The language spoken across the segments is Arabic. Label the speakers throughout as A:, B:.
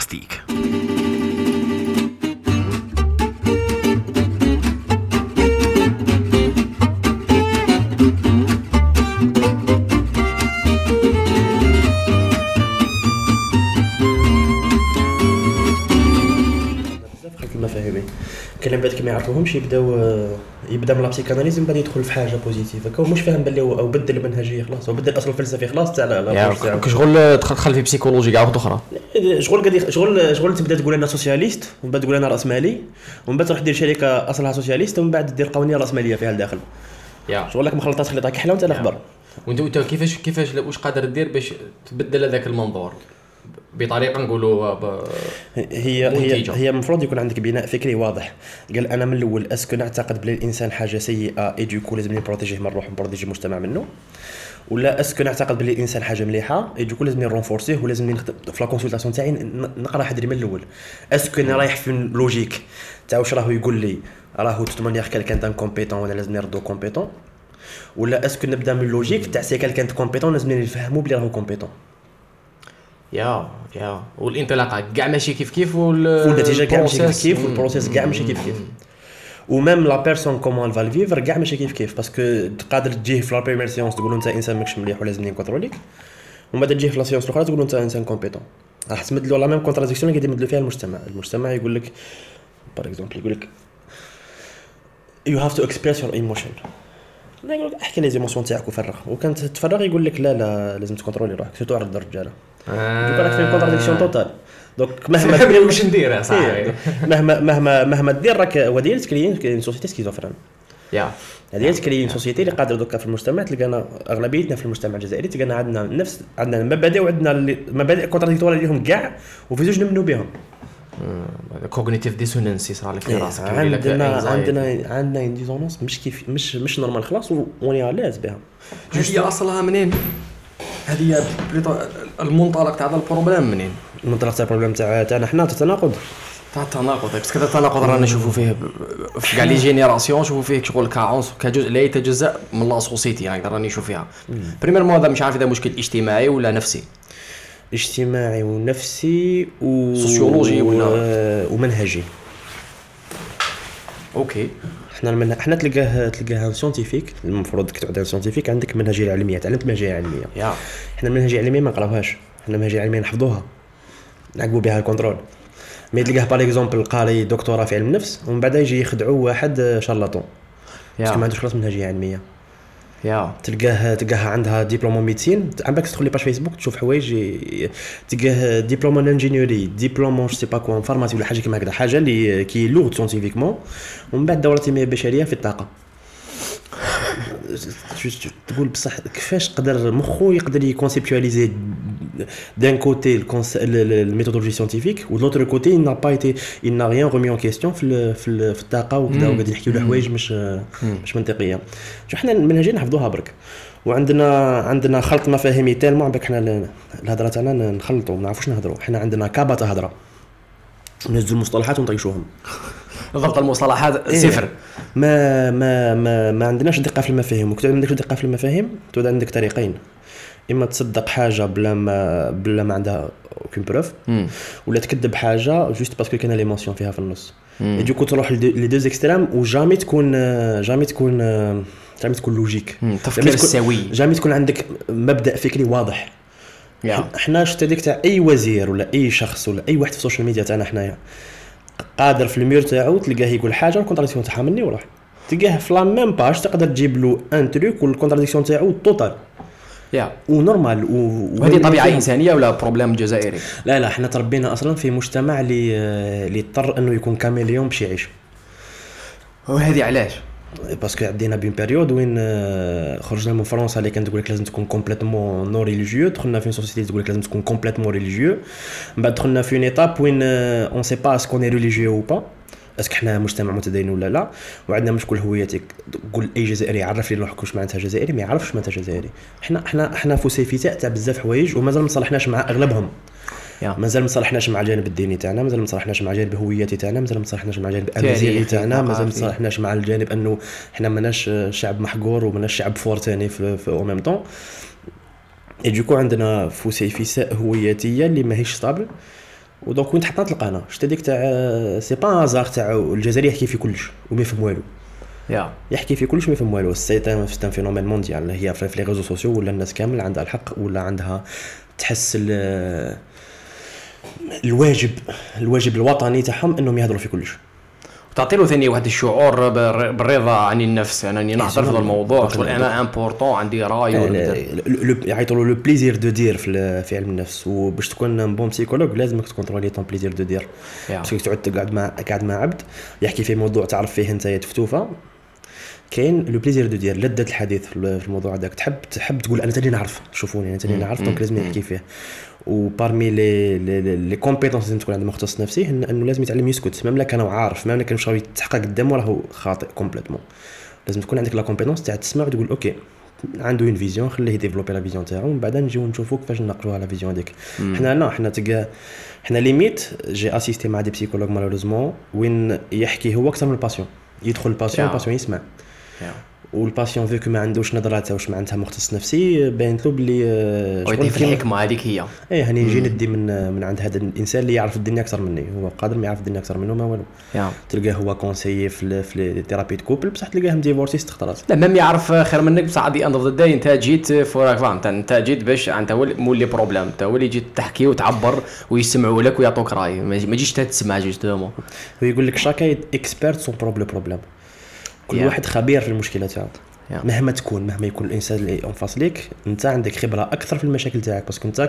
A: بودكاستيك.
B: المفاهيم كلام بعد كما يعرفوهمش يبدا من لابسيكاناليز من بعد يدخل في حاجه بوزيتيف هكا مش فاهم باللي او بدل المنهجيه خلاص او بدل اصل الفلسفي خلاص تاع
A: لا كشغل تدخل في بسيكولوجي كاع واحده اخرى
B: شغل تبدا تقول انا سوسياليست ومن بعد تقول انا راسمالي ومن بعد تروح دير شركه اصلها سوسياليست ومن بعد دير قوانين راسماليه فيها الداخل شغل لك مخلطات خليطه كحله وانت الاخبار.
A: وانت كيفاش واش قادر دير باش تبدل هذاك المنظور بطريقه نقولوا
B: هي المفروض يكون عندك بناء فكري واضح. قال انا من الاول اسكو نعتقد بلي الانسان حاجه سيئه اي دوكو لازم نبروتيجيه من الروح ونبروتيجي المجتمع منه، ولا اسكو نعتقد بلي الانسان حاجه مليحه اي دوكو لازم نرونفورسيه ولازم نخدم في لا كونسلطاسيون تاعي نقرا حدري من الاول اسكو انا رايح في لوجيك تاع واش راهو يقول لي راهو توتمانيير كالكان تاع كومبيتون وانا لازم نردو كومبيتون، ولا اسكو نبدا من لوجيك تاع سي كالكان كومبيتون لازم نفهمو بلي راهو كومبيتون.
A: يا والانطلاقه كاع ماشي كيف
B: والنتيجه كاع ماشي كيف والبروسيس كاع ماشي كيف وميم لا بيرسون كومون فال فيفر كاع ماشي كيف باسكو تقدر تجيه في لا بريمير سيونس تقول انت انسان ماكش مليح ولازم نكونتروليك ومن بعد تجيه في لا سيونس الاخرى تقول انت انسان كومبيتون. راح تمدلوا لا ميم كونتراديكسيون اللي يمدلوا فيها المجتمع يقول لك بار اكزومبل يقول لك you have to express your emotion يقول لك احكي لي زيموسيون تاعك وفرغ وكانت تفرغ يقول لك لا لازم تكونترولي روحك سيرتو عند الرجاله دوك راك في كونتراديكسيون توتال. دونك مهما
A: دير واش ندير صاحبي
B: مهما دير راك ودير تكري سوسيتي سكيزوفرين هذه تكري سوسيتي اللي قادر دوكا في المجتمع تلقانا اغلبيتنا في المجتمع الجزائري تلقانا عندنا مبادئ وعندنا مبادئ كونتراديكتوار ليهم كاع وفي زوج نمنوا بهم
A: كوغنيتيف ديسونانس يصرى لك في راسك
B: عندنا ديسونانس مش كيف مش نورمال خلاص وني لاز بها.
A: هي اصلها منين؟ هذه المنطلق تاع هذا البروبليم منين؟
B: المنطلق تاع البروبليم تاعنا حنا التناقض
A: بس كذا التناقض رانا نشوفوا فيه في كاع لي جينيراسيون نشوفوا فيه شغل كاونس كجزء لا يتجزأ من لا سوسيتي يعني راني نشوف فيها بريمير مو هذا مش عارف اذا مشكل اجتماعي ولا نفسي
B: اجتماعي ونفسي
A: سوسيولوجي
B: ومنهجي.
A: اوكي
B: احنا تلقاها ساينتيفيك المفروض كتعود ساينتيفيك عندك منهجيه علميه تعلمت منهجيه علميه احنا المنهجيه العلميه ما نقراوهاش احنا المنهجيه العلميه نحفظوها نعقبوا بها الكنترول مي تلقاه باغ اكزومبل قاري دكتوراه في علم النفس ومن بعد يجي يخدعوا واحد شارلاتون باسكو ما عندوش خلاص منهجيه علميه تلقاها عندها دبلوم ميديسين عندك تدخل لي باج فيسبوك تشوف حوايج تلقاه دبلوم انجينيوري دبلوم جو سي با كوا فارماسي ولا حاجه كيما هكذا حاجه اللي كي لوغ ساينتيفيكمون ومن بعد دوره التنميه البشريه في الطاقه تقول بصح كيفاش قدر مخو يقدر يكونسيبتواليزي دان كوتي الميثودولوجي ساينتيفيك ولوتر كوتي n'a pas été il n'a rien remis en question في الطاقه وكذا وقاعد يحكيوا له حوايج مش منطقيه. شو احنا المنهجيه نحفظوها برك وعندنا خلط مفاهيمي تالمو عندك احنا الهضره تاعنا نخلطوا ما نعرفوش نهضروا احنا عندنا كابه هضره نهزوا المصطلحات ونطيشوهم
A: ضبط المصطلحات صفر
B: ما عندناش دقه في المفاهيم وكتب عندك دقه في المفاهيم تود عندك طريقين اما تصدق حاجه بلا ما عندها اوكين بروف ولا تكذب حاجه جوست باسكو كاينه ليموسيون فيها في النص يجيكو تروح لي دوز اكستريم وجامي تكون لوجيك
A: تفكير سوي
B: جامي تكون عندك مبدا فكري واضح. احنا شتي تاع اي وزير ولا اي شخص ولا اي واحد في السوشيال ميديا تاعنا حنايا قادر في المير تاعو تلقاه يقول حاجه الكونتراديكسيون تاعها مني وروح تلقاه في لا ميم باج تقدر تجيب له ان تروك والكونتراديكسيون تاعو توتال ونورمال
A: وهذه طبيعه انسانيه ولا بروبليم جزائري؟
B: لا احنا تربينا اصلا في مجتمع اللي اضطر انه يكون كاميليون باش يعيش.
A: وهذه علاش؟
B: باسكو عدينا بين بيريود وين خرجنا من فرنسا اللي كانت تقول لك لازم تكون كومبليتمون نو ريليجيو دخلنا في سوسيتي تقول لك لازم تكون كومبليتمون ريليجيو من بعد دخلنا في ايتاب وين اون سي با اسكو ني ريليجيو او با اسكو احنا مجتمع متدين ولا لا وعندنا مشكل هويتك قول اي جزائري يعرف لي روحك واش معناتها جزائري ما يعرفش معناتها جزائري. احنا فوسيفيتاء تاع بزاف حوايج ومازال ما صلحناش مع اغلبهم مازال ما صلحناش مع الجانب الديني تاعنا مازال ما صلحناش مع الجانب الهويتي تاعنا مازال ما صلحناش مع الجانب الامازيغي تاعنا مازال ما صلحناش مع الجانب انه احنا ماناش شعب محقور وماناش شعب فور ثاني في او ميم طون يجيكو عندنا فوسيفيساء هويتيه اللي ماهيش ستابل ودونك وين تحطنا تلقانا شتا ديك تاع سي با هازار تاع الجزائري يحكي في كلش وما يفهم والو يحكي في كلش ما يفهم والو. سي ان فينومين مونديال هي في لي ريزو سوسيو ولا الناس كامل عندها الحق ولا عندها تحس الواجب الوطني تاعهم انهم يهضروا في كلش.
A: تعطي له ثاني واحد الشعور بالرضا عن النفس. انني نهضر في الموضوع شغل انا امبورطون عندي راي
B: يعيطوا له لو بليزير دو دير في علم النفس. وباش تكون بون بسيكولوج لازمك تكونترولي طون بليزير دو دير باسكو تعود قاعد مع عبد يحكي في موضوع تعرف فيه انت تفتوفه كاين لو بليزير دو دير لذة الحديث في الموضوع هذاك. تحب تقول انا تاني نعرف شوفوني انا تاني نعرف دونك لازم نحكي فيه. وبارمي لي كومبيتونس لازم تكون عند مختص نفسي انه لازم يتعلم يسكت ميم لا كان عارف ميم لا كان شويه يتحقق قدامه راهو خاطئ كومبليتمون. لازم تكون عندك لا كومبيتونس تاع تسمع وتقول اوكي عنده اون فيزيون خليه ديفلوبي لا فيزيون تاعو ومن بعد نجيو نشوفوا كيفاش نقلوها لا فيزيون ديك. حنا ليميت جي اسيستي مع دي بسيكولوج مالوريزمون وين يحكي هو اكثر من الباسيون يدخل الباسيون يسمع والباسيون فيكو ما عندوش نظرات واش معناتها مختص نفسي باين له بلي
A: شغل في الحكمه هذيك هي
B: هاني نجي ندي من عند هذا الانسان اللي يعرف الدنيا اكثر مني. هو قادر ما يعرف الدنيا اكثر منه ما والو. تلقاه هو كونسيي في ثيرابي كوبل بصح تلقاه مديفورسي 6 خطرات
A: لا ميم يعرف خير منك بصح دي اند اوف ذا داي انت جيت فور فهمت انت جيت باش انت مولي بروبليم انت هو اللي جيت تحكي وتعبر ويسمعوا لك ويعطوك راي ما تجيش تسمع جوستومون.
B: هو يقول لك شاكا اكسبيرت سون بروبليم كل واحد خبير في المشكله تاعو مهما يكون الانسان اللي انفاس ليك انت عندك خبره اكثر في المشاكل تاعك باسكو انت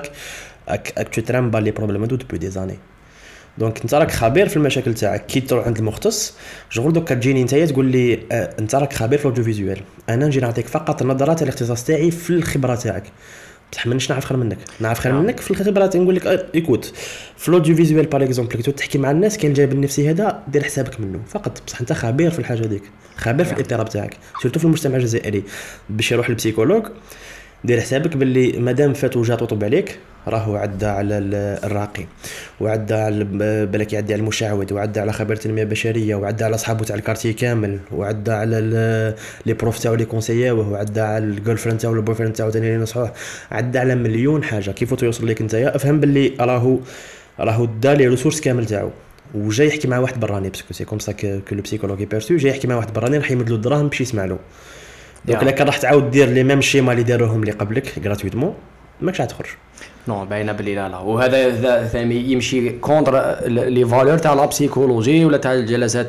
B: تو ترامبا لي بروبليم دو دبي دي زاني دونك انت راك خبير في المشاكل تاعك. كي تروح عند المختص شغل دوك كتجيني انت تقول لي انت راك خبير في الاوديو فيزوال انا نجي نعطيك فقط النظرات الاختصاص تاعي في الخبره تاعك بصح مانيش نعرف خير منك في الخبرات. نقول لك ايكوت في الاوديو فيزوال باغ اكزومبل كي تحكي مع الناس كاين الجانب النفسي هذا دير حسابك منه فقط بصح انت خبير في الحاجه ديك خبير في الاضطراب تاعك سورتو في المجتمع الجزائري. باش يروح للبسيكولوج دير حسابك باللي مادام فات وجات وطب عليك راهو عدى على الراقي وعدى على بالك يعدي على المشعوذ وعدى على خبير التنميه البشريه وعدى على اصحابه تاع الكارتي كامل وعدى على لي بروف تاعو لي كونسييوه وعدى على الجيرل فريند تاعو البوي فريند تاعو ثاني اللي نصحوه عدى على مليون حاجه. كيف توصل لك نتايا افهم باللي راهو دا لي ريسورس كامل تاعو وجاي يحكي مع واحد براني باسكو سي كوم سا كو لو بسيكولوجي بيرسو جاي يحكي مع واحد براني راح يمد له الدراهم باش يسمع له. دونك الا كان راح تعاود دير لي ميم شيما اللي داروهم اللي قبلك غراتويتمون ماكش راح تخرج
A: نو باينه بلي لا وهذا ثاني يمشي كونتر لي فالور تاع لا بسيكولوجي ولا تاع الجلسات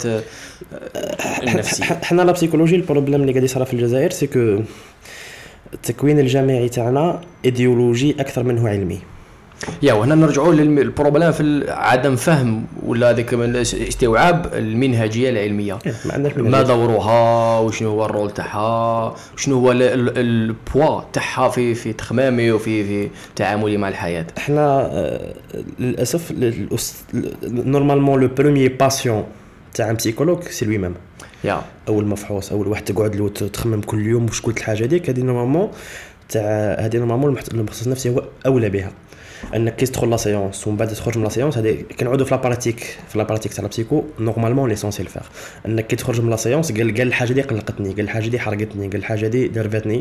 A: النفسيه.
B: حنا لا بسيكولوجي البروبليم اللي قاعد يصرا في الجزائر سي كو التكوين الجامعي تاعنا ايديولوجي اكثر منه علمي.
A: وهنا نرجعوا للبروبليم في عدم فهم ولا هذيك استيعاب المنهجيه العلميه. ما دورها وشنو هو الرول تاعها وشنو هو البوا تاعها في تخمامي وفي تعاملي مع الحياه.
B: احنا للاسف نورمالمون لو بروميير باسيون تاع بسيكولوج سي لوي ميم اول مفحوص اول واحد تقعد له تخمم كل يوم واش قلت الحاجه ديك هذه نورمالمون المختص النفسي هو اولى بها. انك كي تدخل لا سيونس ومن بعد تخرج من لا سيونس هذه كنعودوا في لاباراتيك تاع البسيكو نورمالمون ليسونسيال فير انك كي تخرج من لا سيونس قال الحاجه دي قلقتني قال الحاجه دي حرقتني قال الحاجه دي درفتني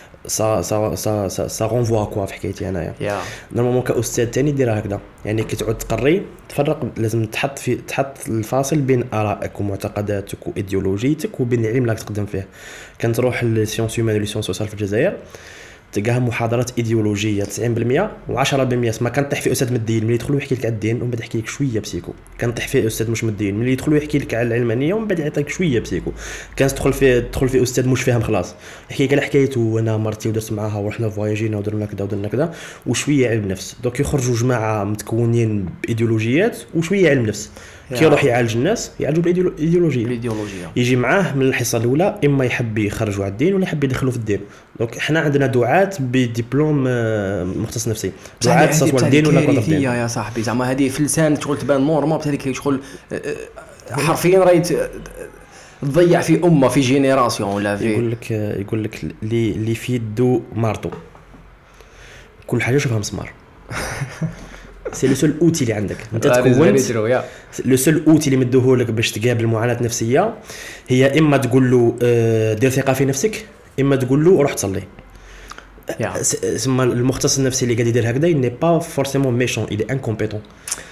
B: سا رونفوا كوا في حكايتي انايا. نورمالمون كاستاذ ثاني ديرها هكذا يعني كي تعود تقري تفرق لازم تحط الفاصل بين ارائك ومعتقداتك وايديولوجيتك وبين العلم اللي تقدم فيه. كنت تروح للسيونس هيومان وليسيونس سوسيال في الجزائر تلقاها محاضرات ايديولوجيه 90% و10% ما كنطيح في استاذ مدين ملي يدخلوا يحكي لك على الدين ومن بعد يحكي لك شويه بسيكو. كنطيح في استاذ مش مدين ملي يدخلوا يحكي لك على العلمانيه ومن بعد يعطيك شويه بسيكو. كان تدخل في استاذ مش فاهم خلاص يحكي لك على حكايته انا مرتي ودرت معاها ورحنا فواياجينا ودرنا كذا وشويه علم نفس. دوك يخرجوا جماعه متكونين بايديولوجيات وشويه علم نفس. كي يروح يعالج الناس يعالجوا بالايديولوجيه يجي معاه من الحصه الاولى اما يحب يخرجوا على الدين ولا يحب يدخلوا في الدين. دونك احنا عندنا دعاة بدبلوم مختص نفسي دعاة سواء الدين ولا كونتر الدين.
A: يا صاحبي زعما هذه في لسان شغل تبان نورمال هذيك شغل حرفيا راهي تضيع في امه في جينيراسيون ولا في
B: يقول لك لي في يدو مارطو كل حاجه شوفها مسمار. سي لو سول اوتي اللي عندك انت تكونت لو سول اوتي اللي مدوه لك باش تقابل معاناه نفسيه هي اما تقول له دير ثقه في نفسك اما تقول له روح تصلي. سما المختص النفسي اللي قاعد يدير هكذا ني با فورسيمون ميشون الي انكومبيتون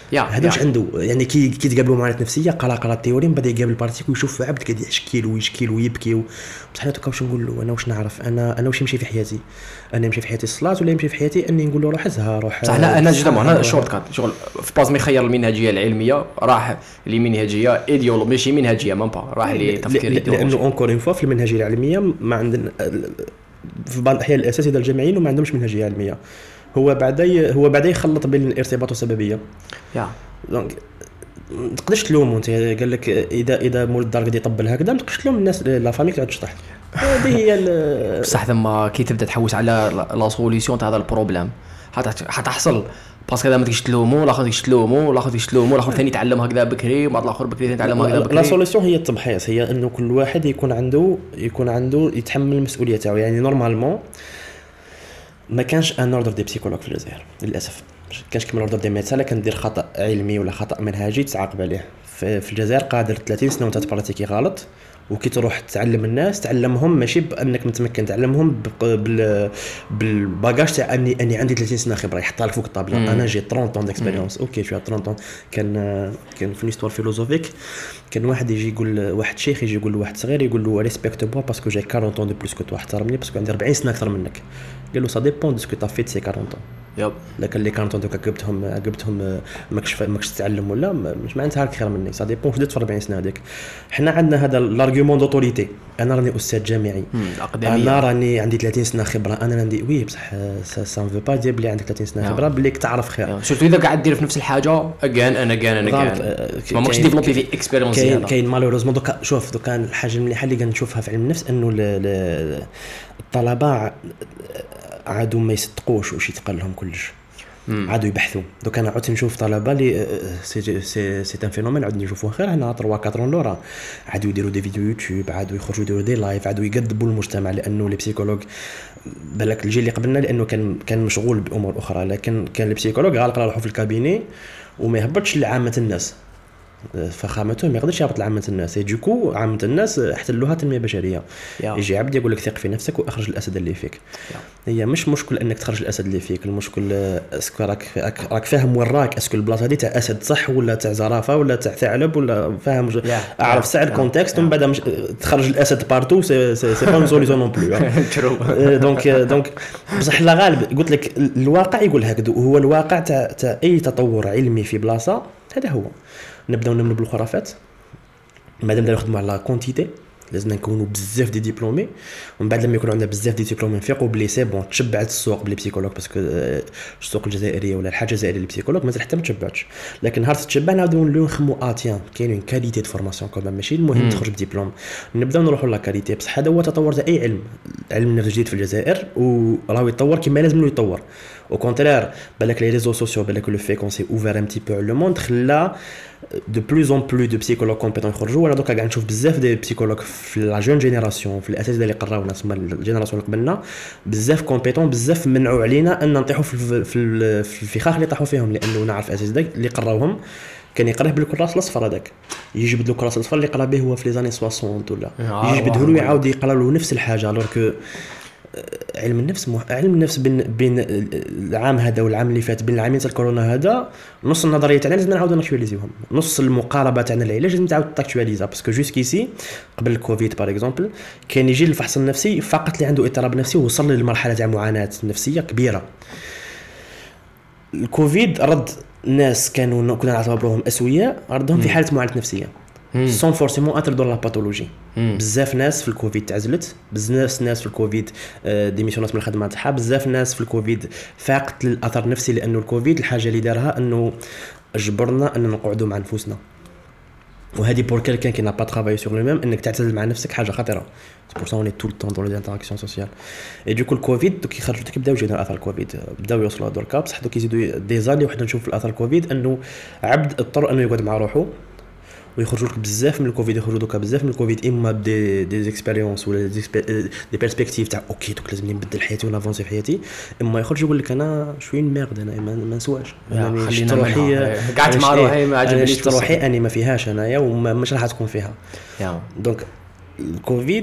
B: هذا واش عنده يعني كي تقابلوا معاناه نفسيه قرا التيوري من بعد يقابل بارتيك ويشوف عبد كيدير يشكي ويبكي بصح انا واش نقول له انا واش نعرف انا واش يمشي في حياتي انا يمشي في حياتي الصلاه ولا يمشي في حياتي اني نقول له روح ازهر روح
A: صح لا انا جدا انا شورت كات شغل في باز ما يخير المنهجيه العلميه راح لمنهجيه ايديولوجيه ماشي منهجيه ما با راح لتفكير
B: ايديولوجي لانه اونكور اون فوا في المنهجيه العلميه ما عندنا في بعض الاحيان الاساتذه الجامعيين وما عندهمش منهجيه علميه هو بعدا يخلط بين الارتباط والسببيه دونك ما تقدرش تلومو انت قال لك اذا مول الدار قد يطبل هكذا ما تقدرش تلوم الناس لا فامي تعود تشطح هذه هي
A: بصح ثم كي تبدا تحوس على لا سوليسيون تاع هذا البروبليم حتحصل باسكو اذا ما تقدرش تلومو لا خاطر تلومو لا خاطر ثاني يتعلم هكذا بكري وبعد الاخر بكري ثاني يتعلم هكذا بكري
B: لا سوليسيون هي التمحيص هي انه كل واحد يكون عنده يتحمل المسؤوليه تاعو يعني نورمالمون ما كانش ان اوردر دي بسيكولوج في الجزائر للاسف كانش كيما اوردر دي ميدسان كان دير خطا علمي ولا خطا منهجي تعاقب عليه في الجزائر قادر 30 سنه وانت تبراتيكي غلط وكي تروح تعلم الناس تعلمهم ماشي بانك متمكن تعلمهم بالباجاج تاع اني عندي 30 سنه خبره يحطها لك فوق الطابله انا جي 30 طون ديكسبيريونس اوكي شو 30 كان في ليستوار فيلوزوفيك كان واحد يجي يقول واحد شيخ يجي يقول لواحد صغير يقول له ريسبكت بوا باسكو جاي 40 طون دو بلوس كو تو احترمني باسكو عندي 40 سنه اكثر منك قال له سا ديبون دو سكو تا فيت سي 40 طون
A: يب
B: لكن اللي كانوا دوك عقبتهم ماكش تتعلم ولا مش معناتها خير مني سا ديبون شدت في 40 سنه هذيك حنا عندنا هذا الارغيومون دوتوريتي انا راني استاذ جامعي انا راني عندي 30 سنه خبره انا عندي وي بصح سا فو با دير بلي عندك 30 سنه خبره بليك تعرف خير
A: شفتوا اذا قاعد دير في نفس الحاجه انا ما ماكش ديفلوبي في اكسبيريونس هذا
B: كاين مالوريزمون دوكا شوف دوكا الحاجه المليحه اللي كنشوفها في علم النفس انه الطلبه عادوا ما يصدقوش واش يتقال لهم كلش عادوا يبحثوا دوك انا عدت نشوف طلبه لي سي ان فينومين عاد نشوفوه خير هنا 3 4 لورا عادوا يديروا دي فيديو يوتيوب عادوا يخرجوا يديروا دي لايف عادوا يقدبوا المجتمع لانه لي بسيكولوج بالك الجيل اللي قبلنا لانه كان مشغول بامور اخرى لكن كان لي بسيكولوج غالق روحه في الكابيني وما يهبطش لعامه الناس فخامته ما يقدرش يهبط لعامه الناس دوكو عامه الناس احتلوها تنميه بشريه يجي عبد يقول لك ثق في نفسك واخرج الاسد اللي فيك هي مش مشكل انك تخرج الاسد اللي فيك المشكل اسكو راك فاهم وين راك اسكو البلاصه هذه تاع اسد صح ولا تاع زرافه ولا تاع ثعلب ولا فاهم اعرف ساعه الكونتكست ومن بعد تخرج الاسد بارتو سي با سوليسيون نون بلو دونك بصح لا غالب قلت لك الواقع يقول هكذا وهو الواقع تاع اي تطور علمي في بلاصه هذا هو نبداو نمنوا بالخرافات مادام نخدموا على كونتيتي لازم نكونوا بزاف دي ديبلومي ومن بعد لما يكون عندنا بزاف دي ديبلومي نفيقوا بلي سي بون تشبعت السوق بلي بسيكولوج باسكو السوق الجزائريه ولا الحاجه الجزائريه اللي بسيكولوج مازال حتى ما تشبعتش لكن نهار تتشبع نعاودوا نخموا اتيان كاين كاليتي دو فورماسيون كوم ماشي المهم تخرج بديبلوم نبداو نروحوا لا كاليتي بصح هذا هو تطور تاع اي علم النفس جديد في الجزائر وراه يتطور كما لازم يتطور au contraire بالك les réseaux sociaux بالك le fait qu'on s'est ouvert un petit peu le monde خلا de plus en plus de psychologues compétents يخرجوا ولا دوكا قاعد نشوف بزاف دي psychologues في لا جون جينيراسيون في الاساتذه اللي قراونا تسمى الجينيراسيون اللي قبلنا بزاف كومبيتون بزاف منعوا علينا ان نطيحوا في الفخاخ اللي طاحوا فيهم لانه نعرف اساتذه اللي قراوهم كان يقراه بالكراس الاصفر هذاك يجي يبدلوا الكراس الاصفر اللي قرا به هو في لي زاني 60 ولا يجي يبدلوا له يعاود يقرا له نفس الحاجه الوغ كو علم النفس بين العام هذا والعام اللي فات بين العامين تاع الكورونا هذا نص النظريه تاعنا لازم نعاودوا ناكtualiزيوهم نص المقاربه تاعنا العلاج لازم تعاود تاكtualiزا باسكو جوسكيسي قبل الكوفيد باغ اكزومبل كان يجي الفحص النفسي فقط اللي عنده اضطراب نفسي ووصل للمرحله تاع معاناه نفسيه كبيره الكوفيد رد ناس كنا نعتبرهم اسوياء ردهم في حاله معاناه نفسيه سون فورسيمون اتر دون لا باثولوجي بزاف ناس في الكوفيد تعزلت بزاف ناس في الكوفيد ديميسيونات من الخدمه تاعها بزاف ناس في الكوفيد فاقت الاثر النفسي لانه الكوفيد الحاجه اللي دارها انه جبرنا ان نقعدوا مع نفوسنا وهذه بور كالكان كي نا با ترافاي سور لو ميم انك تعتزل مع نفسك حاجه خطيره بور سا اوني طول طون دون لي انتراكسيون سوسيال اي دوك الكوفيد دوك يخرجوا كيبداو يجينا اثار الكوفيد بداو يوصلوا دركا بصح دوك يزيدوا دي زاني وحنا نشوف في الاثار الكوفيد انه عبد اضطر انه يقعد مع روحه ويخرجوا لك بزاف من الكوفيد يخرجوا دوكا بزاف من الكوفيد اما دي اكسبيريونس ولا دي بيرسبكتيف تاع اوكي دوك لازم نبدل حياتي ونافونسي في حياتي اما يخرج يقول لك انا شويه ميرد انا ما نسواش انا شفت روحي
A: قعدت مع روحي ما عجبنيش
B: روحي اني ما فيهاش انايا ومش راح تكون فيها دونك الكوفيد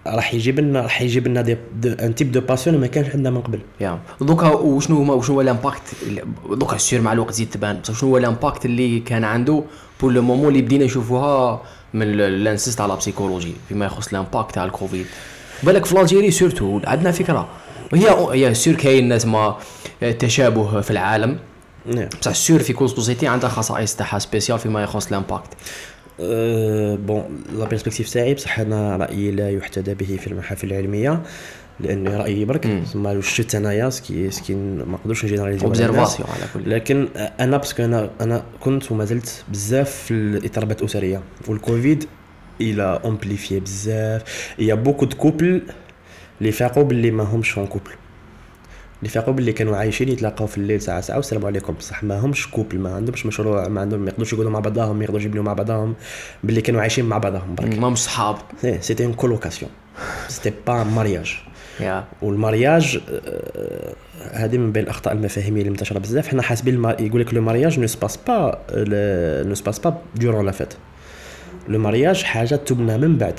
B: راح يجيب لنا ان تيب دو باسيون ما كانش عندنا من قبل.
A: دوكا وشنو هو الامباكت دوكا سير مع الوقت زيد تبان شنو هو الامباكت اللي كان عنده بور لو مومون اللي بدينا نشوفوها من لانسيست على بسيكولوجي فيما يخص الامباكت تاع الكوفيد. بالك في الجيري سورتو عندنا فكره هي سور كاين ناس ما تشابه في العالم بصح سور في كل سوسيتي عندها خصائص تاعها سبيسيال فيما يخص الامباكت.
B: بون لا بيرسبكتيف تاعي بصح انا رايي لا يحتذى به في المحافل العلميه لان رايي برك ثم شفت انايا سكي ما نقدرش نجينيراليزي
A: اوبزيرفاسيون على كل.
B: لكن انا باسكو انا كنت وما زلت بزاف في الاضطرابات الاسريه والكوفيد الى امبليفي بزاف. يا بوكو دو كوبل اللي فاقوا باللي ما همش اون كوبل اللي فاقوا باللي كانوا عايشين يتلاقاو في الليل ساعه والسلام عليكم بصح ما همش كوبل ما عندهمش مشروع ما يقدروش يقعدوا مع بعضهم ما يقدروش يبنيو مع بعضهم باللي كانوا عايشين مع بعضهم برك
A: ما مش صحاب.
B: سيتي اون كولوكاسيون سيتي با مارياج. والمارياج هذه من بين الاخطاء المفاهيميه اللي منتشره بزاف. حنا حاسبين يقول لك لو مارياج نو سباس با دورون لا فيت. لو مارياج حاجه تبنى من بعد.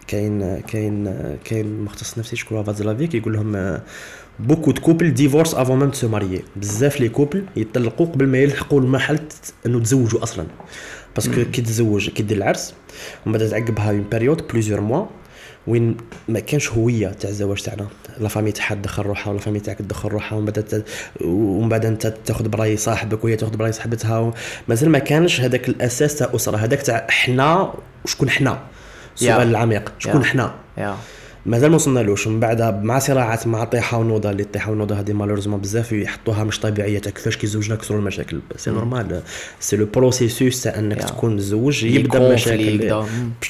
B: كاين مختص نفسي شكون فازلافيك يقول لهم بوكو دو كوبل ديفورس افون ميم سو ماريي. بزاف لي كوبل يطلقوا قبل ما يلحقوا المرحله انه تزوجوا اصلا باسكو كي تزوج كي دير العرس ومن بعد تعقبها اون بيريود بليزيور موا وين ما كانش هويه تاع الزواج تاعنا. لا فامي تاعها تدخل روحها ولا فامي تاعك تدخل روحها ومن بعد انت تاخذ براي صاحبك وهي تاخذ براي صاحبتها مازال ما كانش هذاك الاساس تاع اسره هذاك تاع احنا وشكون احنا. السؤال العميق شكون احنا مازال ما وصلنالوش. من بعد مع صراعات مع طيحه ونوضه اللي طيحه ونوضه هذه مالوريزمون بزاف يحطوها مش طبيعيه تاع كيفاش كي زوجنا كسروا المشاكل. سي نورمال سي لو بروسيسوس تاع انك تكون متزوج يبدا مشاكل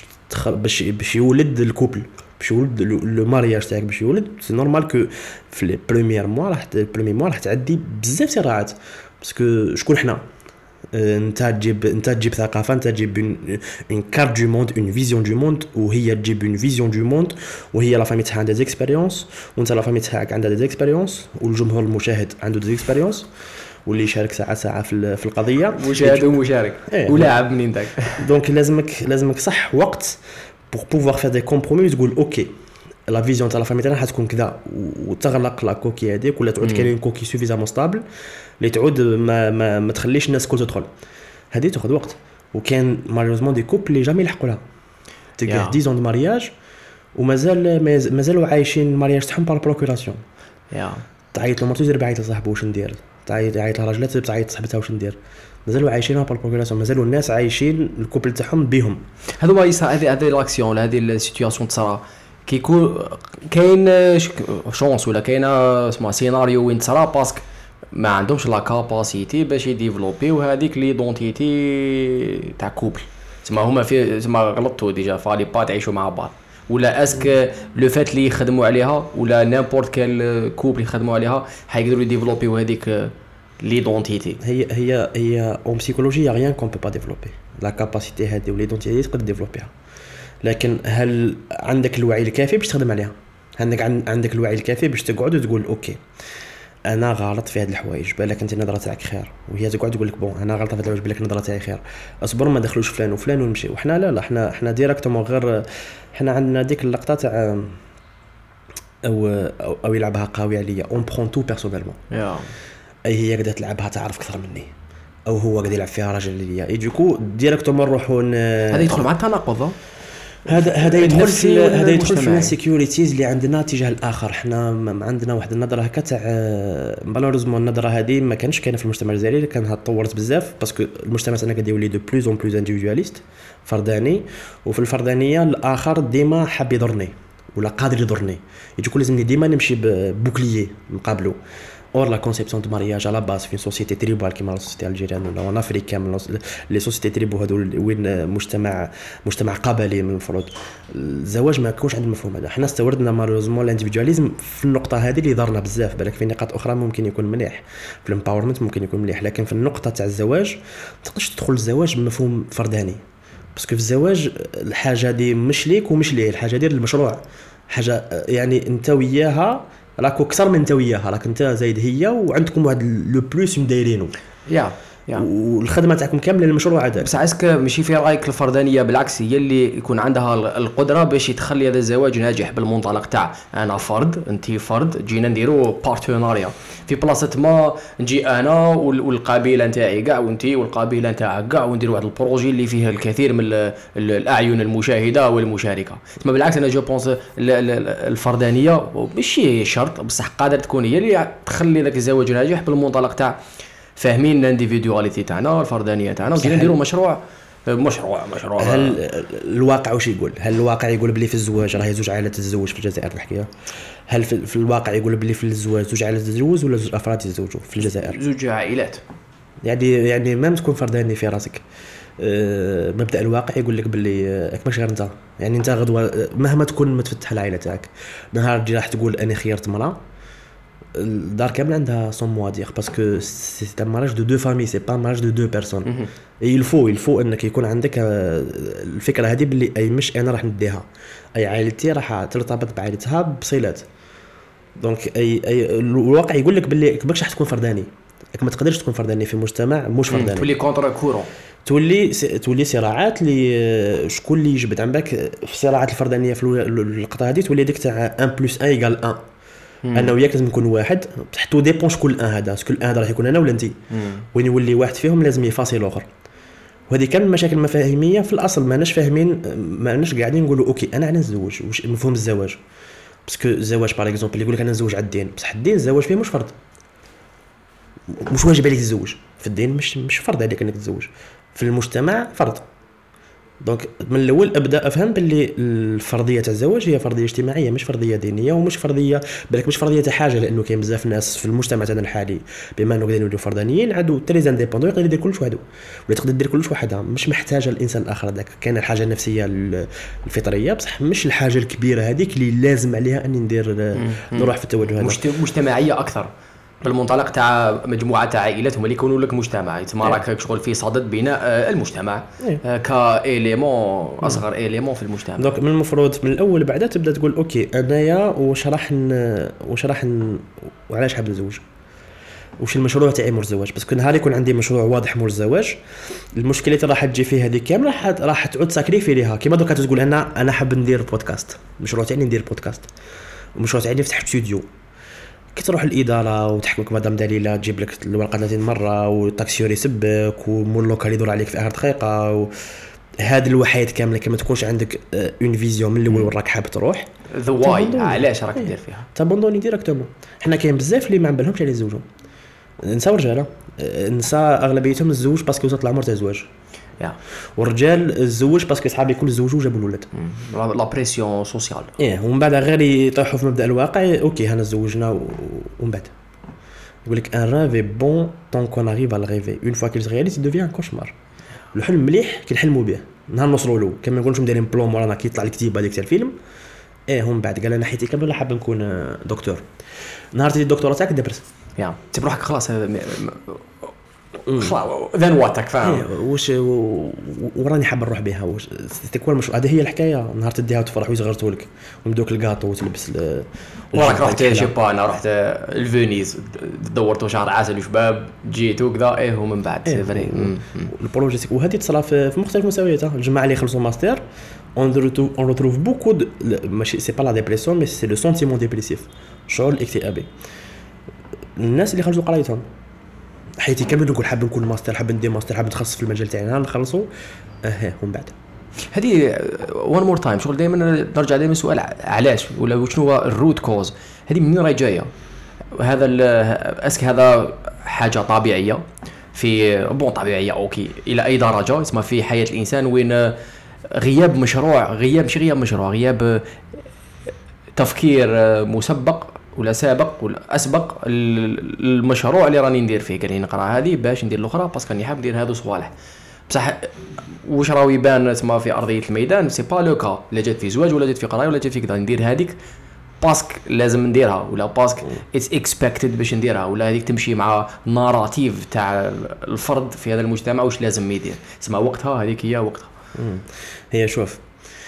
B: باش يولد الكوبل باش يولد لو مارياج تاعك باش يولد. سي نورمال كو في لي بروميير موا راح تعدي بزاف صراعات باسكو شكون حنا. انت تجيب ثقافه انت تجيب اون كارت دو موند اون فيزيون دو موند وهي تجيب اون فيزيون دو موند وهي لا فامي تاعها عندها دي اكسبيريونس وانت لا فامي تاعك عندها دي اكسبيريونس والجمهور المشاهد عنده دي اكسبيريونس واللي يشارك ساعه في القضيه
A: مشاهد ومشارك ولاعب منين داك.
B: دونك لازمك صح وقت pour pouvoir faire des compromis تقول اوكي لا فيزيون تاع لا فامي تاعنا حتكون كذا وتغلق لا كوكي هذيك ولا تعود كاين كوكي سوفيزامون ستابل اللي تعود ما تخليش الناس كل تدخل. هذه تاخذ وقت وكان مالوريزمون دي كوبل اللي جامي يلحقوا لها تلقى 10 دو مارياج ومازالوا عايشين المارياج تاعهم بار بروكوراسيون. تعيط لمرتو زير بعيط لصاحبه واش ندير تعيط لراجلات تعيط صاحبتها واش ندير مازالوا عايشينها بار بروكوراسيون مازالوا الناس عايشين الكوبل تاعهم بهم.
A: هذا ما يصير هذه لاكسيون ولا هذه السيتوياسيون تصرا كيكون كاين شونس ولا كاين اسمها سيناريو وين تصرا باسكو ما عندهمش لا كاباسيتي باش يديفلوبيو هذيك لي دونتيتي تاع كوبل. تسمى هما في تسمى غلطوا ديجا فالي با تعيشوا مع بعض ولا اسك لو فات اللي يخدموا عليها ولا نيمبورت كال كوبل يخدموا عليها حيقدروا يديفلوبيو هذيك ليدونتيتي.
B: هي اون بسيكولوجي ريان كون بو با ديفلوبي لا كاباسيتي هذه وليدونتيتي تقدر ديفلوبيها لكن هل عندك الوعي الكافي باش تخدم عليها. عندك الوعي الكافي باش تقعد وتقول اوكي انا غلط في هاد الحوايج بالك انت النظره تاعك خير وهي تقعد تقول لك بون انا غلطه في هاد الحوايج بالك النظره تاعي خير اصبر ما دخلوش فلان وفلان ونمشي. وحنا لا احنا ديريكتومون غير حنا عندنا ديك اللقطه تاع او يلعبها قوي عليا اون برون تو بيرسونيلمون اي هي قاعده تلعبها تعرف اكثر مني او هو قاعد يلعب فيها راجل ليا دوكو ديريكتومون نروحوا
A: هذا يدخل مع التناقض.
B: هذا يدخل في السيكوريتيز اللي عندنا تجاه الاخر. احنا عندنا واحد النظره هكا تاع مالوريزمون النظره هذه ما كانش كاينه في المجتمع الجزائري كانها تطورت بزاف باسكو المجتمع تاعنا قاعد يولي دو بلوز اون بلوز انديفيدواليست فرداني وفي الفردانيه الاخر ديما حاب يضرني ولا قادر يضرني يجيكو لازمني ديما نمشي ببوكليي نقابلو. اور لا كونسيبسيون دو مارياج على باس في سوسيتي تريبال كيما لا سوسيتي الجيريان ولا ان افريك كامل لي سوسيتي تريبو هذول وين مجتمع قبلي من المفروض الزواج ما كانش عندنا المفهوم هذا. حنا استوردنا مالوزمون الانديفيدواليزم في النقطه هذه اللي ضرنا بزاف بالك في نقاط اخرى ممكن يكون مليح في الامباورمنت ممكن يكون مليح لكن في النقطه تاع الزواج ما تقدرش تدخل الزواج بمفهوم فرداني باسكو في الزواج الحاجه دي مش ليك ومش ليه الحاجه ديال المشروع حاجه يعني انت وياها راكو اكثر من انت وياها راك انت زايد هي وعندكم واحد لو بلوس مدايرينو والخدمه تاعكم كامله للمشروع هذا.
A: بس عسك ماشي في رايك الفردانيه، بالعكس هي اللي يكون عندها القدره باش تخلي هذا الزواج ناجح بالمنطلق تاع انا فرد انت فرد، جينا نديروا بارتناريا في بلاصه ما نجي انا والقبيله نتاعي كاع وانت والقبيله نتاعك كاع ونديروا واحد البروجي اللي فيه الكثير من الاعين المشاهده والمشاركه. تما بالعكس انا جو بونس الفردانيه ماشي شرط بصح قادر تكون هي اللي تخلي ذاك الزواج ناجح بالمنطلق تاع فاهمين الانديفيدواليتي تاعنا الفردانيه تاعنا وجينا نديروا مشروع.
B: هل الواقع واش يقول؟ هل الواقع يقول بلي في الزواج راه زوج عائلات تتزوج في الجزائر الحكايه؟ هل في الواقع يقول بلي في الزواج زوج عائلات تتزوج ولا زوج افراد يتزوجوا في الجزائر؟
A: زوج عائلات.
B: يعني ما تكون فرداني في راسك. مبدا الواقع يقول لك باللي ماكش غير انت، يعني انت غدوه مهما تكون متفتح العائله تاعك نهار راح تقول انا خيرت مراه الدار كامله عندها سون موا دير باسكو سي ان مارياج دو فامي سي با مارياج دو بيرسون. يلفو انك يكون عندك الفكره هذه باللي اي مش انا راح نديها اي عائلتي راح ترتبط بعائلتها بصلات. دونك اي الواقع يقول لك باللي ماكش راح تكون فرداني، ما تقدرش تكون فرداني في مجتمع مش فرداني،
A: تولي كونتر كورون،
B: تولي صراعات اللي شكون اللي يجبد عندك في الصراعات الفردانيه في اللقطه هذه تولي ديك تاع 1+1=1 انا وياك لازم نكون واحد بصح تو ديبون شكون الان هذا شكون الان هذا راح يكون انا ولا انت وين يولي واحد فيهم لازم يفاصل الاخر. وهذه كان مشاكل مفاهيميه في الاصل ماناش فاهمين ماناش قاعدين نقولوا اوكي انا نتزوج واش مفهوم الزواج باسكو الزواج باغ اكزومبل اللي يقول لك انا نتزوج على الدين بصح الدين الزواج فيه مش فرض مش واجب عليك تتزوج في الدين مش فرض عليك انك تتزوج في المجتمع فرض. دونك من الاول ابدا افهم باللي الفرضيه تاع الزواج هي فرضيه اجتماعيه مش فرضيه دينيه ومش فرضيه بالك مش فرضيه تاع حاجه لانه كاين بزاف ناس في المجتمع تاعنا الحالي بما انه قاعدين يولوا فردانيين عندو تريز انديبوندون يقدر يدير كلش وحده ولا تقدر دير كلش وحدها مش محتاجه الانسان الاخر هذاك. كاين الحاجه النفسيه الفطريه بصح مش الحاجه الكبيره هذيك اللي لازم عليها اني ندير نروح في التوجه هذا.
A: مجتمعيه اكثر بالمنطلق تاع مجموعه تاع عائلات هما اللي يكونوا لك مجتمع تما راك شغل في صدد بناء المجتمع كإيليمون اصغر إيليمون في المجتمع.
B: دونك من المفروض من الاول بعدا تبدا تقول اوكي انايا واش راح وعلاش حاب نتزوج واش المشروع تاعي مور الزواج باسكو نهار يكون عندي مشروع واضح مور الزواج المشكله اللي راح تجي فيه هذه كامله راح تعود ساكريفي ليها. كيما دوكا تقول انا حاب ندير بودكاست المشروع تاعي ندير بودكاست المشروع تاعي نفتح استوديو كي تروح الاداره وتحكمك مدام دليله تجيب لك الورقه 30 مره والتاكسيور يسبك ومول لوكال يدور عليك في اخر دقيقه هذه الوحيد كامله كما تكونش عندك اون فيزيون من الاول وراك حاب تروح
A: ذا واي علاش راك دير فيها
B: تابوندوني ديريكتومون. حنا كاين بزاف اللي ما عمبالهمش على يتزوجوا نساء ورجاله نساء اغلبيتهم الزوج باسكو وصلت العمر تاع الزواج والرجال الزوج باسكو صحابي كل زوجوا جابوا الولد
A: لا بريسيون سوسيال
B: ومن بعد غير يطيحوا في مبدا الواقع اوكي هنا تزوجنا ومن بعد يقول لك ان رافي بون طون كون اريف على ريفي اون فوا كيل رياليز ديفيان كوشمار. الحلم مليح كي نحلموا به نهار نوصلوا له كما نقولوا دايرين بلون مورانا كي يطلع الكتيبه هذيك تاع الفيلم هم بعد قال انا حياتي كامله حاب نكون دكتور نهار تجي الدكتوراه تاعك دبرت
A: تبي روحك خلاص ذن واتك فاهم
B: واش وراني حاب نروح بها واش تكون مش هذه هي الحكايه نهار تديها وتفرح ويصغرتوا لك ومدوك الكاطو وتلبس
A: وراك رحت شيبا انا رحت الفينيس دورتوا شهر عسل وشباب جيت وكذا ومن بعد سي فري
B: البروجي وهذه تصرا في مختلف مستويات. الجماعه اللي يخلصوا ماستر on retrouve beaucoup de c'est pas la dépression mais c'est le sentiment dépressif شعور الاكتئابي. الناس اللي خرجوا قرايتهم حياتي كامل نقول حاب نكون ماستر حاب ندير ماستر حاب نتخصص في المجال تاعنا نخلصوا ومن بعد
A: هذه وان مور تايم شغل دائما نرجع دائما سؤال علاش ولا شنو هو الروت كوز هذه منين راهي جايه هذا اسك هذا حاجه طبيعيه في طبيعيه اوكي الى اي درجه اسمها في حياه الانسان وين غياب مشروع غياب تفكير مسبق ولا سابق ولا اسبق المشروع اللي راني ندير فيه قال لي نقرا هذه باش ندير الاخرى باسكو راني حاب ندير هذو صوالح بصح واش راهو يبان تما في ارضيه الميدان سي با لو كا لا جات في زواج ولا جات في قرايه ولا جات في كذا ندير هذيك باسك لازم نديرها ولا باسك اتس اكسبكتد باش نديرها ولا هذيك تمشي مع ناراتيف تاع الفرد في هذا المجتمع واش لازم يدير اسمها وقتها هذيك هي وقتها.
B: هي شوف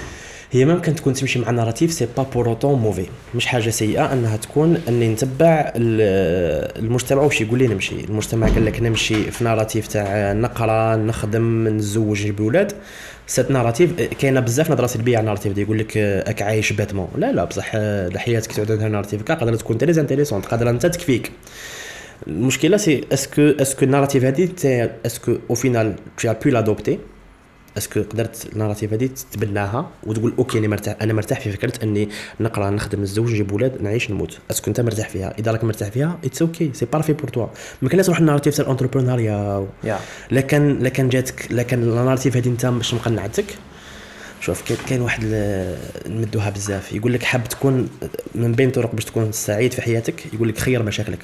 B: هي ممكن تكون تمشي مع ناراتيف سي با بور اوتون موفي، مش حاجه سيئه انها تكون اني نتبع المجتمع واش يقول لي نمشي. المجتمع قال لك نمشي في ناراتيف تاع نقرا نخدم نتزوج نجيب ولاد، سات ناراتيف كاينه بزاف نظره سلبيه على الناراتيف دي، يقول لك راك عايش باتمون. لا بصح حياتك تعود عندها ناراتيف قادره تكون تري انتريسونت، قادره انت تكفيك. المشكله سي اسكو الناراتيف هذه اسكو او فينال tu as pu l'adopter، اسكو قدرت الناراتيف هذه تتبناها وتقول اوكي انا مرتاح في فكره اني نقرا نخدم نتزوج نجيب ولاد نعيش نموت. اسكو انت مرتاح فيها؟ اذا راك مرتاح فيها اتس اوكي سي بارفي بور توا. ما كاينش تروح الناراتيف تاع الانتربرونيا لكن جاتك لكن الناراتيف هذه انت باش مقنعتك. شوف كاين واحد نمدوها بزاف يقول لك حاب تكون من بين طرق باش تكون سعيد في حياتك، يقول لك خير مشاكلك،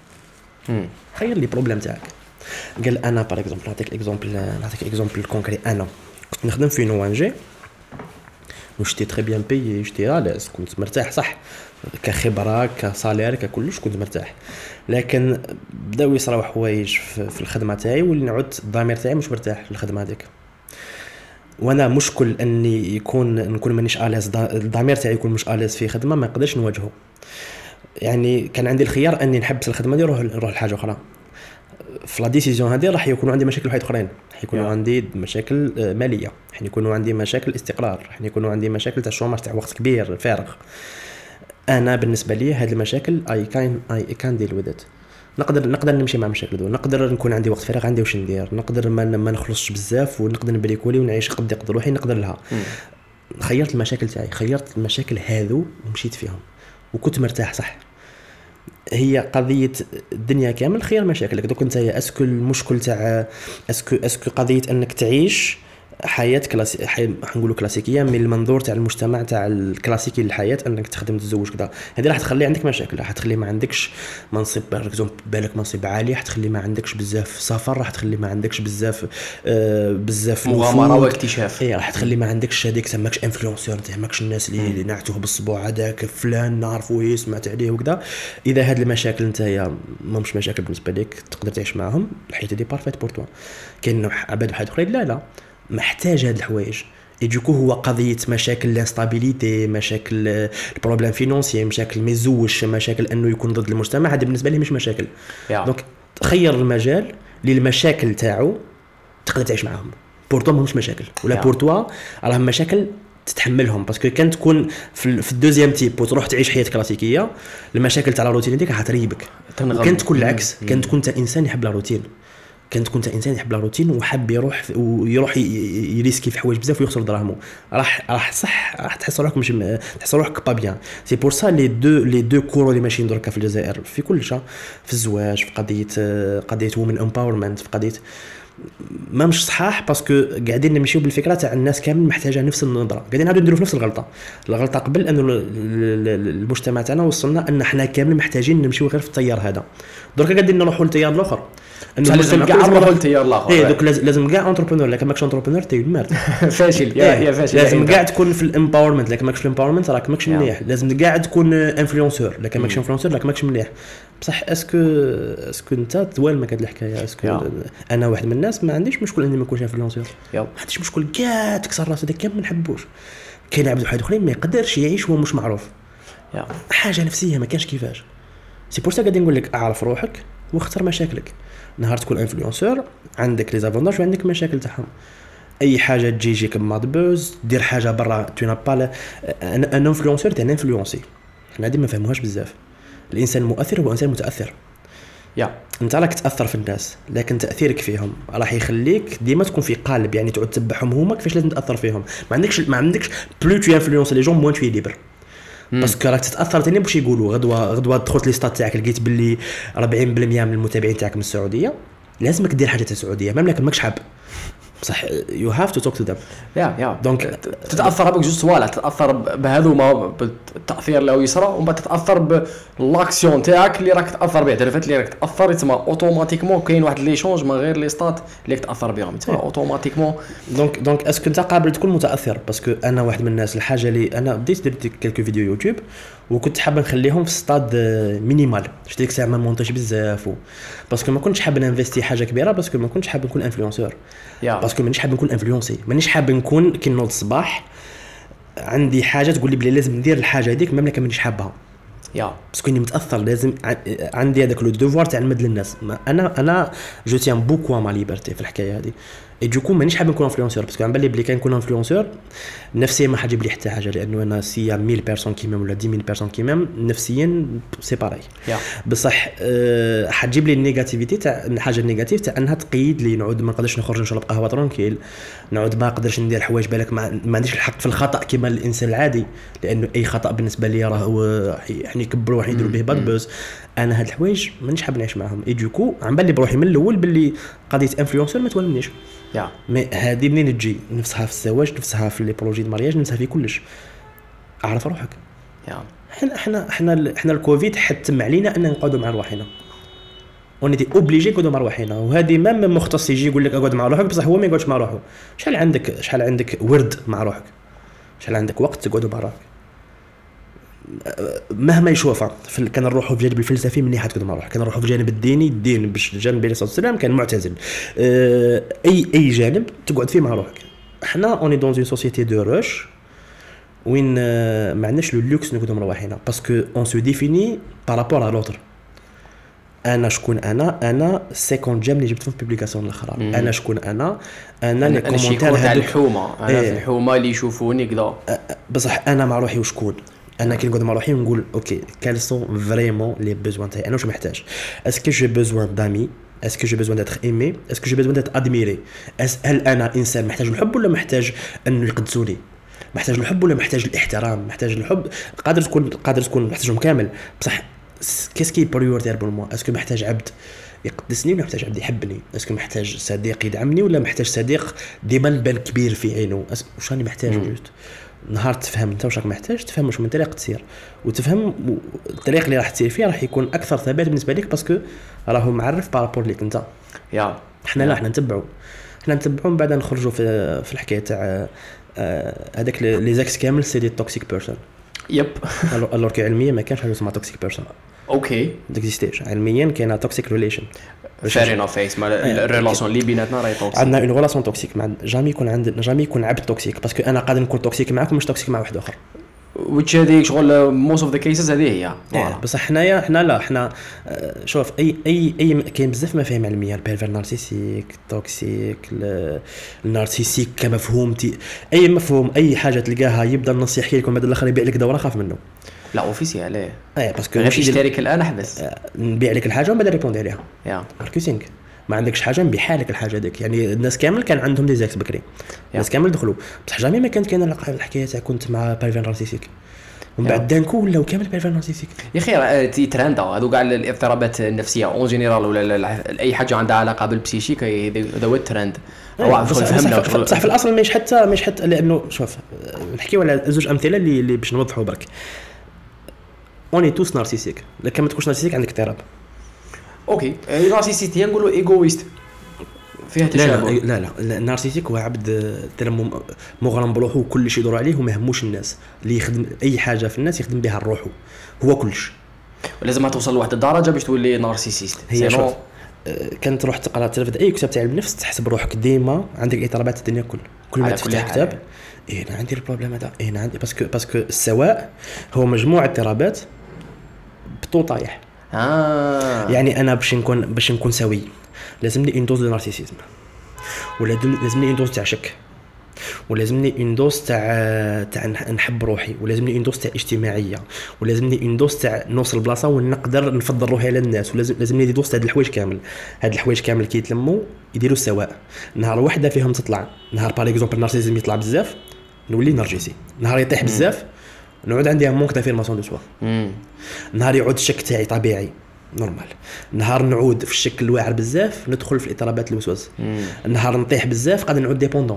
B: خير لي بروبليم تاعك. قال انا بار اكزومبل نعطيك اكزومبل كونكري. انا كنت نخدم في نوانجي وشتي تري بيان بيي، شتي علاش كنت مرتاح صح كخبره كصالير ككلش كنت مرتاح، لكن بداو يصراو حوايج في الخدمه تاعي واللي نعود الضمير تاعي مش مرتاح في الخدمه هذيك. وانا مشكل اني نكون مانيش اليز، الضمير تاعي يكون مش اليز في خدمه ما نقدرش نواجهه. يعني كان عندي الخيار اني نحبس الخدمه دي نروح لحاجه اخرى. في لا ديسيزيون هذه راح يكونوا عندي مشاكل واحد اخرين، حيكونوا عندي مشاكل ماليه، حيكونوا عندي مشاكل استقرار، حيكونوا عندي مشاكل تاع شوماج تاع وقت كبير فارغ. انا بالنسبه لي هذه المشاكل اي كان ديل وذ ات. نقدر نمشي مع مشاكل دو، نقدر نكون عندي وقت فراغ عندي واش ندير، نقدر ما نخلصش بزاف ونقدر نبريكولي ونعيش قد يقدر روحي نقدر لها. خيرت المشاكل تاعي، خيرت المشاكل هذو ومشيت فيهم وكنت مرتاح صح. هي قضيه الدنيا كامل خير مشاكلك. دوك انت اسكو المشكل تاع اسكو قضيه انك تعيش حياه نقولوا كلاسيكيه من المنظور تاع المجتمع تاع الكلاسيكي للحياه، انك تخدم تتزوج كذا، هذه راح تخلي عندك مشاكل، راح تخلي ما عندكش منصب بالك منصب عالي، راح تخلي ما عندكش بزاف سفر، راح تخلي ما عندكش بزاف
A: مغامره واكتشاف،
B: راح تخلي ما عندكش هذيك سماكش انفلونسور، تهمكش الناس اللي نعتوه بالصبوع هذاك فلان نعرفوه سمعت عليه وكذا. اذا هاد المشاكل نتايا مش مشاكل بالنسبه لك تقدر تعيش معاهم، الحياه دي بارفيت بور توا. كاين عباد واحد اخرين لا محتاج هاد الحوايج يجيكو هو قضيه مشاكل الانستابيليتي، مشاكل البروبليم فينانسيي، مشاكل ما يزوجش، مشاكل انه يكون ضد المجتمع، هذا بالنسبه لي مش مشاكل. دونك خير المجال للمشاكل تاعو تقدر تعيش معاهم، بورتو مش مشاكل ولا بورتوا راهم مشاكل تتحملهم. باسكو كان تكون في الدوزيام تيب وتروح تعيش حياه كلاسيكيه، المشاكل تاع الروتين ديك حتريبك. كان تكون العكس، كان تكون انت انسان يحب الروتين، كنت كنت انسان يحب الروتين وحب يروح يريسكي في حوايج بزاف ويخسر دراهمه، راح صح راح تحس روحك مش تحس روحك با بيان. سي بور سا لي دو كورو اللي ماشيين دركا في الجزائر في كل شيء، في الزواج، في قضيه وومن امباورمنت، في قضيه ما مش صحاح، باسكو قاعدين نمشيو بالفكره تاع الناس كامل محتاجه نفس النظره، قاعدين نعاودوا نديروا في نفس الغلطه قبل انه المجتمع تاعنا وصلنا ان احنا كامل محتاجين نمشيو غير في التيار هذا. درك قاعدين نروحوا للتيار الاخر،
A: انه لازم كاع نروحوا للتيار الاخر.
B: اي دوك لازم كاع انتربرونور، لكن ماكش انتربرونور تي مارد
A: فاشل يا فاشل.
B: لازم كاع تكون في الامباورمنت، لكن ماكش في الامباورمنت راك ماكش مليح. لازم كاع تكون انفلونسور، لكن ماكش انفلونسور راك ماكش مليح. بصح اسكو انت توال ما كاد الحكايه. اسكو انا واحد من الناس ما عنديش مشكل اني ما نكونش انفلونسور، ما عنديش مشكل كاع تكسر راسك هذاك كامل ما نحبوش. كاين عباد واحد اخرين ما يقدرش يعيش وهو مش معروف، حاجه نفسيه ما كانش كيفاش. سي بور سا قاعدين نقول لك اعرف روحك واختار مشاكلك. نهار تكون انفلونسور عندك لي زافونتاج وعندك مشاكل تاعهم. اي حاجه تجيك بماد بوز، دير حاجه برا تو نا با ان انفلونسور تاع انفلونسي. حنا ديما ما فهموهاش بزاف. الانسان المؤثر هو انسان متاثر. انت راك تاثر في الناس، لكن تاثيرك فيهم راح يخليك ديما تكون في قالب، يعني تعود تتبعهم هما كيفاش لازم تاثر فيهم. ما عندكش بلو تو انفلونس لي جون موان تو ليبر، باسكو راك تتاثر تاني باش يقولوا غدوه دخلت لي ستات تاعك لقيت باللي 40% من المتابعين تاعك من السعوديه، لازمك دير حاجه تاع السعوديه مام لكن ماكش حاب. صح يو هاف تو توك تو ذم.
A: دونك تتاثر بك جوج صوالح، تتاثر بهذوما بالتاثير اللي يصرى، ومن بعد تتاثر بالاكسيون تاعك اللي راك تاثر به. عرفت اللي راك تاثر تما اوتوماتيكمون كاين واحد لي شونج من غير لي ستات اللي تاثر بهم تما اوتوماتيكمون.
B: دونك اسكو انت قابل تكون متاثر؟ باسكو انا واحد من الناس الحاجه اللي انا بديت درت كلكو فيديو يوتيوب وكنت حاب نخليهم في ستاد مينيمال، شفت ديك الساعه ما مونتاج بزاف باسكو ما كنتش حاب نانفيستي حاجه كبيره، باسكو ما كنتش حاب نكون انفلونسور، باسكو مانيش حاب نكون انفلونسي، مانيش حاب نكون كي نوض الصباح عندي حاجه تقول لي بلي لازم ندير الحاجه هذيك ميم مانيش حابها
A: يا
B: باسكو اني متاثر لازم عندي هذاك لو دوفوار تاع نمد للناس. انا جو تيان بوكو ما ليبرتي في الحكايه هذه اي دوكو مانيش حاب نكون انفلونسور باسكو عم بالي بلي كان نكون انفلونسور نفسيا ما حاجيب لي حتى حاجه لانه انا سي 1000 بيرسون كي ميم ولا 10000 بيرسون كي ميم نفسيا سي باراي بصح حتجيب لي النيجاتيفيتي تاع الحاجه النيجاتيف تاع انها تقيد لي نعود ما نقدرش نخرج نشرب قهوه ترونكيل نعود ما نقدرش ندير حوايج بالك ما عنديش الحق في الخطا كما الانسان العادي لانه اي خطا بالنسبه لي راه يعني يكبروا واحد يديروا به باد بوز. انا هاد الحوايج مانيش حاب نعيش معاهم اي دوكو عم بالي بروحي من الاول باللي قضيه انفلونسور ما توالمنيش مي هذه منين تجي نفسها في الزواج نفسها في لي بروجي دو مارياج نفسها في كلش اعرف روحك احنا الكوفيد حتم علينا ان نقعدوا مع رواحنا ونتي اوبليجي نقعدوا مع رواحنا وهذه ما مختص يجي يقول لك اقعد مع روحك بصح هو ما يقعدش مع روحه. شحال عندك ورد مع روحك شحال عندك وقت تقعدوا مع روحك مهما يشوفها كان نروحوا في جانب الفلسفي من ناحيه تقعدوا مع روحك كان نروحوا في جانب الديني الدين باش جانب النبي صلى الله عليه وسلم كان معتزل اي جانب تقعد فيه مع روحك. احنا اوني دون اون سوسيتي دو روش وين ما عندناش لو لوكس نقعدوا مع رواحنا باسكو اون سو ديفيني بارابور ا لوتر. انا شكون انا سيكوند جيم اللي جبت في بوبليكاسيون الاخرى انا شكون انا لي كومونتير
A: هذو الحومه انا في الحومه اللي يشوفوني كذا
B: بصح انا مع روحي وشكون انا كي نقعد مع روحي ونقول اوكي كال سون فريمون لي بيزوان تاعي انا واش محتاج اسكو جي بيزوان دامي اسكو جي بيزوان داتر ايمي اسكو جي بيزوان داتر ادميري هل انا انسان محتاج الحب ولا محتاج انه يقدسوني محتاج الحب ولا محتاج الاحترام محتاج الحب قادر تكون محتاجهم كامل بصح كيسكي بريورتير بور موا اسكو محتاج عبد يقدسني ولا محتاج عبد يحبني اسكو محتاج صديق يدعمني ولا محتاج صديق ديما نبان كبير في عينه واش راني محتاج جوست نهار تفهم انت واش راك محتاج تفهم واش من طريقه تسير وتفهم الطريق اللي راح تسير فيه راح يكون اكثر ثبات بالنسبه لك باسكو راهو معرف بارابور ليك انت احنا لا احنا نتبعوا من بعد نخرجوا في الحكايه تاع هذاك لي زاكس كامل سي دي توكسيك بيرسون
A: يب
B: الور كي علميا ما كانش حاجه اسمها توكسيك بيرسون
A: اوكي
B: ديكزيستيش علميا كاينه توكسيك ريليشن
A: فارينا فيس مع الريلاسيون اللي بيناتنا راهي توكسيك
B: عندنا اون ريلاسيون توكسيك مع جامي يكون عبد توكسيك باسكو انا قادر نكون توكسيك معاك ومش توكسيك مع واحد اخر
A: which هذيك شغل موست اوف ذا كيسز هذه هي
B: بصح حنا شوف اي كاين بزاف مفاهيم علميه البيرفير نارسيسيك توكسيك النارسيسيك كمفهوم اي مفهوم اي حاجه تلقاها يبدا النص يحكي لكم بعد الاخر يبيع لك دوره خاف منه
A: لا اوفيسي عليه
B: باسكو
A: غير تشترك الان احبس
B: نبيع لك الحاجه ومن بعد ريبوندي عليها ماركتينغ ما عندكش حاجه نبيع لك الحاجه هذيك يعني الناس كامل كان عندهم دي زاكس بكري الناس كامل دخلوا بصح جامي ما كانت كاينه الحكايه تاع كنت مع بيرفير نارسيسيك ومن بعد دانكو ولاو كامل بيرفير نارسيسيك
A: يا اخي تي تراندا هذو كاع الاضطرابات النفسيه اون جينيرال ولا اي حاجه عندها علاقه بالبسيشيك هذا هو الترند
B: صح في الاصل مش حتى لانه شوف نحكيو على زوج امثله اللي باش نوضحوا برك اوني توس نارسيسيك لكن ما تكونش نارسيسيك عندك اضطراب
A: اوكي نارسيسيتي نقولوا ايغويست فيها تشابه
B: لا النارسيسيك هو عبد مغرم بروحه وكل شيء يدور عليه وما يهموش الناس اللي يخدم اي حاجه في الناس يخدم بها روحه هو كلش
A: ولازم توصل لواحد الدرجه باش تولي نارسيسيست
B: هي شوف كانت تروح تقرا تلفت اي كتاب تاع النفس تحسب روحك ديما عندك اضطرابات الدنيا كل ما تفتح كتاب انا عندي البروبليم هذا انا عندي باسكو السواء هو مجموعه اضطرابات بطو طايح يعني انا باش نكون سوي لازمني اون دوز دو نارسيسيزم ولا لازمني اون دوز تاع شك ولازمني اون دوز تاع نحب روحي ولازمني اون دوز تاع اجتماعيه ولازمني اون دوز تاع نوصل بلاصه ونقدر نفضل روحي على الناس ولازمني دي دوز تاع الحوايج كامل هاد الحوايج كامل كي يتلموا يديروا السواء نهار واحده فيهم تطلع نهار باغ اكزومبل النارسيسيزم يطلع بزاف نولي نرجسي نهار يطيح بزاف نعود عندي مونك دافيرماسيون دو سوا نهار يعود الشك تاعي طبيعي نورمال نهار نعود في الشكل الواعر بزاف ندخل في الاضطرابات الوسواس نهار نطيح بزاف قاعد نعود ديبوندون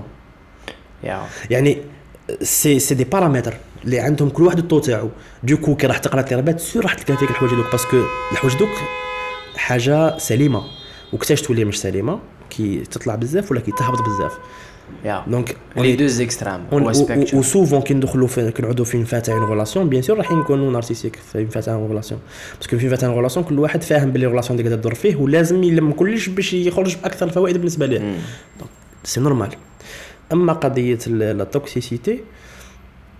B: يعني سي دي بارامتر اللي عندهم كل واحد الطو تاعو دوكو كي راح تقرا الاضطرابات سور راح تلقى فيك الحوايج دوك باسكو الحوايج دوك حاجه سليمه وكتاش تولي مش سليمه كي تطلع بزاف ولا كي تهبط بزاف
A: دونك لي دو زيكستريم
B: و سوفون كي ندخلوا في كنعودوا في نفاتع اون ريلاسيون بيان سور راح نكونوا نارسيسيك في نفاتع اون ريلاسيون باسكو في نفاتع اون ريلاسيون كل واحد فاهم بلي الريلاسيون ديك تدور فيه ولازم يلم كلش باش يخرج باكثر الفوائد بالنسبه ليه دونك سي نورمال. اما قضيه لا توكسيسيتي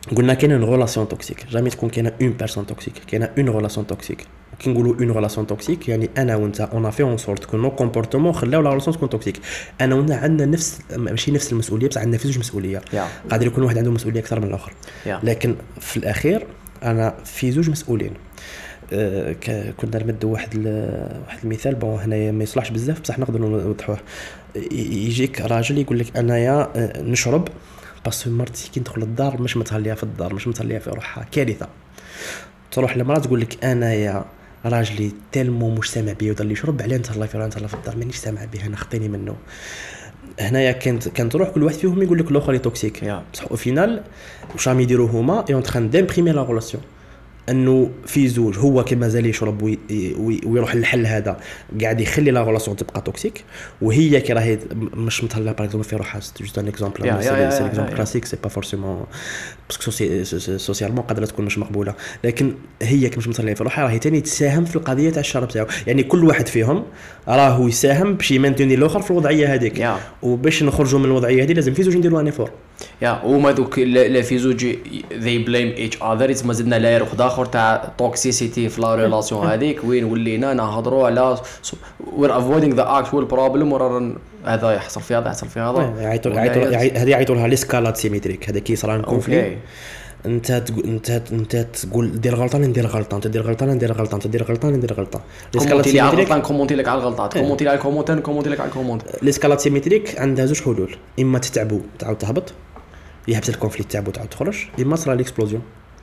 B: قلنا كاينه اون ريلاسيون توكسيك جامي تكون كاينه اون بيرسون توكسيك كاينه اون ريلاسيون توكسيك كي نقولوا اون ريلاسيون توكسيك يعني انا وانت اون في اون سورت كون نو كومبورتمون خلاو لا ريلاسيون تكون توكسيك انا وانت عندنا نفس ماشي نفس المسؤوليه بس عندنا في زوج مسؤوليه قادر يكون واحد عنده مسؤوليه اكثر من الاخر لكن في الاخير انا في زوج مسؤولين كنا نمدوا واحد المثال بون هنايا ما يصلحش بزاف بصح نقدر نوضحوه يجيك راجل يقول لك انايا نشرب بس مرتي كي ندخل الدار مش متهليه في الدار مش متهليه في روحها كارثه تروح لمرات تقول لك انايا راجلي تلمو مش سامع بيا وضل يشرب عليه نتهلا في الدار مانيش سامع به انا خطيني منه هنايا كانت تروح كل واحد فيهم يقول لك الاخر توكسيك بصح او فينال واش راهم يديروا هما اي اون تران ديمبريمي لا ريلاسيون انه في زوج هو كما زال يشرب ويروح للحل هذا قاعد يخلي لا ريلاسيون تبقى توكسيك وهي كي راهي مش متهلا باغ اكزومبل في روحها جوست ان اكزومبل سي اكزومبل كلاسيك سي با فورسيمون باسكو سوسيالمون قادره تكون مش مقبوله لكن هي كي مش متهلا في روحها راهي ثاني تساهم في القضيه تاع الشرب تاعو يعني كل واحد فيهم راهو يساهم باش يمنتوني الاخر في الوضعيه هذيك وباش نخرجوا من الوضعيه هذه لازم في زوج نديروا ان فور
A: وما دوك لا في زوج they blame each other ما زدنا لا واحد اخر تاع توكسيسيتي في لا ريلاسيون هذيك وين ولينا نهضروا على we're avoiding the actual problem ورا هذا يحصل في هذا يحصل في هذا
B: هذه يعيطوا لها ليسكالات سيميتريك هذا كي صرا الكونفلي انت تقول دير غلطه ندير غلطه انت دير غلطه ندير غلطه انت دير غلطه ندير غلطه
A: ليسكالات سيميتريك كومونتي لك على الغلطات كومونتي لك على الكومونت كومونتي لك على الكومونت
B: ليسكالات سيميتريك عندها زوج حلول اما تتعبوا تعاود تهبط يحبس الكونفليكت تاعو تعاود تخرج اما صرا ليكسبلوزيون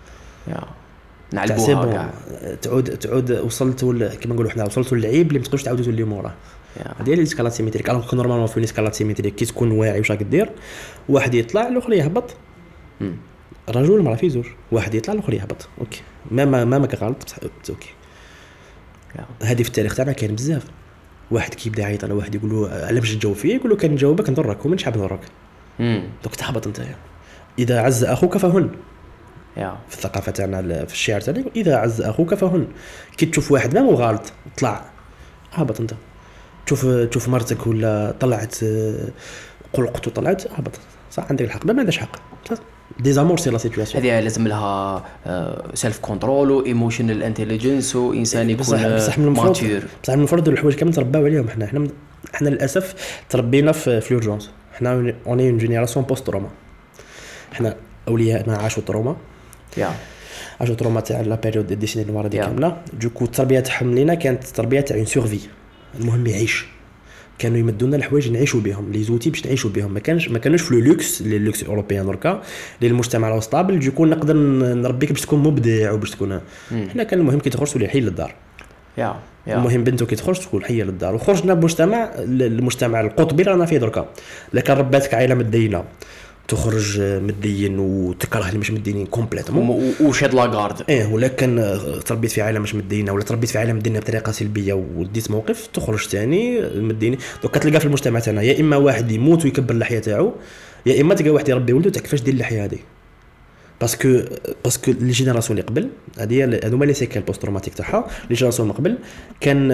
A: نعلبوها
B: تعود وصلت كما نقولوا حنا وصلتوا للعيب اللي ما تقدرش تعاودوا تولي موراه هذه هي ليسكالات سيميتريك الوغ كو نورمالمون في ليسكالات سيميتريك كي تكون واعي واش راك دير واحد يطلع الاخر يهبط رجل مرا في زوج واحد يطلع الاخر يهبط اوكي ما غلط بصح اوكي هذه في التاريخ تاعنا كاين بزاف واحد كيبدا يعيط على واحد يقول له علاش تجاوب فيه يقول له كان نجاوبك نضرك ومنش حاب نضرك دوك تهبط انت اذا عز اخوك فهن في الثقافه تاعنا في الشعر تاعنا اذا عز اخوك فهن كي تشوف واحد ما هو غلط طلع هبط انت تشوف مرتك ولا طلعت قلقت وطلعت هبط صح عندك الحق ما عندهاش حق ديزامور سي لا سيتوياسيون
A: هذه لازم لها سيلف كونترول وايموشنال انتليجنس وانسان يكون ماتور
B: بصح من المفروض الحوايج كامل ترباو عليهم احنا للاسف تربينا في لورجونس احنا اوني اون جينيراسيون بوست تروما احنا اولياءنا عاشوا تروما عاشوا تروما تاع لا بيريود دي ديسيني نوار دي كامله دوكو التربيه تاعهم لينا كانت تربيه تاع اون سورفي المهم يعيش كانوا يمدونا الحوايج نعيشوا بهم لي زوتي باش نعيشوا بهم ما كانوش في اللوكس اوروبيان دركا للمجتمع لو ستابل يكون نقدر نربيك باش تكون مبدع وباش تكون احنا كان المهم كي تخرج تولي حي للدار المهم بنتو كي تخرج تكون حيه للدار وخرجنا بمجتمع المجتمع القطبي رانا فيه دركا لكن رباتك عائله مدينه تخرج مدين وتكره اللي مش مدينين كومبليتوم
A: وشاد لاغارد
B: ولكن تربيت في عائله مش مدينه ولا تربيت في عائله مدينه بطريقه سلبيه وديت موقف تخرج ثاني مديني دوك كتلقى في المجتمع تاعنا يا اما واحد يموت ويكبر اللحيه تاعو يا اما تلقى واحد يربي ولده تاع كيفاش دير اللحيه هذه باسكو لي جينيراسيون اللي قبل هذوما لي سيكل بوست تروماتيك تاعها لي جينيراسيون قبل كان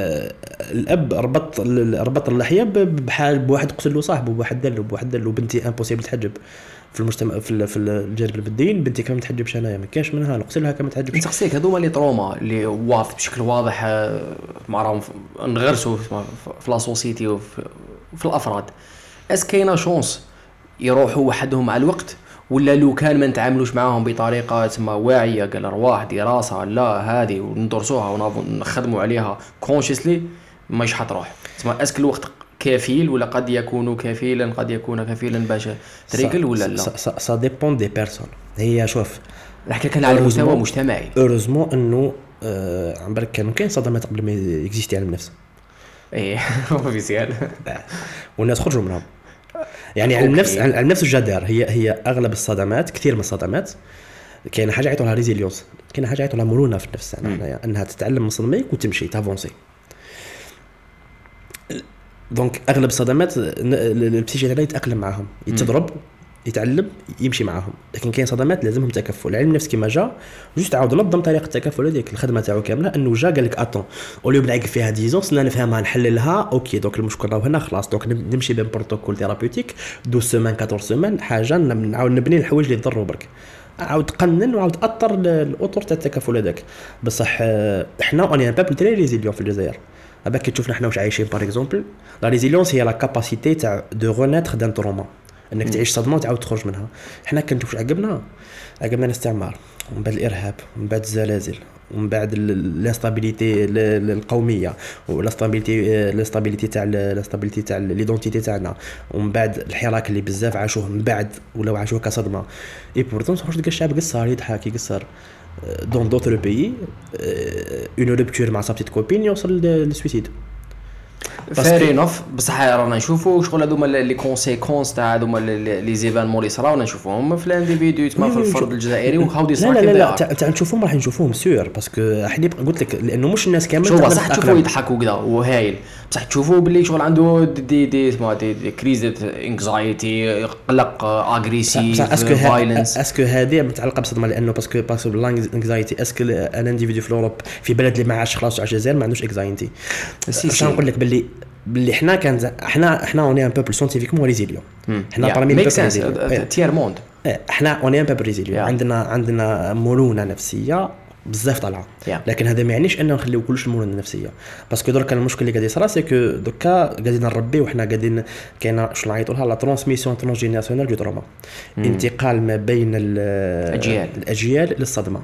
B: الاب ربط اللحيه بحال بواحد قتل له صاحبه بواحد دلو بنتي امبوسيبل تحجب في المجتمع في الجانب البدين بنتي كما تحجبش انايا ما كاش منها نغسلها كما تحجبش
A: نسقسيك هذوما لي تروما اللي واضح بشكل واضح معراهم نغرسوا في لا سوسيتي وفي الافراد كاينه شونس يروحوا وحدهم مع الوقت ولا لو كان ما نتعاملوش معاهم بطريقه تسمى واعيه قال ارواح دراسه لا هذه وندرسوها ونخدموا عليها كونشيسلي ماش حتروح تسمى اسك الوقت كفيل ولا قد يكون كفيلا قد يكون كفيلا باش تريكل ولا لا
B: سا ديبون دي بيرسون هي شوف
A: نحكي كان على مستوى مجتمعي
B: اوروزمون انه عم بالك كاين صدمات قبل ما اكزيستي علم النفس
A: اوفيسيال
B: والناس خرجوا منهم يعني على النفس الجدار هي اغلب الصدمات كثير من الصدمات كاين حاجه يعيطوا لها ريزيليونس كاين حاجه يعيطوا لها مرونه في النفس يعني انها تتعلم من صدمك وتمشي تافونسي دونك اغلب الصدمات البسيجي تاعنا يتاقلم معاهم يتضرب يتعلم يمشي معاهم لكن كاين صدمات لازمهم تكفل علم النفس كيما جا جوست عاود نظم طريقه التكفل هذيك الخدمه تاعو كامله انه جا قال لك اتون اوليو بنعيق فيها ديزونس لا نفهمها نحللها اوكي دوك المشكل راهو هنا خلاص دوك نمشي بين بروتوكول ثيرابيوتيك 12 سيمان 14 سيمان حاجه نعاود نبني الحوايج اللي يضروا برك عاود تقنن وعاود تاثر الاطر تاع التكافل هذاك. بصح احنا اوني ان بابل تري ريزيليون في الجزائر. هذاك كي تشوفنا حنا واش عايشين باغ اكزومبل، لا ريزيليونس هي لا كاباسيتي تاع دو رونيتر دان تروما، انك تعيش صدمه وتعاود تخرج منها. حنا كنشوف عقبنا الاستعمار، ومن بعد الارهاب، ومن بعد الزلازل، ومن بعد الانستابيليتي القوميه، والاستابيليتي تاع ليدونتيتي تاعنا، ومن بعد الحراك اللي بزاف عاشوه من بعد ولو عاشوه كصدمه. اي بورتون تخرج ديك الشعب قصار يضحك يقصر دون دوتر بيي اون روبتور مع صاحبتي كوبين يوصل للسويسيد.
A: فارينوف بصح رانا نشوفوا شغل هذوما لي كونسيكونس تاع هذوما لي زيفالمون اللي صراو نشوفوهم في الانديفيدو تما في الفرد الجزائري وهاو دي صراحه.
B: لا تاع نشوفوهم راح نشوفوهم سور باسكو احنا قلت لك لانه مش الناس كامل
A: شوف صح تشوفوا يضحكوا كذا وهايل، بصح تشوفوا باللي شغل عنده دي كريز انكزايتي قلق اغريسيف فايلنس.
B: اسكو هذه متعلقه بالصدمه لانه باسكو الانكزايتي اسكو ان انديفيدو في اوروب في بلد اللي ما عاش خلاص على الجزائر ما عندوش انكزايتي. باش نقول لك باللي احنا اوني ان بوبل ساينتيفيكمون ريزيليون. احنا بارمي
A: البوبل تير موند.
B: احنا اوني ان بوبل ريزيليون. عندنا مرونه نفسيه بزاف طالعه. لكن هذا ما يعنيش اننا نخليو كلش المرونه النفسيه، باسكو درك المشكل اللي قاعد يصرا سي كو دوكا قاعدين نربي وحنا قاعدين كاينه شنو نعيطوا لها لا ترانسميسيون ترانسجينيراسيونال دو تروما، انتقال ما بين الاجيال للصدمه.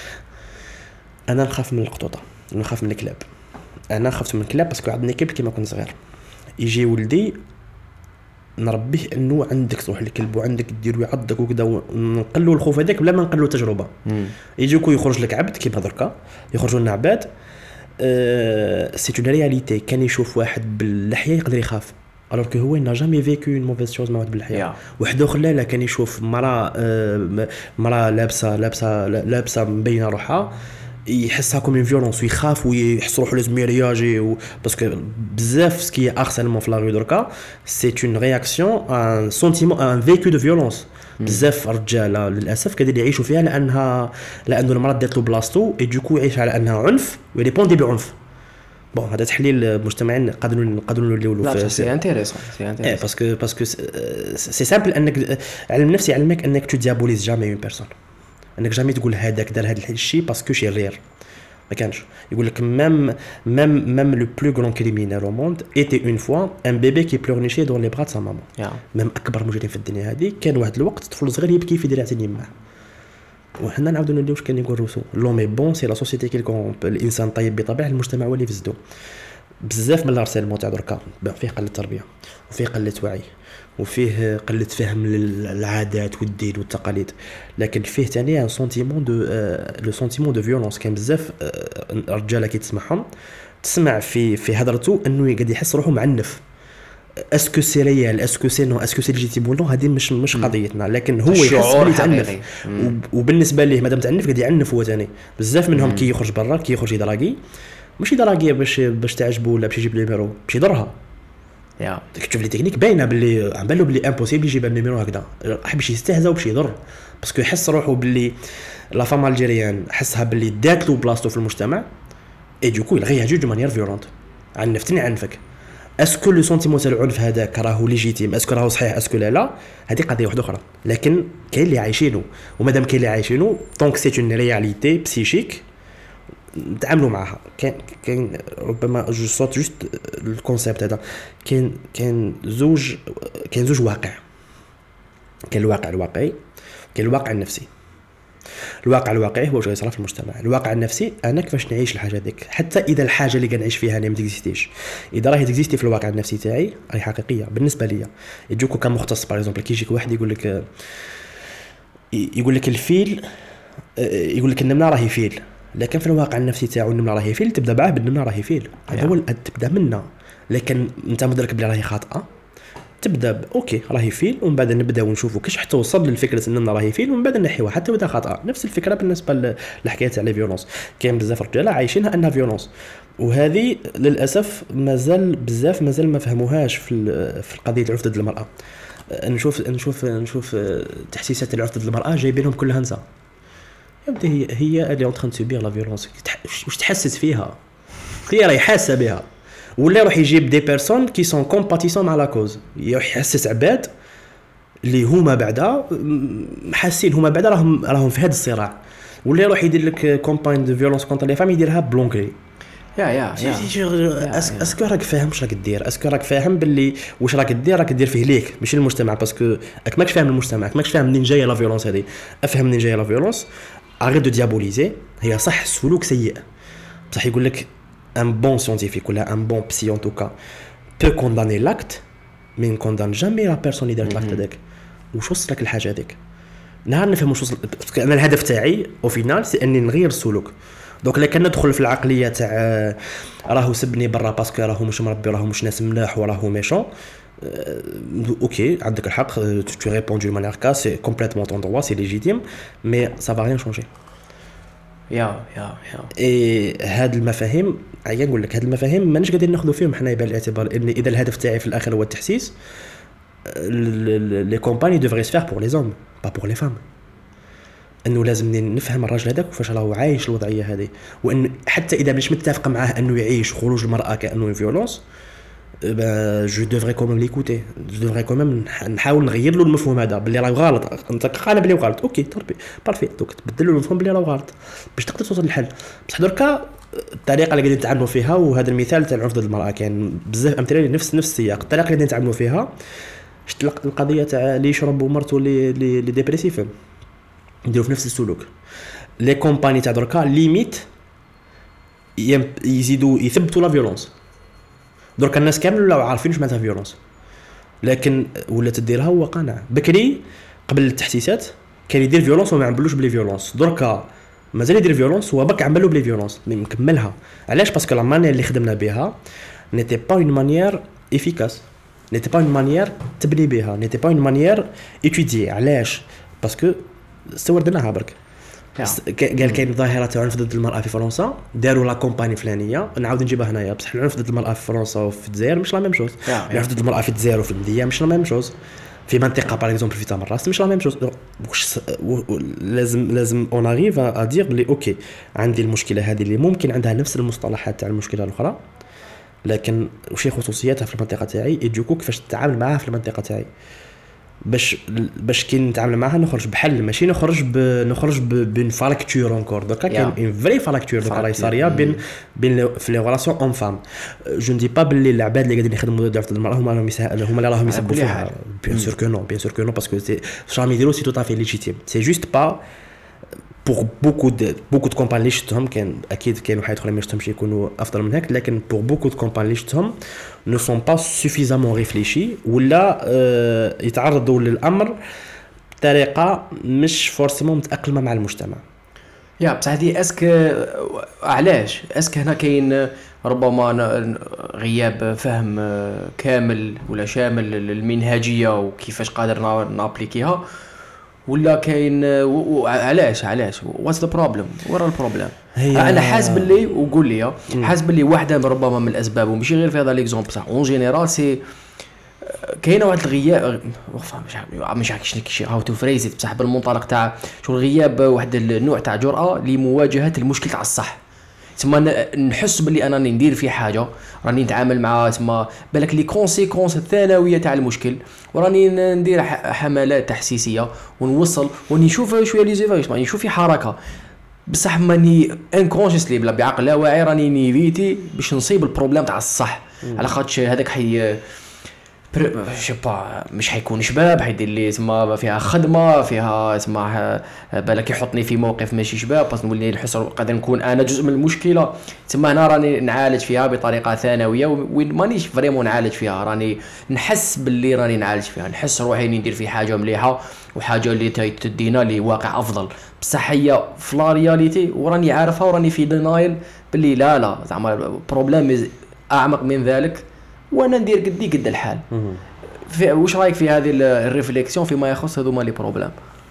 B: انا نخاف من القطوطه، نخاف من الكلاب. انا خفت من الكلاب باسكو عندنا كلب كيما كنت صغير، يجي ولدي نربيه انه عندك تروح للكلب وعندك ديرو يعضك وكذا، ونقلوا الخوف هذاك بلا ما نقلوا تجربه. يجيكو يخرج لك عبد كيما دركا يخرجوا لنا عباد. سي اون رياليتي. كان يشوف واحد باللحيه يقدر يخاف alors que هو n'a jamais vécu une mauvaise chose مع واحد بالحياه. واحد اخر لا كان يشوف مرا لابسه مبينه روحها يحسها كوم اون فيولونس ويخاف ويحس روحو لازم يرياجي باسكو بزاف سكي هارسيلمون في لا ريو دركا سي اون رياكسيون ان سونتيمون ان فيكو دو فيولونس. بزاف رجاله للاسف قاعدين يعيشوا فيها لانه المراه دات له بلاصتو اي دوكو يعيش على انها عنف ويريبوندي بعنف. بون هذا تحليل مجتمعين نقدروا نوليو
A: في سي انتريسون
B: باسكو سي سامبل انك علم نفسي يعلمك انك تو ديابوليز جامي اون بيرسون، انك جامي تقول هذاك دار هذا الشيء باسكو شرير. ما كانش يقول لك ميم لو بلو غران كريمينال او موند ايتي اون فوا ان بيبي كي بلورنيشي دون لي برا سا ماما. ميم اكبر مجرم في الدنيا هذه كان واحد الوقت طفل صغير يبكي في دراعه يمه. وحنا نعاودوا نوليو واش كان يقول روسو لوم اي بون سي لا سوسيتي كي كون الانسان طيب بطبيعه المجتمع هو اللي يفسدو. بزاف من الارسلمون تاع دركا فيه قله تربيه وفيه قله وعي وفيه قله فهم للعادات والدين والتقاليد، لكن فيه ثاني ان سونتيمون دو لو سونتيمون دو فيولونس. كان بزاف رجاله كي تسمع في هضرته انه قاعد يحس روحه معنف. اسكو سي ريال اسكو سي نو اسكو سي ليجيتيم ولا هذه مش قضيتنا، لكن هو يحس بلي تعنف. وبالنسبه ليه مادام تعنف قاعد يعنف هو ثاني. بزاف منهم كي يخرج برا كي يخرج يدراغي ماشي دراغيه باش تعجبه ولا باش يجيب لي نيميرو باش يضرها. تشوف لي تكنيك باينه باللي عم بالو باللي امبوسيبل يجيب النيميرو هكذا باش يستهزا وباش يضر باسكو يحس روحه باللي لا فام الجيريان حسها باللي دات له بلاصتو في المجتمع اي دوكو يلغيها دو مانيير فيولونت. عنفتني عنفك. اسكو لو سونتيمون تاع العنف هذاك راهو ليجيتيم اسكو راهو صحيح اسكو لا هذه قضيه واحده اخرى، لكن كاين اللي عايشينه ومادام كاين اللي عايشينه دونك سي اون رياليتي بسيشيك نتعاملوا معها. كاين ربما جو صوت جوست الكونسيبت هذا كاين زوج واقع. كاين الواقع الواقعي كاين الواقع النفسي. الواقع الواقعي هو واش يصرا في المجتمع. الواقع النفسي انا كيفاش نعيش الحاجه هذيك حتى اذا الحاجه اللي كنعيش فيها انا ما تكزيستيش، اذا راهي تكزيستي في الواقع النفسي تاعي راهي حقيقيه بالنسبه ليا. يجوكو كمختص باغ اكزومبل كي يجيك واحد يقول لك الفيل يقول لك النمله راهي فيل، لكن في الواقع النفسي تاعو النمله راهي فيل تبدا معاه بالنمله راهي فيل. هذا هو تبدا منه، لكن انت مدرك بلي راهي خاطئه تبدا اوكي راهي فيل ومن بعد نبداو نشوفوا كيش حتى وصل للفكره اننا راهي فيل ومن بعد نحيوها حتى اذا خاطئه. نفس الفكره بالنسبه للحكايه تاع لي فيولونس. كاين بزاف رجاله عايشينها انها فيولونس، وهذه للاسف مازال ما فهموهاش في القضيه العنف ضد المراه. نشوف تحسيسات العنف ضد المراه جايبينهم كلها نساء. يبدا هي اللي اون تران سوبير لا فيولونس. واش تحسس فيها؟ هي راهي حاسه بها. ولا يروح يجيب دي بيرسون كي سون كومباتيسون مع لا كوز، يحسس عباد اللي هما بعدا حاسين هما بعدا راهم في هذا الصراع، ولا يروح يدير لك كومباين دو فيولونس كونتر لي فام يديرها بلونكري.
A: يا
B: اسكو راك فاهم واش راك دير؟ اسكو راك فاهم باللي واش راك دير فيه ليك ماشي المجتمع؟ باسكو راك ماكش فاهم المجتمع، ماكش فاهم منين جايه لا فيولونس هذه. افهم منين جايه لا فيولونس، اريت دو ديابوليزي. هي صح السلوك سيء، بصح يقول لك ان بون سيانتيفيك ولا ان بون بسي ان توكا بو كونداني لاكت مي نكوندان جامي لا بيرسون اللي دارت لاكت هذاك. واش وصلك الحاجه هذيك؟ نهار نفهم واش وصل. انا الهدف تاعي او فينال سي اني نغير السلوك. دونك الا كان ندخل في العقليه تاع راهو سبني برا باسكو راهو مش مربي، راهو مش ناس ملاح وراهو ميشون، اوكي عندك الحق، tu réponds d'une manière cas, c'est complètement ton droit, c'est légitime, mais ça va rien changer.
A: يا
B: هاد المفاهيم عيان نقول لك، هاد المفاهيم مانيش قادرين ناخذوا فيهم حنا بعين الاعتبار ان اذا الهدف تاعي في الاخر هو التحسيس، لي كومباني دوفري سفير بور لي زوم با بور لي فام. انه لازم نفهم الراجل هذاك وفاش راهو عايش الوضعيه هذه، وان حتى اذا مش متفق معاه انه يعيش خروج المراه كانه فيولونس، جو دوفري كوميم ليكوتي، جو دوفري كوميم نحاول نغير له المفهوم هذا باللي راه غلط. انت قانا بلي غلط، اوكي تربي بارفي، دونك تبدل له المفهوم باللي راه غلط باش تقدر توصل للحل. بصح دركا الطريقه اللي قاعدين نتعاملوا فيها، وهذا المثال تاع العنف ضد المراه كاين بزاف امثله نفس السياق، الطريقه اللي قاعدين نتعاملوا فيها. شفت القضيه تاع اللي يشرب ومرته اللي ديبريسيف نديروا في نفس السلوك. لي كومباني تاع دركا ليميت يزيدوا يثبتوا لا فيولونس. دركا الناس كامل ولاو عارفين واش معناتها فيولونس، لكن ولا تديرها هو قانع. بكري قبل التحسيسات كان يدير فيولونس وما عملوش بلي فيولونس، دركا مازال يدير فيولونس هو بك عملوا بلي فيولونس مكملها. علاش؟ باسكو لا مانيير اللي خدمنا بها نيتي با اون مانيير افيكاس، نيتي با اون مانيير تبني بها، نيتي با اون مانيير ايتودي. علاش؟ باسكو استوردناها برك. قال كاين ظاهره تاع العنف ضد المراه في فرنسا، داروا لا كومباني فلانيه، نعاود نجيبها هنايا. بصح العنف ضد المراه في فرنسا وفي الجزائر مش لا ميم شوز، العنف ضد المراه في الجزائر وفي المديه مش لا ميم شوز، في منطقه باغ اكزومبل في تمراس مش لا ميم شوز. لازم اون اريف ا دير بلي اوكي عندي المشكله هذه اللي ممكن عندها نفس المصطلحات تاع المشكله الاخرى، لكن وش خصوصياتها في المنطقه تاعي، يديكو كيفاش تتعامل معها في المنطقه تاعي، باش كي نتعامل معها نخرج بحل، ماشي نخرج بين فراكتور انكور. دوكا كاين اون فري فراكتور دوكا راهي صاريه بين في لي ريلاسيون اون فام. جو ندي با بلي العباد اللي قاعدين يخدموا ضد المراه هما اللي راهم يسبوا فيها. بيان سور كو نو باسكو سي شام يديروا سي تو طافي ليجيتيم، سي جوست با pour beaucoup de compagnies اللي شفتهم. كان اكيد كاين واحد اخرين ما شفتهمش يكونوا افضل من هيك، لكن pour beaucoup de compagnies اللي شفتهم ne sont pas suffisamment réfléchis ولا يتعرضوا للامر بطريقه مش فورسيمون متاقلمه مع المجتمع.
A: يا بصح هذه علاش هنا كاين ربما غياب فهم كامل ولا شامل للمنهجيه وكيفاش قادر نابليكيها، ولا كاين علاش واتس ذا بروبليم؟ ورا البروبليم انا حاسب اللي وقول لي حاسب اللي واحده ربما من الاسباب، وماشي غير في هذا ليكزومبل بصح اون جينيرال سي كاينه واحد الغياب. مش عارف شنو هاو تو فريزيت بصح بالمنطلق تاع شغل غياب واحد النوع تاع جرأه لمواجهه المشكل تاع الصح. تسمى نحس باللي انا ندير في حاجه، راني نتعامل مع تسمى بالك لي كونسيكونس الثانويه تاع المشكل، وراني ندير حملات تحسيسيه ونوصل ونشوف شويه لي زيفايس، نشوف في حركه بصح ماني انكونشسلي بلا بعقل لا واعي راني نيفيتي باش نصيب البروبليم تاع الصح. على خاطش هذاك حي شبا مش حيكون شباب، حيدير لي تما فيها خدمه فيها تما بالك يحطني في موقف ماشي شباب، بس نولي نحس قادر نكون انا جزء من المشكله. تما هنا راني نعالج فيها بطريقه ثانويه وين مانيش فريمون نعالج فيها، راني نحس باللي راني نعالج فيها، نحس روحي ندير في حاجه مليحه وحاجه اللي تدينا لواقع افضل. بصح هي في لا رياليتي وراني عارفها وراني في دينايل باللي لا زعما بروبليم اعمق من ذلك، وانا ندير قد الحال. واش رايك في هذه الريفليكسيون فيما يخص هذوما لي بروبليم؟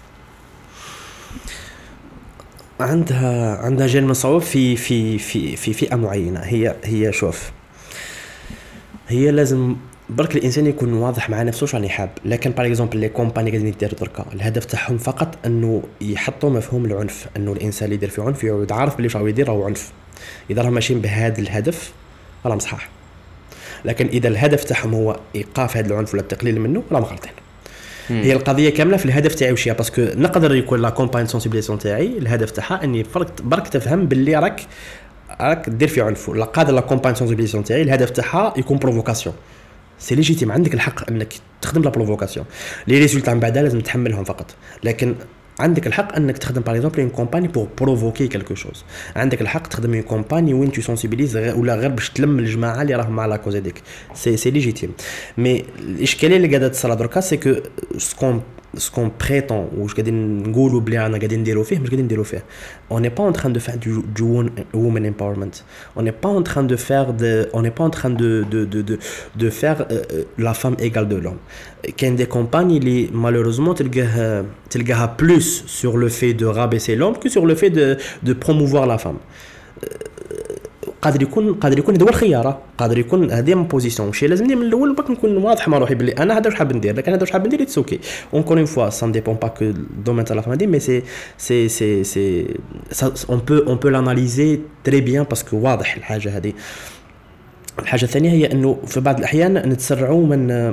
B: عندها جانب صعوب في فئه معينه. هي شوف، هي لازم برك الانسان يكون واضح مع نفسه واش راني حاب. لكن باغ اكزومبل لي كومباني قاعدين يديروا دركا الهدف تاعهم فقط انه يحطوا مفهوم العنف، انه الانسان اللي يدير في عنف يعود عارف بلي واش راهو يدير راهو عنف. اذا راهم ماشيين بهذا الهدف راهم صحاح، لكن اذا الهدف تاعهم هو ايقاف هذا العنف ولا التقليل منه راهم غلطين. هي القضيه كامله في الهدف تاعي وشيا باسكو نقدر يكون لا كومباين سونسيبيليزاسيون تاعي الهدف تاعها اني برك تفهم باللي راك دير في عنف. لا قادر لا كومباين سونسيبيليزاسيون تاعي الهدف تاعها يكون بروفوكاسيون سي ليجيتيم عندك الحق انك تخدم لا بروفوكاسيون لي ريزولتا من بعدها لازم تحملهم فقط لكن عندك الحق انك تخدم باغ اكزومبل اون كومباني بور بروفوكي كالكو شوز عندك الحق تخدم اون كومباني وين تو سونسيبيليز ولا غير باش تلم الجماعه اللي راهم مع لا كوز هذيك سي ليجيتيم مي الاشكاليه اللي قاعده تصرا دركا سي كو سكون بريتون واش قاعدين نقولوا بلي انا قاعدين نديروا فيه مش قاعدين نديروا فيه on n'est pas en train de faire du woman empowerment on n'est pas en train de faire on n'est pas en train de faire la femme égale de l'homme كاين des compagnies اللي malheureusement تلقاها plus sur le fait de rabaisser l'homme que sur le fait de promouvoir la femme قادر يكون هذا هو الخيار قادر يكون هذه من بوزيسيون شي لازمني من الاول باك نكون واضح مع روحي بلي انا هذا واش حاب ندير لكن هذا واش حاب ندير اتس اوكي اونكور اون فوا سان ديبون با كو دومين تاع لا فامي مي سي اون بو لاناليزي تري بيان باسكو واضح الحاجه هذه. الحاجه الثانيه هي انه في بعض الاحيان نتسرعوا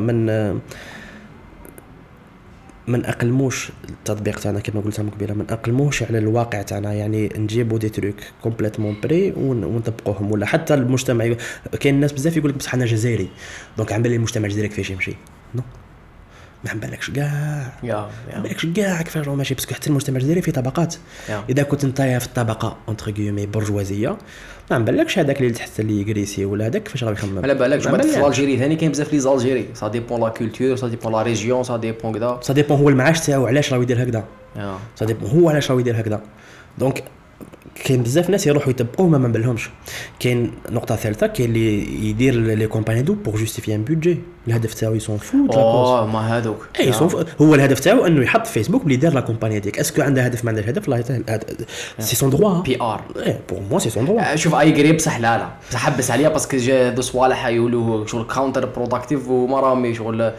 B: من اقلموش التطبيق تاعنا كما قلت لكم قبيله من اقلموش على الواقع تاعنا يعني نجيبوا دي تروك كومبليتمون بري ونطبقوهم ولا حتى المجتمع كاين الناس بزاف يقول لك بصح انا جزائري دونك عم بالي المجتمع الجزائري كيفاش يمشي نو ما بالكش كاع ما بالكش كاع كيفاش راه ماشي باسكو حتى المجتمع الجزائري فيه طبقات اذا كنت انت في الطبقه اونتر غيومي برجوازيه ما بالكش هذاك اللي تحت اللي يغريسي ولا هذاك كيفاش راه يخمم
A: على بالك جماعه في الجيري ثاني كاين بزاف لي زالجيري سا ديبون لا كولتور سا ديبون لا ريجيون سا ديبون كذا
B: سا ديبون هو المعاش تاعو علاش راه يدير هكذا سا ديبون هو علاش راه يدير هكذا دونك كاين بزاف ناس يروحوا يتبقوا ما بالهمش. كاين نقطه ثالثه كاين اللي يدير لي كومباني دو بور جوستيفي ان بودجي الهدف تاعو يسون فوت
A: ما هذوك
B: هو الهدف تاعو انه يحط في فيسبوك بلي دار لا كومباني هذيك اسكو عنده هدف ما عندهش هدف لا سي سون دروا
A: بي ار
B: بور مو سي سون دروا
A: شوف اي قريب بصح لا بصح حبس عليها باسكو دو صوالح يقولوا شغل كاونتر بروداكتيف وما راهم شغل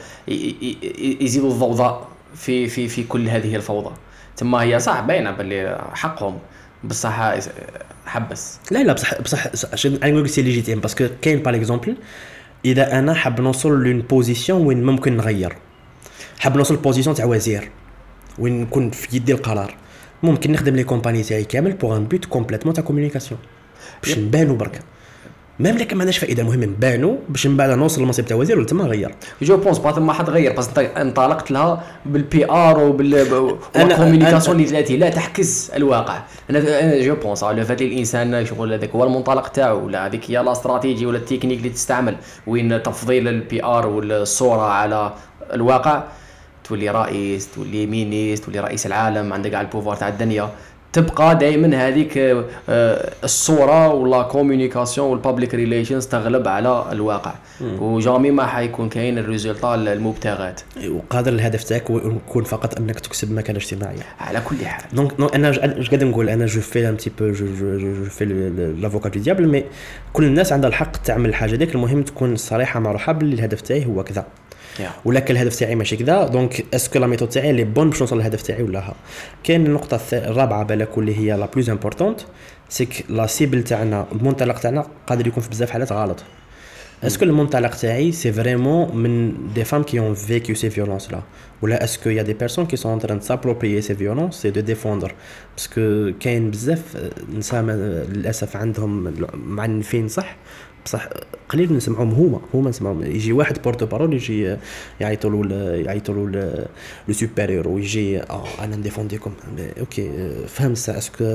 A: يزيدوا الضوضاء في كل هذه الفوضى تما هي صح باينه باللي حقهم بصح حبس
B: لا بصح عشان نقول سي ليجيتيم باسكو كاين باغ اكزومبل اذا انا حاب نوصل لون بوزيسيون وين ممكن نغير حاب نوصل بوزيسيون تاع وزير وين نكون في يدي القرار ممكن نخدم لي كومباني تاعي كامل بوغ ان بوت كومبليتمون تاع كومونيكاسيون باش نبانو برك ميم لكن ما عندناش فائده المهم نبانو باش من بعد نوصل للمنصب تاع وزير ولا تما غير
A: جو بونس با ما حد غير بس انت انطلقت لها بالبي ار والكومونيكاسيون اللي ثلاثي لا تحكس الواقع. انا جو بونس على فات الانسان شغل هذاك هو المنطلق تاعو ولا هذيك هي لا استراتيجي ولا التكنيك اللي تستعمل وين تفضيل البي ار والصوره على الواقع تولي رئيس تولي مينيست تولي رئيس العالم عندك على البوفوار تاع الدنيا تبقى دائما هذيك الصوره ولا كومونيكاسيون والبابليك ريليشنز تغلب على الواقع وجامي ما حيكون كاين الريزولطا المبتغات
B: وقادر الهدف تاعك يكون فقط انك تكسب مكانه اجتماعيه
A: على كل حال.
B: دونك انا اش قاعد نقول انا جو في ان تي بو جو في لافوكا دو ديابل مي كل الناس عندها الحق تعمل الحاجه ديك المهم تكون صريحه مع روحها باللي الهدف تاعي هو كذا ولكن الهدف تاعي ماشي كذا دونك اسكو لا ميثود تاعي لي بون باش نوصل للهدف تاعي ولا ها. كاين النقطه الرابعه بالك واللي هي لا بلوز امبورطونت سيك لا سيبل تاعنا المنطلق تاعنا قادر يكون في بزاف حالات غلط. اسكو المنطلق تاعي سي فريمون من دي فام كي اون فيكيو سي فيولونس لا ولا اسكو يا دي بيرسون كي سون تران سابروبريي سي فيولونس سي دو ديفوندر باسكو كاين بزاف نساء للاسف عندهم معنفين صح بصح قليل نسمعهم هما نسمعهم يجي واحد بورتو بارول يجي يعيطوا له لو سوبيريور ويجي انا نديفونديكم اوكي فهم سا اسكو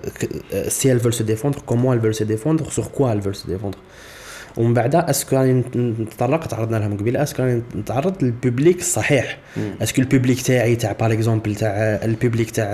B: سي ال فول سو ديفوندر كومون ال فول سو ديفوندر سور كوا ال فول سو ديفوندر ومن بعد اسكو نتطرق تعرضنا لهم قبيله اسكو نتعرض للبوبليك الصحيح اسكو البوبليك تاعي تاع باغ اكزومبل تاع البوبليك تاع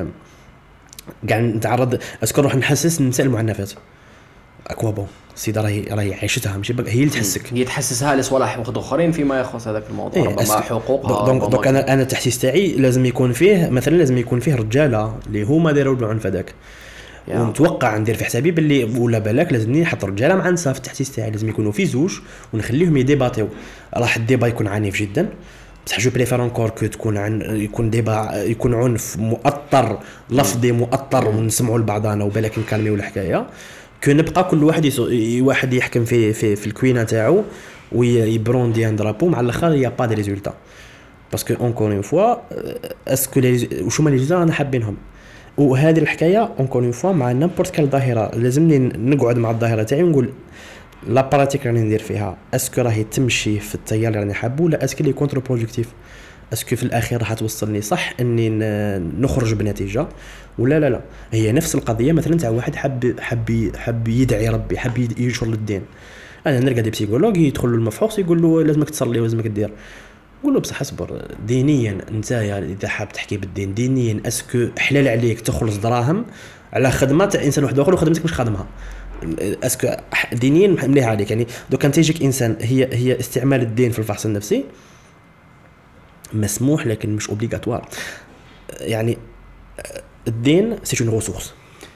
B: كاع نتعرض اسكو نروح نحسس النساء المعنفات اكوا بون سيده راهي عايشتها ماشي هي اللي تحسك
A: هي تحسسها لصوالح اخرين فيما يخص هذاك الموضوع ربما حقوقها
B: دونك انا التحسيس تاعي لازم يكون فيه مثلا لازم يكون فيه رجاله اللي هما داروا العنف هذاك ونتوقع ندير في حسابي باللي ولا بالك لازمني نحط رجاله مع نساء في التحسيس تاعي لازم يكونوا في زوج ونخليهم يديباتيو راح الديبا يكون عنيف جدا بصح جو بريفير انكور كو يكون ديبا يكون عنف مؤطر لفظي مؤطر ونسمعوا لبعضنا وبالك نكالميو الحكايه كو نبقى كل واحد يحكم في الكوينه تاعو ويبروندي ان درابو مع الاخر يا با دي ريزولتا باسكو اونكور اون فوا اسكو واش هما لي جزء انا حابينهم. وهذه الحكايه اونكور اون فوا مع نيمبورت كال ظاهره لازمني نقعد مع الظاهره تاعي ونقول لا براتيك راني ندير فيها اسكو راهي تمشي في التيار اللي راني حابه ولا اسكو لي كونتر بروجيكتيف، اسكو في الاخير راح توصلني صح اني نخرج بنتيجه ولا لا. هي نفس القضيه مثلا تاع واحد حب يدعي ربي، حب ينشر للدين. انا نلقى دي بسيكولوج يدخل له المفحوص يقول له لازمك تصلي ولازمك دير، نقول له بصح اصبر دينيا انت اذا حاب تحكي بالدين دينيا اسكو حلال عليك تخلص دراهم على خدمه تاع انسان واحد اخر وخدمتك مش خادمها؟ اسكو دينيا مليح عليك؟ يعني دو كان تيجيك انسان هي استعمال الدين في الفحص النفسي مسموح لكن مش اوبليغاتوار. يعني الدين سي اون ريسورس،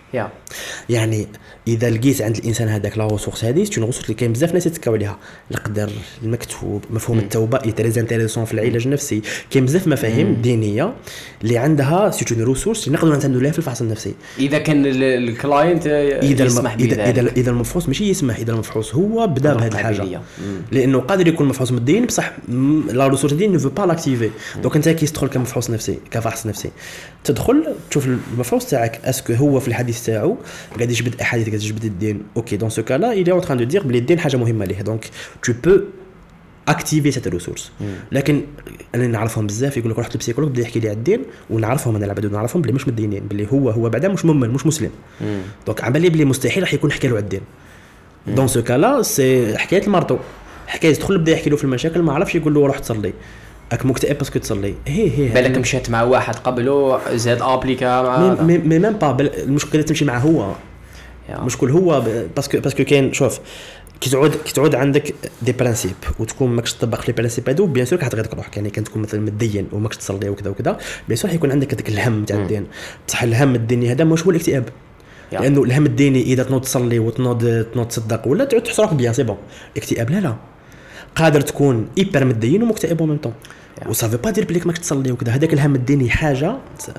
B: يعني اذا لقيت عند الانسان هذاك لا ريسورس هذه سي اون ريسورس اللي كاين بزاف ناس يتكاو عليها، القدر، المكتوب، مفهوم التوبه تريز انتريسون في العلاج النفسي. كاين بزاف مفاهيم دينيه اللي عندها سي اون ريسورس اللي نقدروا نعتمدوا عليها في الفحص النفسي
A: اذا كان الكلاينت يسمح بذلك.
B: اذا المفحوص ماشي يسمح، اذا المفحوص هو بدا بهذه الحاجه لانه قادر يكون مفحوص مدين بصح لا ريسورس دي نو با لاكتيفي. دونك انت كي تدخل كمفحوص نفسي كفحص نفسي تدخل تشوف المفحوص تاعك اسكو هو في الحديث تاعو قاعد يجبد احاديث، قاعد يجبد الدين. اوكي دون سو كالا il est en train de dire بلي الدين حاجه مهمه ليه، دونك tu peux activer cette ressource. لكن انا نعرفهم بزاف يقول لك رحت للبسيكولوج بدا يحكي لي على الدين ونعرفهم انا العباد نعرفهم بلي مش مدينين، بلي هو بعدا مش مؤمن مش مسلم. دونك عمل لي بلي مستحيل راح يكون حكى له على الدين. دون سو كالا سي حكايه المرض، حكايه تدخل بدا يحكي له في المشاكل ما عرفش يقول له روح تصلي اك مكتئب باسكو تصلي. هي
A: بالك مشات مع واحد قبله زاد ابليكا مع
B: ميم با المشكله تمشي مع هو مشكل هو باسكو كاين شوف كي تعود عندك دي برانسيب وتكون ماكش تطبق لي برانسيب هادو بيان سور حتغير روحك. يعني كان تكون مثلا مدين وماكش تصلي وكذا وكذا بيان سور حيكون عندك هذاك الهم تاع الدين. بصح الهم الديني هذا مش هو الاكتئاب، لانه الهم الديني اذا تنوض تصلي وتنوض تصدق ولا تعود تحس روحك بيان سي بون. اكتئاب لا قادر تكون ايبر مدين ومكتئب ومن طون وصافي با دير بليك ماكش تصلي وكذا. هذاك الهم الديني حاجه،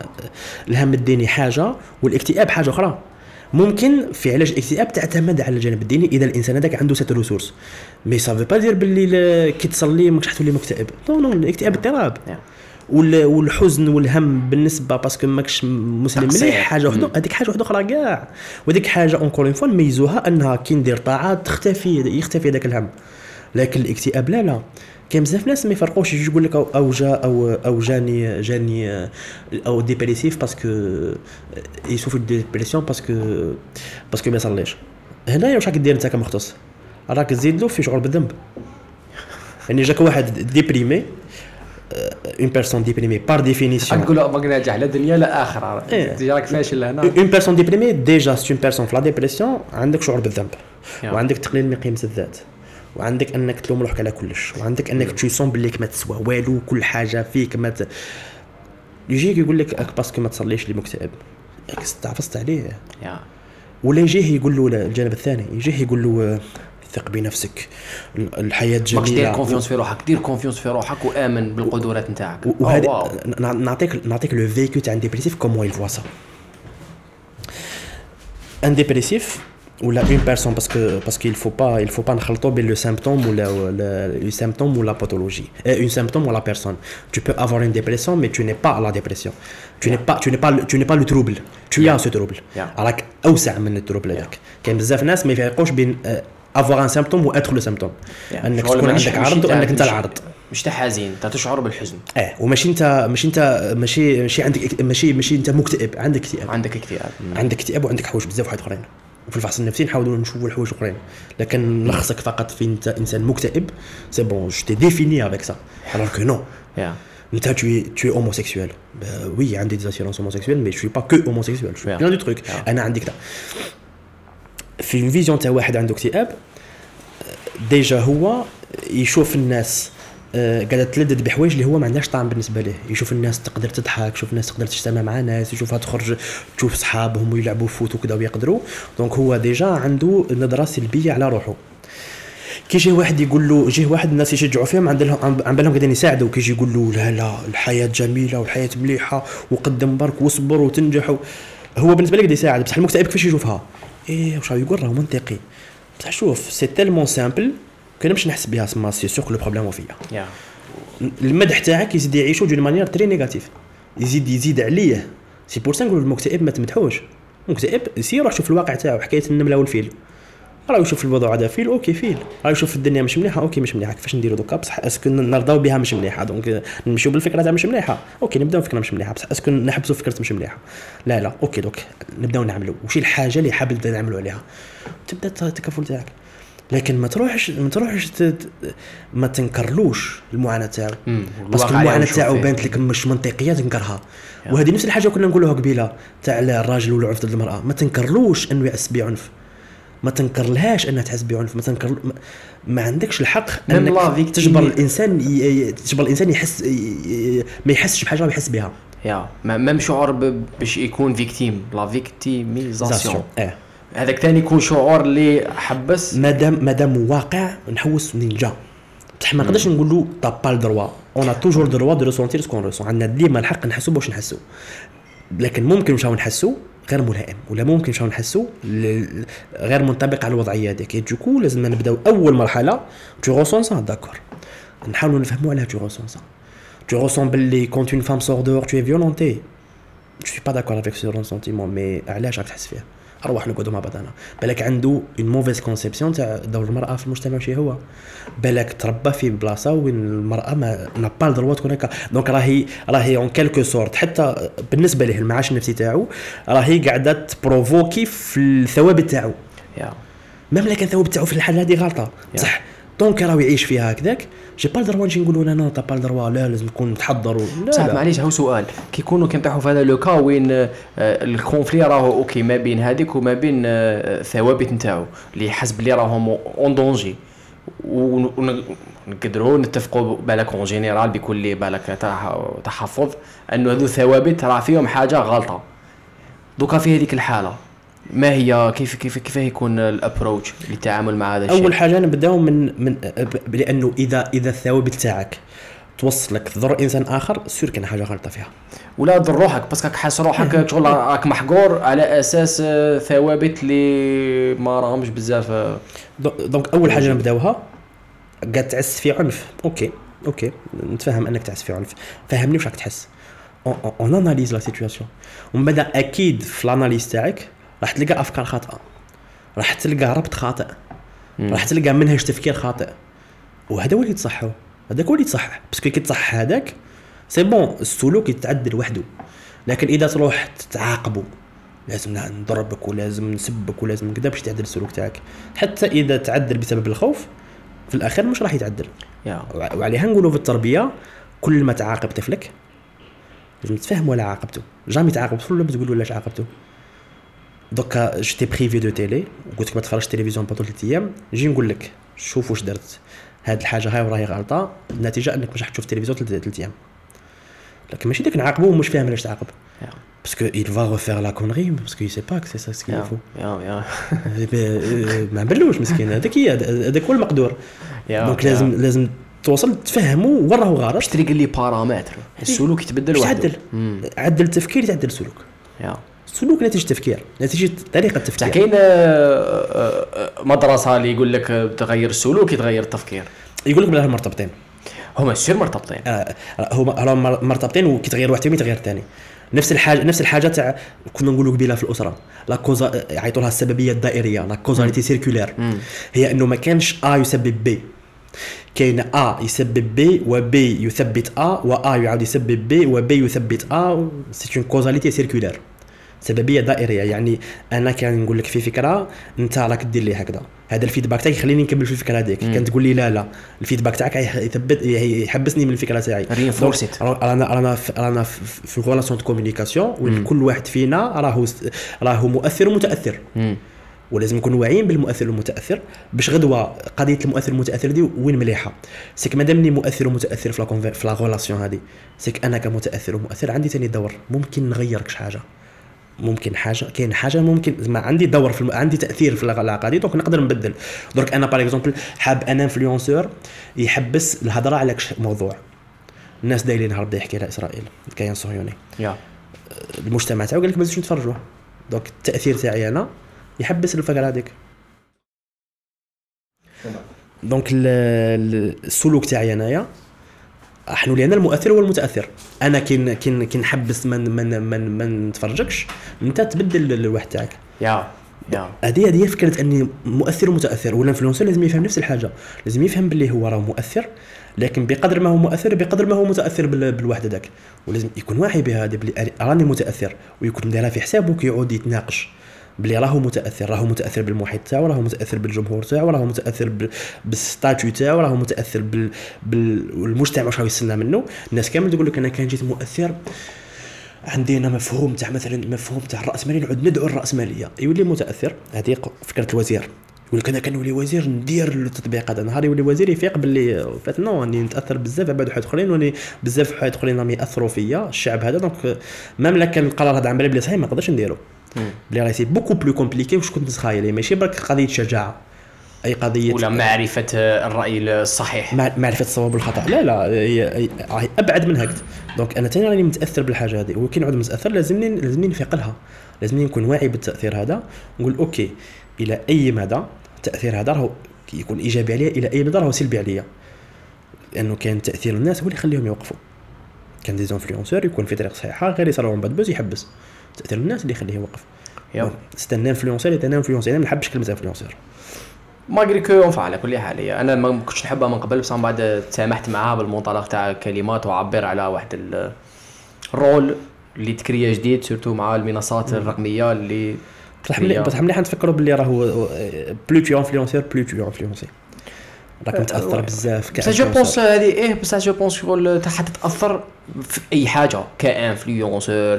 B: الهم الديني حاجه والاكتئاب حاجه اخرى. ممكن في علاج الاكتئاب تعتمد على الجانب الديني اذا الانسان هذاك عنده سيت ريسورس، مي صافي با دير باللي كي تصلي ماكش حتولي مكتئب. نو الاكتئاب اضطراب والحزن والهم بالنسبه باسكو ماكش مسلم مليح حاجه وحده، هذيك حاجه وحده اخرى كاع. وديك حاجه اونكور اون فوا نميزوها انها كي ندير طاعات يختفي هذاك الهم. لكن الاكتئاب لا كاين بزاف ناس ما يفرقوش يجي يقول لك او جاني او ديبريسيف باسكو يشوف الديبرسيون باسكو ما يصليش. هنايا واش راك دير انت كمختص؟ راك تزيد له في شعور بالذنب. يعني جاك واحد ديبريمي اون بيرسون ديبريمي بار ديفينيسيون
A: نقول له باغي ناجح لا دنيا لا اخره ديجا راك فاشل هنا.
B: اون بيرسون ديبريمي ديجا سي اون بيرسون في لا ديبرسيون عندك شعور بالذنب وعندك تقليل من قيمه الذات وعندك انك تلوم روحك على كلش وعندك انك تشيسون بليك ما تسوى والو كل حاجه فيك ما يجيك يقول لك باسكو ما تصليش لي مكتئب استعفصت عليه ولا يجيه يقول له الجانب الثاني يجيه يقول له ثق بنفسك الحياه جميله
A: دير كونفيونس في روحك دير كونفيونس في روحك وامن بالقدرات نتاعك.
B: وهذا نعطيك لو فيكو تاع ديبريسيف كومون يل فوا سا ان ديبريسيف ou la une personne parce qu'il faut pas نخلطوا بين le symptôme ou le symptôme ou la pathologie une symptôme ou la personne. Tu peux avoir une dépression mais tu n'es pas la dépression. Tu n'es pas le trouble. Tu as ce trouble. راك اوسع من التروبل هذاك. كاين بزاف ناس ما يفرقوش بين avoir un symptôme ou être le symptôme. انك تكون عندك عرض وانك انت العرض.
A: مش حزين انت تشعر بالحزن.
B: وماشي انت ماشي عندك ماشي انت مكتئب عندك اكتئاب وعندك حوايج بزاف واحد اخرين. وفي الفحص النفسي نحاولوا نشوفوا الحوايج اخرين لكن نلخصك فقط في انت انسان مكتئب سي بون جو تي ديفيني افيك سا alors que non انت tu es homosexuel oui عندي des assurances homosexuelles mais je suis pas que homosexuel je suis plein de trucs انا عندي كذا في فيزيون تاع واحد عنده اكتئاب ديجا هو يشوف الناس قاعده تلدد بحوايج اللي هو ما عندهاش طعم بالنسبه له. يشوف الناس تقدر تضحك يشوف الناس تقدر تجتمع مع ناس يشوفها تخرج تشوف صحابهم ويلعبوا فوت وكذا ويقدروا. دونك هو ديجا عنده نظره سلبيه على روحه. كي يجي واحد يقول له جيه واحد الناس يشجعوا فيهم عن بالهم قاعدين يساعدوا كي يقول له لا الحياه جميله والحياه مليحه وقدم برك واصبر وتنجح هو بالنسبه لي قاعد يساعد بصح المكتئب كيفاش يشوفها واش يقول راه منطقي بصح شوف سي تيلمون سامبل كنا باش نحس بها سما سي سور لو بروبليم فيا المدح تاعك يزيد يعيشوا دون مانيير تري نيجاتيف، يزيد عليه. سي بور سا نقول المكتئب ما تمدحوش. مكتئب سي روح شوف الواقع تاعو، حكايه النمله والفيل، راه يشوف الوضع هذا فيل اوكي فيل، راه يشوف الدنيا مش مليحه اوكي مش مليحه، كيفاش نديروا دوكا بصح اسكو نرضاو بها مش مليحه دونك نمشيو بالفكره تاع مش مليحه اوكي نبداو فكره مش مليحه بصح اسكو نحبسوا فكره مش مليحه لا اوكي دوك نبداو نعملوا وش الحاجه اللي حاب نبدا نعملوا عليها تبدا التكافل تاعك. لكن ما تروحش ما تنكرلوش المعاناه تاعو باسكو المعاناه تاعو بانت لك مش منطقيه تنكرها. وهذه نفس الحاجه كنا نقولوها قبيله تاع الراجل والعنف ضد المراه، ما تنكرلوش انه يحس بعنف، ما تنكرلهاش انها تحس بعنف، ما عندكش الحق انك تجبر الانسان يحس ما يحسش بحاجه ويحس بها.
A: ميم شعور باش يكون فيكتيم لا فيكتيميزاسيون هذاك ثاني يكون شعور اللي حبس
B: مادام واقع نحوس منين جا بصح ما نقدرش نقول له طا با الدروا اون توجور دروا دو ريسونتير سكون ريسون، عندنا ديما الحق نحسوا باش نحسوا. لكن ممكن نمشاو نحسوا غير ملائم ولا ممكن نمشاو نحسوا غير منطبق على الوضعيه هذيك. دوكو لازم نبداو اول مرحله تو ريسون سا داكور نحاولوا نفهموا علاه تو ريسون سا. تو ريسون باللي كونت اون فام سور دور تو اي فيولونتي جو سوي با داكور افيك سو سونتيمون مي علاش راك تحس فيه اروح نقعدوا مع بعضنا. بالك عنده اون موفيز كونسيبسيون تاع دور المراه في المجتمع شي هو بالك تربى في بلاصه وين المراه ما با الدروا تكون هكا دونك راهي اون كالكو سورت حتى بالنسبه له المعاش النفسي تاعو راهي قاعده تبروفوكي في الثوابت تاعو ميم لكن الثوابت تاعو في الحاله هذه غلطه صح دونك راهو يعيش فيها هكذاك جي با الدروا نجي نقولوا لا تا با الدروا لا لازم نكون متحضر
A: صح. معليش هو سؤال كي يكونوا كنطيحوا في هذا لو كا وين الكونفلي راهو اوكي ما بين هذيك وما بين الثوابت نتاعو اللي حسب اللي راهم اون دونجي ونقدروا نتفقوا بالك اون جينيرال بكل بالك تحفظ انه هذو الثوابت راه فيهم حاجه غلطه. دوكا في هذيك الحاله ما هي كيف يكون الابروتش للتعامل مع هذا الشيء؟
B: اول حاجه نبداو من لانه اذا الثوابت تاعك توصلك تضر انسان اخر سير كان حاجه غلطه فيها
A: ولا تضر روحك باسكو حاس روحك شغل راك محقور على اساس ثوابت اللي ما راهمش بزاف.
B: دونك اول حاجه نبداوها قاعد تعس في عنف اوكي نتفهم انك تعس في عنف فهمني واش راك تحس اون اناليز لا سيتوياسيون ومن بعد اكيد في الاناليز تاعك راح تلقى افكار خاطئه راح تلقى ربط خاطئ راح تلقى منهج تفكير خاطئ وهذا هو اللي يتصحوا هذاك هو اللي يتصحح باسكو كي تصحح هذاك سي بون السلوك يتعدل وحده. لكن اذا تروح تعاقبه لازم نضربك ولازم نسبك ولازم كذا باش تعدل السلوك تاعك حتى اذا تعدل بسبب الخوف في الاخير مش راح يتعدل. وعليها نقولوا في التربيه كل ما تعاقب طفلك لازم تفهم ولا عاقبته جامي تعاقب طفل ولا تقول له علاش عاقبته. دوكا جيتي بريفي دو تيلي وقلت لك ما تفرجش تلفزيون بطول 3 ايام نجي نقول لك شوف واش درت هاد الحاجه هاي وراهي غلطه النتيجه انك مش راح تشوف تلفزيون 3 ايام. لكن ماشي داك نعاقبه ومش فاهم علاش تعاقب باسكو il va refaire la connerie parce qu'il sait pas que c'est ça ce qu'il faut ما بلوش مسكين هذاك هو المقدور. دونك لازم توصل تفهمه وراه غلط
A: باش تلقى لي بارامتر السلوك يتبدل وحده
B: عدل التفكير يتعدل السلوك السلوك نتيجه تفكير نتيجه طريقه تفكير.
A: كاين مدرسه اللي يقول لك تغير السلوك يتغير التفكير
B: يقول لك بلا مرتبطين
A: هما السير مرتبطين
B: هما مرتبطين وكيتغير واحد فيهم يتغير الثاني. نفس الحاجه تاع كنا نقولوا قبيله في الاسره لا كوزا يعيطوا لها السببيه الدائريه لا كوزاليتي سيركولير هي انه ما كانش ا يسبب بي كاين ا يسبب بي وبي يثبت ا وا يعاود يسبب بي وبي يثبت ا سي اون كوزاليتي سيركولير سببيه دائريه. يعني انا كان نقول لك في فكره انت راك دير لي هكذا هذا الفيدباك تاعي يخليني نكمل في الفكره هذيك كان تقول لي لا الفيدباك تاعك يثبت يحبسني من الفكره تاعي انا في الريلاسيون دو كومونيكاسيون وكل واحد فينا راهو مؤثر ومتاثر ولازم نكون واعيين بالمؤثر والمتاثر باش غدوه قضيه المؤثر والمتاثر دي وين مليحه سيك مادامني مؤثر ومتاثر في لا ريلاسيون هذه سيك انا كمتاثر ومؤثر عندي ثاني دور ممكن نغيرك حاجه ممكن حاجه كاين حاجه ممكن ما عندي دور عندي تاثير في العلاقه دي دونك نقدر نبدل. درك انا باغ اكزومبل حاب انا انفلونسور يحبس الهضره على موضوع الناس دايرين نهار بدا يحكي على اسرائيل كاين صهيوني المجتمع تاعو قال لك ما تزيدوش نتفرجوا دونك التاثير تاعي انا يحبس الفكره هذيك. دونك السلوك تاعي انايا احنا لينا المؤثر والمتاثر. انا كي نحبس من نتفرجكش انت تبدل الواحد تاعك.
A: يا
B: هذه فكره اني مؤثر ومتاثر. ولا انفلونسر لازم يفهم نفس الحاجه، لازم يفهم باللي هو راه مؤثر، لكن بقدر ما هو مؤثر بقدر ما هو متاثر بالواحد هذاك. ولازم يكون واعي بهذا بلي راني متاثر، ويكون دايرها في حسابه كي يعود يتناقش بلي راهو متاثر بالمحيط تاعو، راهو متاثر بالجمهور تاعو، راهو متاثر بالستاتيو تاعو، راهو متاثر بالمجتمع واش راهو يستنى منه. الناس كامل تقول لك انا كان جيت مؤثر، عندي انا مفهوم تاع مثلا مفهوم تاع الراسماليه، نعود ندعو الراسماليه، يولي متاثر. هذه فكره الوزير، يقول لك انا كنولي وزير ندير التطبيق هذا. نهار يولي وزير يفيق باللي فات نو اني نتاثر بزاف بعد واحد اخرين، واني بزاف واحد اخرين راهم ياثروا فيا الشعب هذا. دونك ميم لا كان القرار هذا عمل بلي صحيح ما نقدرش نديرو، بلي راه سي بوكو بلو كومبليكي واش كنت نتخيل. ماشي برك قضيه شجاعه، اي قضيه
A: ولا معرفه الراي الصحيح،
B: معرفه الصواب والخطا. لا هي ابعد من هكذا. دونك انا ثاني راني متاثر بالحاجه هذه، وكي نعود متاثر لازمني نفيق لها، لازمني نكون واعي بالتاثير هذا، نقول اوكي الى اي مدى التاثير هذا راهو يكون ايجابي عليا، الى اي مدى راهو سلبي عليا. لانه كان تاثير الناس هو اللي يخليهم يوقفوا. كان دي زونفلونسور يكون في طريق صحيحه غير يصراو من بعد بوز يحبس. تاثير الناس اللي يخليه يوقف. استنى انفلونسور انا ما نحبش كلمه انفلونسور
A: ماغري كو اونفع على كل حال. انا ما كنتش نحبها من قبل، بصح من بعد تسامحت معها بالمنطلق تاع كلمات وعبر على واحد الرول اللي تكريا جديد، سورتو مع المنصات الرقميه اللي
B: بصح مليح نتفكروا باللي راهو بلو تو انفلونسور بلو تو انفلونسي راك متاثر بزاف.
A: بصح جو بونس هذه بصح جو بونس شغل حتى تاثر في اي حاجه، كانفلونسور،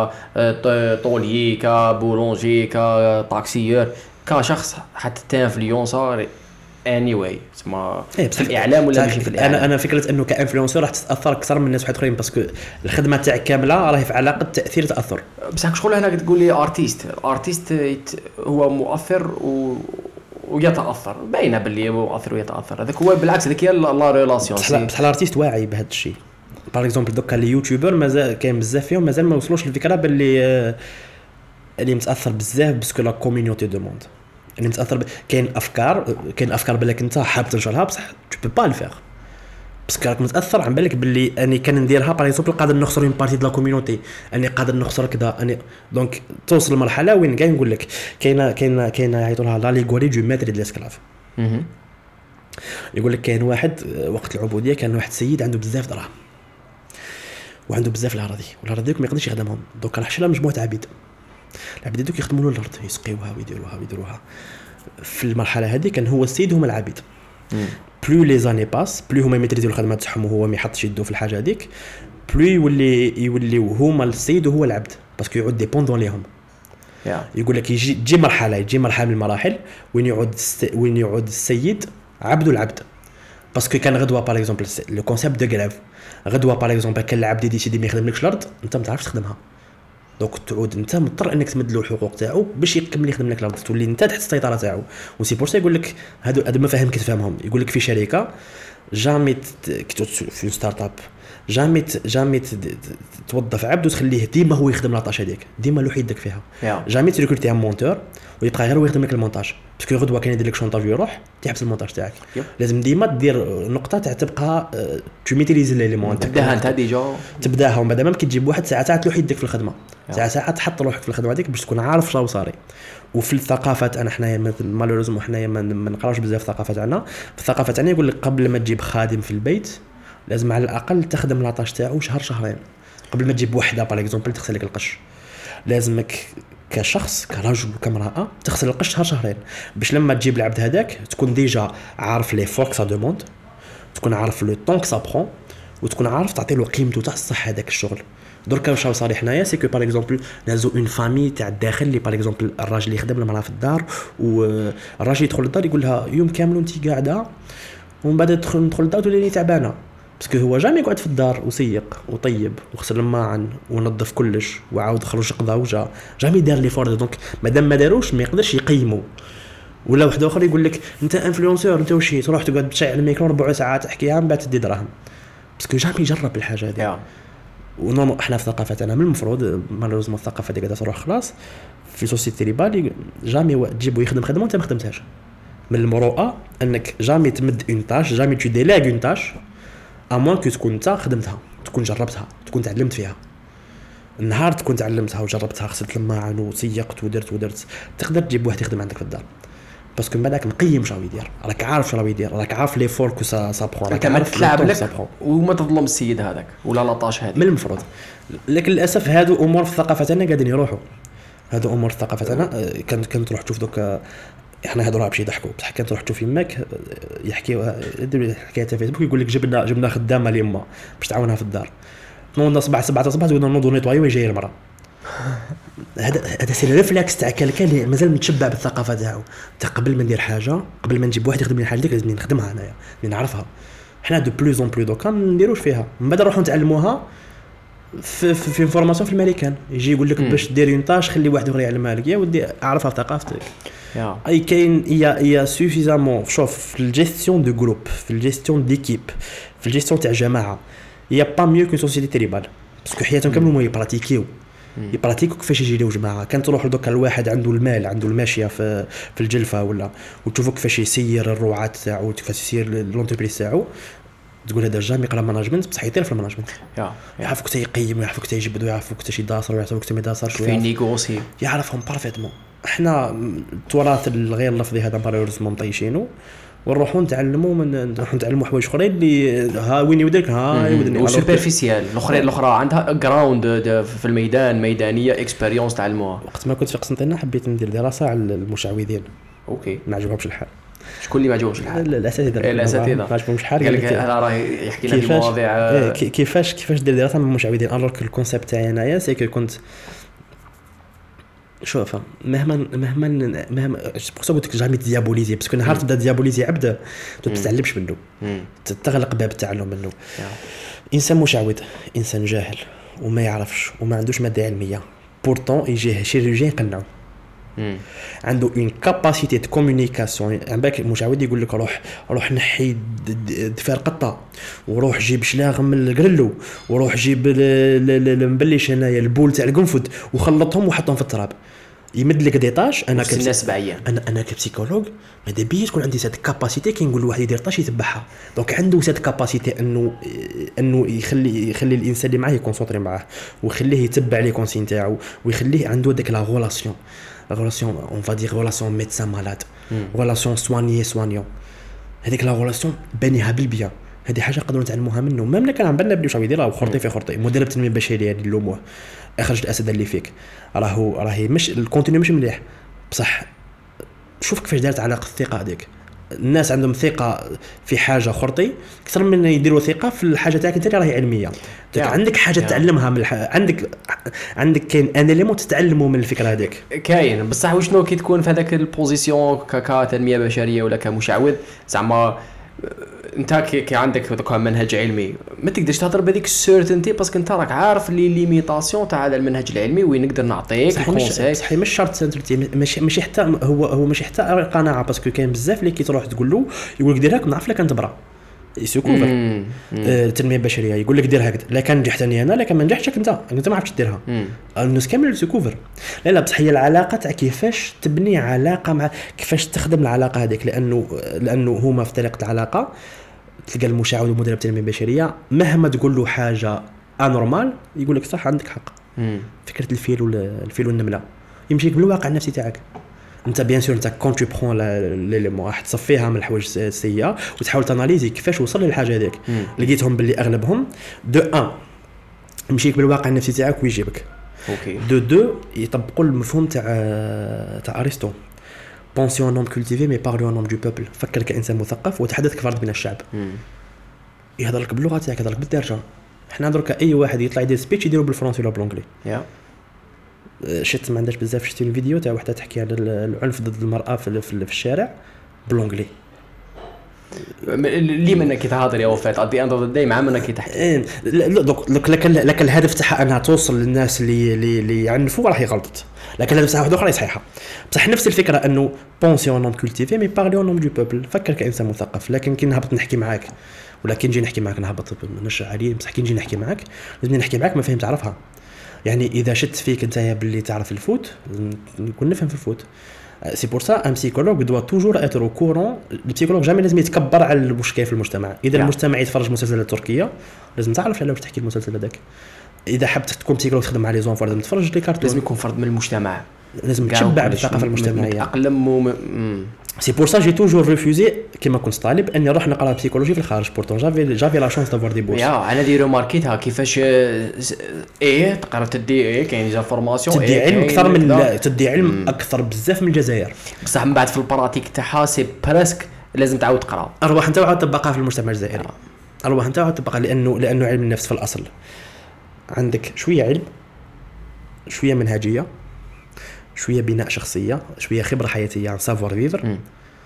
A: طولي، كبولونجي، كطاكسيور، كشخص حتى تانفلونسور anyway اسمها في الاعلام ولا ماشي في الاعلام.
B: انا فكره انه كانفلونسر راح تتاثر اكثر من الناس واحد اخرين، باسكو الخدمه تاعك كامله راهي في علاقه تاثير تاثر.
A: بصح شغل هنا تقول لي ارتيست هو مؤثر ويتاثر، باينه باللي هو مؤثر ويتاثر. هذاك هو بالعكس، هذيك هي لا ريلاسيون.
B: بصح الارتيست واعي بهذا الشيء. باغ اكزومبل دوكا لي يوتيوبر مازال كاين بزاف فيهم مازال ما وصلوش للفكره باللي اللي متاثر بزاف باسكو لا كوميونيتي دو موند اللي متاثر كاين افكار بالك انت حاب تنشرها بصح تو بو با الفير باسكو راك متاثر عن بالك باللي اني كان نديرها باغ اكزومبل قادر نخسر اون بارتي دو لا كوميونيتي، اني قادر نخسر كذا اني. دونك توصل لمرحله وين كاين نقول لك كاينه يعيطوا لها لاليغوري دو ماتر دي لاسكلاف. يقول لك كاين واحد وقت العبوديه كان واحد سيد عنده بزاف دراهم وعنده بزاف الاراضي، والاراضي ما يقدرش يخدمهم. دونك راح شرا مجموعه عبيد، العبيد دوك يخدموا له الارض، يسقيوها ويديروها. في المرحله هذه كان هو السيد هما العبيد. بلو لي زاني باس، بلو هما يميتريزيو الخدمات تاعهم وهو ما يحطش يدو في الحاجه هذيك، بلو يولي هما السيد وهو العبد، باسكو يعود ديبوندون ليهم. يقول لك يجي مرحله من المراحل وين يعود السيد عبد العبد. باسكو كان غدوه باغ اكزومبل لو كونسيبت دو غريف، غدوه باغ اكزومبل كان العبد يديسيدي ما يخدملكش الارض، انت ما تعرفش تخدمها. دونك تعود انت مضطر انك تمد له الحقوق تاعو باش يكمل يخدم لك الارض، تولي انت تحت السيطره تاعو. وسي بور سا يقول لك هادو مفاهيم كي تفهمهم. يقول لك في شركه جامي في ستارت اب جامي توظف عبد وتخليه ديما هو يخدم لاطاش هذيك، ديما له يدك فيها. جامي تريكروتي ان مونتور ويبقى غير هو يخدم لك المونتاج، باسكو غدوه كان يدير لك شونطاج ويروح تحبس المونتاج تاعك. لازم ديما دير نقطه تاع تبقى تو ميتريزي ليليمون،
A: تبداها انت ديجا
B: تبداها ومن بعد ما كتجيب واحد ساعات له يدك في الخدمه، ساعات تحط روحك في الخدمه هذيك باش تكون عارف شنو صاري. وفي الثقافات انا حنايا مالوريزمون حنايا ما نقراوش بزاف الثقافه تاعنا. في الثقافه تاعنا يقول لك قبل ما تجيب خادم في البيت لازم على الاقل تخدم لاطاش تاعو شهرين قبل ما تجيب وحده باغ اكزومبل تغسل لك القش. لازمك كشخص كرجل وكامراه تغسل القش شهرين باش لما تجيب العبد هذاك تكون ديجا عارف لي فورك سا دوموند، تكون عارف لو طون سا برون، وتكون عارف تعطي له قيمته تاع الصح هذاك الشغل. دركا واش صار حنايا سي كو باغ اكزومبل نازو اون فامي تاع الداخل اللي باغ اكزومبل الراجل يخدم المراه في الدار، والراجل يدخل للدار يقول لها يوم كامل وانت قاعده، ومن بعد ندخل للدار تولي تعبانه باسكو هو جامي يقعد في الدار وسيق وطيب وغسل الماعن ونظف كلش وعاود خرج قضا وجا جامي دار لي فورد. دونك مادام ما داروش ما يقدرش يقيموا. ولا واحد اخر يقول لك انت انفلونسور انت وشي تروح تقعد تشعل الميكرو 4 ساعات تحكيها من بعد تدي دراهم باسكو جامي يجرب الحاجه هذه. ونورمال احنا في ثقافتنا من المفروض مالوزمون الثقافه ديك تروح خلاص في سوسيتي ليبالي جامي تجيبو يخدم خدمه انت ما خدمتهاش. من المروءه انك جامي تمد اون تاش، جامي تو ديلاغ اون تاش امون كو تكون انت خدمتها، تكون جربتها، تكون تعلمت فيها. النهار تكون تعلمتها وجربتها، غسلت الماعن وسيقت ودرت تقدر تجيب واحد يخدم عندك في الدار، باسكو من بعدك مقيم شنو يدير، راك عارف شنو يدير، راك عارف لي فور كو سا برون، راك عارف
A: تلعب لك وما تظلم السيد هذاك ولا لاطاش هذه
B: من المفروض. لكن للاسف هادو امور في الثقافه تاعنا قاعدين يروحوا، هادو امور في الثقافه تاعنا. كنت تروح تشوف دوك احنا هادو راه باش يضحكوا، بصح كنت تروح تشوف يماك يحكيوا حكايه في فيسبوك يقول لك جبنا خدامه ليما باش تعاونها في الدار، نوض الصباح 7 الصباح تقول نوض نيطواي ويجي المراه. هذا سي الريفلكس تاع كلكا اللي مازال متشبع بالثقافه تاعو، قبل ما ندير حاجه، قبل ما نجيب واحد يخدم لي حاجه ديك لازم نخدمها انايا نعرفها. حنا دو بلوز اون بلو دوكا ما نديروش فيها، من بعد نروحوا نتعلموها في فورماسيون في الامريكان، يجي يقول لك باش دير اون طاش خلي واحد اخر يعلمها لك، يا ودي اعرفها في ثقافتك. اي كاين يا سوفيزامون شوف في الجيستيون دو جروب، في الجيستيون ديكيب، في الجيستيون تاع جماعه، يا با ميو كون سوسيتي تريبال، باسكو حياتهم كامل هما يبراتيكو كيفاش يجي لو جماعه. كان تروح لدوك الواحد عنده المال، عنده الماشيه في الجلفه ولا، وتشوفوا كيفاش يسير الرعاة تاعو، كيفاش يسير لونتربريز تاعو، تقول هذا جامي يقرا ماناجمنت بصح يطير في الماناجمنت، يعرف كيفاش يقيم، ويعرف كيفاش يجبد، ويعرف كيفاش يداصر، ويعرف كيفاش ما يداصرش،
A: في نيغوسي
B: يعرفهم بارفيتمون. احنا التراث الغير لفظي هذا مالوريزمون مطيشينو، ونروحوا نتعلموا حوايج اخرين اللي ها وين يوديك ها يودني
A: وسوبرفيسيال. الاخرى عندها جراوند في الميدان، ميدانيه اكسبيريونس تعلموها.
B: وقت ما كنت في قسنطينه حبيت ندير دراسه على المشعوذين.
A: اوكي،
B: ما عجبهمش الحال.
A: شكون اللي ما عجبهمش الحال؟
B: الاساتذه ما عجبهمش الحال.
A: قال لك انا راه يحكي لنا في مواضيع
B: كيفاش دير دراسه من المشعوذين، الوغ الكونسيبت تاعي انايا سي كو كنت شوف مهما بقصه قلت لك جامي ديابوليزي، باسكو نهار تبدا ديابوليزي عبد تتعلمش منه، تتغلق باب التعلم منه. انسان مشعوذ، انسان جاهل وما يعرفش وما عندوش ماده علميه، بورتون يجيه شيرورجيان يقنعو، عنده اون كاباسيتي دو كومونيكاسيون. عندك مشعوذ يقول لك روح نحي دفار قطه، وروح جيب شلاغ من القرلو، وروح جيب المبلش هنايا البول تاع القنفذ وخلطهم وحطهم في التراب، يمد لك ديطاش. انا كبسيكولوج ماذا بيا تكون عندي سات كاباسيتي كي نقول لواحد يدير طاش يتبعها، دونك عنده سات كاباسيتي انه يخلي الانسان اللي معاه يكونسونطري معاه، ويخليه يتبع لي كونسين تاعو، ويخليه عنده داك لا ريلاسيون اون فا دير ريلاسيون ميدسان مالاد، ريلاسيون سوانيون. هذيك لا ريلاسيون بانيها بالبيان، هذه حاجه نقدروا نتعلموها منه. ميم كان عم بالنا بلي واش يدير، راه خرطي في خرطي مدرب التنميه البشريه هذه اللوموه، اخرج الاسد اللي فيك، راهي مش الكونتينيو مش مليح، بصح شوف كيفاش دارت علاقه الثقه هذيك. الناس عندهم ثقه في حاجه خرطي اكثر من يديروا ثقه في الحاجه تاعك انت اللي راهي علميه. عندك حاجه تعلمها من عندك كاين ان ليمون تتعلموا من الفكره هذيك
A: كاين. بصح وشنو كي تكون في هذاك البوزيسيون كتنميه بشريه ولا كمشعوذ، زعما انت كي عندك دوكا منهج علمي ما تقدرش تهضر بهذيك السيرتينتي، باسكو انت راك عارف لي ليميتاسيون تاع هذا المنهج العلمي وين نقدر نعطيك كونساي.
B: صحيح مش شرط سيرتينتي، ماشي حتى هو ماشي حتى قناعه، باسكو كاين بزاف اللي كي تروح تقول له يقول لك دير هاك نعرف لك انت برا يسوكوفر التنميه البشريه، يقول لك دير هكذا، لا كان نجحتني انا لا كان ما نجحتش انت ما عرفتش ديرها. الناس كامل يسوكوفر لا بصح هي العلاقه تاع كيفاش تبني علاقه مع كيفاش تخدم العلاقه هذيك، لانه هما في طريقه علاقه. تلقى المشعوذ ومدرب التنميه البشريه مهما تقول له حاجه انورمال يقول لك صح عندك حق. فكره الفيل والنمله يمشيك بالواقع النفسي تاعك انت. بيان سور انت كون تو برون ليليمون راح تصفيها من الحوايج السيئه وتحاول تاناليزي كيفاش وصل للحاجه هذيك. لقيتهم باللي اغلبهم دو ان يمشيك بالواقع النفسي تاعك ويجيبك.
A: اوكي.
B: دو يطبقوا المفهوم تاع ارسطو، بونسيون نوم كولتيفي مي بارلو نوم دو بوبل. فكر كانسان مثقف وتحدث كفرد من الشعب. يهضر لك باللغه تاعك، يهضر لك بالدارجه. احنا درك اي واحد يطلع يدير سبيتش يديروا بالفرنسي ولا بالانجلي. شفت ما عندهاش بزاف، شفت الفيديو تاع وحده تحكي على العنف ضد المراه في الشارع بالانجلي.
A: اللي منك كي تهضر يا وفات ادي اند اوف داي مع منك كي تحكي
B: لك الهدف تاعها انها توصل للناس اللي يعنفوا راح يغلطت، لكن الهدف تاعها واحده اخرى صحيحه. بصح نفس الفكره انه بونسيون نوم كولتيفي مي بارلي نوم دو بوبل. فكر كانسان مثقف، لكن كي نهبط نحكي معاك ولا كي نجي نحكي معاك نهبط نشرح عليه، بصح كي نجي نحكي معاك لازم نحكي معاك ما فهمت تعرفها. يعني اذا شت فيك انت باللي تعرف الفوت نكون نفهم في الفوت، سي بور سا ان بسيكولوج دو توجور اتر او كورون. البسيكولوج جامي لازم يتكبر على المشكل في المجتمع. اذا المجتمع يتفرج مسلسلات تركيه لازم تعرف على واش تحكي المسلسل هذاك. اذا حبت تكون بسيكولوج تخدم مع لي زونفور لازم تفرج لي كارتون.
A: لازم يكون فرد من المجتمع،
B: لازم تشبع بالثقافه المجتمعيه.
A: اقلم
B: سي بور سا جي توجور ريفوزي كيما كنت طالب اني نروح نقرا بسيكولوجي في الخارج. بورتون جافي لا شانس دافوار دي بورس.
A: انا دي ريماركيتها كيفاش تقرا تدي كاين ديجا فورماسيون
B: تدي علم اكثر من تدي علم اكثر بزاف من الجزائر.
A: بصح من بعد في البراتيك تاعها سي بريسك لازم تعاود تقرا.
B: ارواح انت وعاود تطبقها في المجتمع الجزائري. ارواح انت وعاود تطبقها لانه علم النفس في الاصل عندك شويه علم، شويه منهجيه، شويه بناء شخصيه، شويه خبره حياتيه عن سافوار فيفر،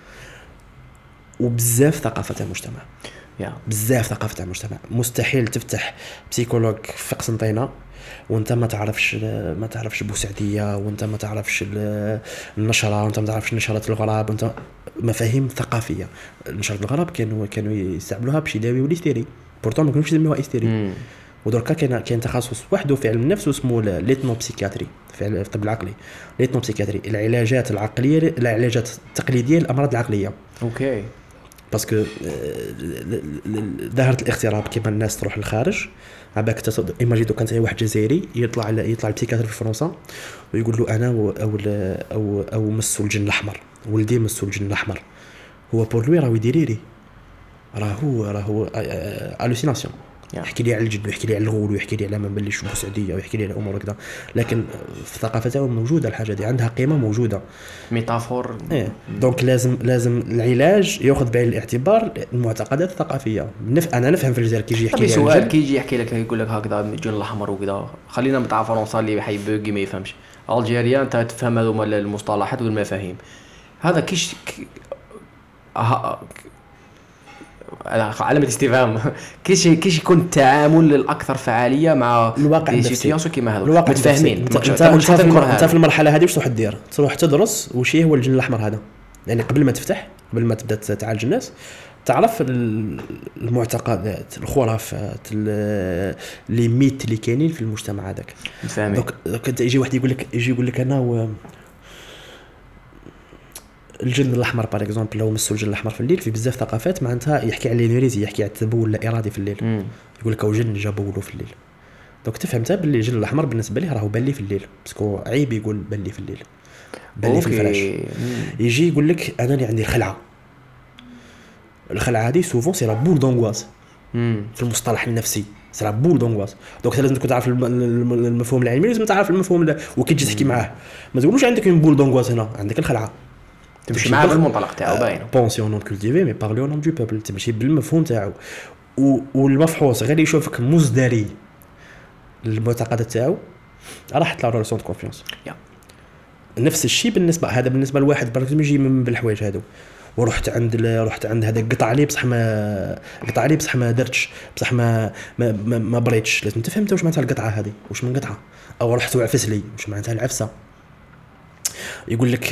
B: وبزاف ثقافه المجتمع. بزاف ثقافه المجتمع. مستحيل تفتح بسيكولوج في قسنطينه وانت ما تعرفش بوسعديه، وانت ما تعرفش النشره، وانت ما تعرفش نشرات الغراب، وانت مفاهيم ثقافيه. نشرات الغراب كانوا يستعملوها باش يداويوا الاستيري، بورتون ما كانوش يسميوها استيري. ودركا كاين تخصص وحده في علم النفس اسمه ليتنوبسيكياتري في الطب العقلي. ليتنوبسيكياتري العلاجات العقليه، العلاجات التقليديه للامراض العقليه.
A: اوكي.
B: باسكو ظاهره الاغتراب كيما الناس تروح للخارج عباك ايماجينو كانت واحد جزائري يطلع البسيكاتر في فرنسا ويقول له انا او مسو الجن الاحمر، ولدي مسو الجن الاحمر، هو بور لوي راهو يديريري، راهو الوسيناسيون. يحكي لي على الجن ويحكي لي على الغول ويحكي لي على ما بلش بوسعديه ويحكي لي على امور هكذا، لكن في ثقافتهم موجوده الحاجه دي، عندها قيمه موجوده،
A: ميتافور.
B: دونك لازم العلاج ياخذ بعين الاعتبار المعتقدات الثقافيه. انا نفهم في الجزائر كيجي يحكي لي
A: سؤال، كيجي يحكي لك يقول لك هكذا الجن الاحمر وكذا، خلينا نتاع فرنسا اللي حي بوغي ما يفهمش الجيريا، انت تفهم هذوما المصطلحات والمفاهيم. هذا كيش علامة استفهام. كيش يكون التعامل الأكثر فعالية مع
B: الواقع النفسي
A: كيما هذا متفاهمين؟
B: انت في المرحلة هذه واش تروح دير؟ تروح تدرس وش هو الجن الأحمر هذا، يعني قبل ما تبدا تعالج الناس تعرف المعتقدات، الخرافات، لي ميت اللي كاينين في المجتمع هذاك. دونك يجي واحد يقول لك انا الجن الاحمر باغ اكزومبل، لو مسوا الجن الاحمر في الليل في بزاف ثقافات معناتها يحكي على النيريزي، يحكي على التبول اللا ارادي في الليل. يقول لك او جن جا بولو في الليل. دونك تفهم انت باللي الجن الاحمر بالنسبه ليه راهو باللي في الليل، باسكو عيب يقول باللي في الليل، باللي في الفراش. يجي يقول لك انا اللي عندي الخلعه هذه سوفون سي لا بول دونغواس في المصطلح النفسي، سي لا بول دونغواس. دونك لازم تكون تعرف المفهوم العلمي، لازم تعرف المفهوم وكي تجي تحكي معاه ما تقولوش عندك une بول دونغواس، هنا عندك الخلعه
A: تمشي معاه بالمنطلق تاعو باين
B: بونسيون نون كولتيفي مي بارلي نون دو بوبل، تمشي بالمفهوم تاعو. والمفحوص غير يشوفك مزدري المعتقدات تاعو راح تطلع له سونت كونفيونس. نفس الشيء بالنسبه لواحد برك يجي من بالحوايج هادو ورحت عند هذا قطع لي بصح ما درتش، بصح ما بريتش. لازم تفهم انت واش معناتها القطعه هذه، واش من قطعه، او رحت وعفس لي واش معناتها العفسه. يقول لك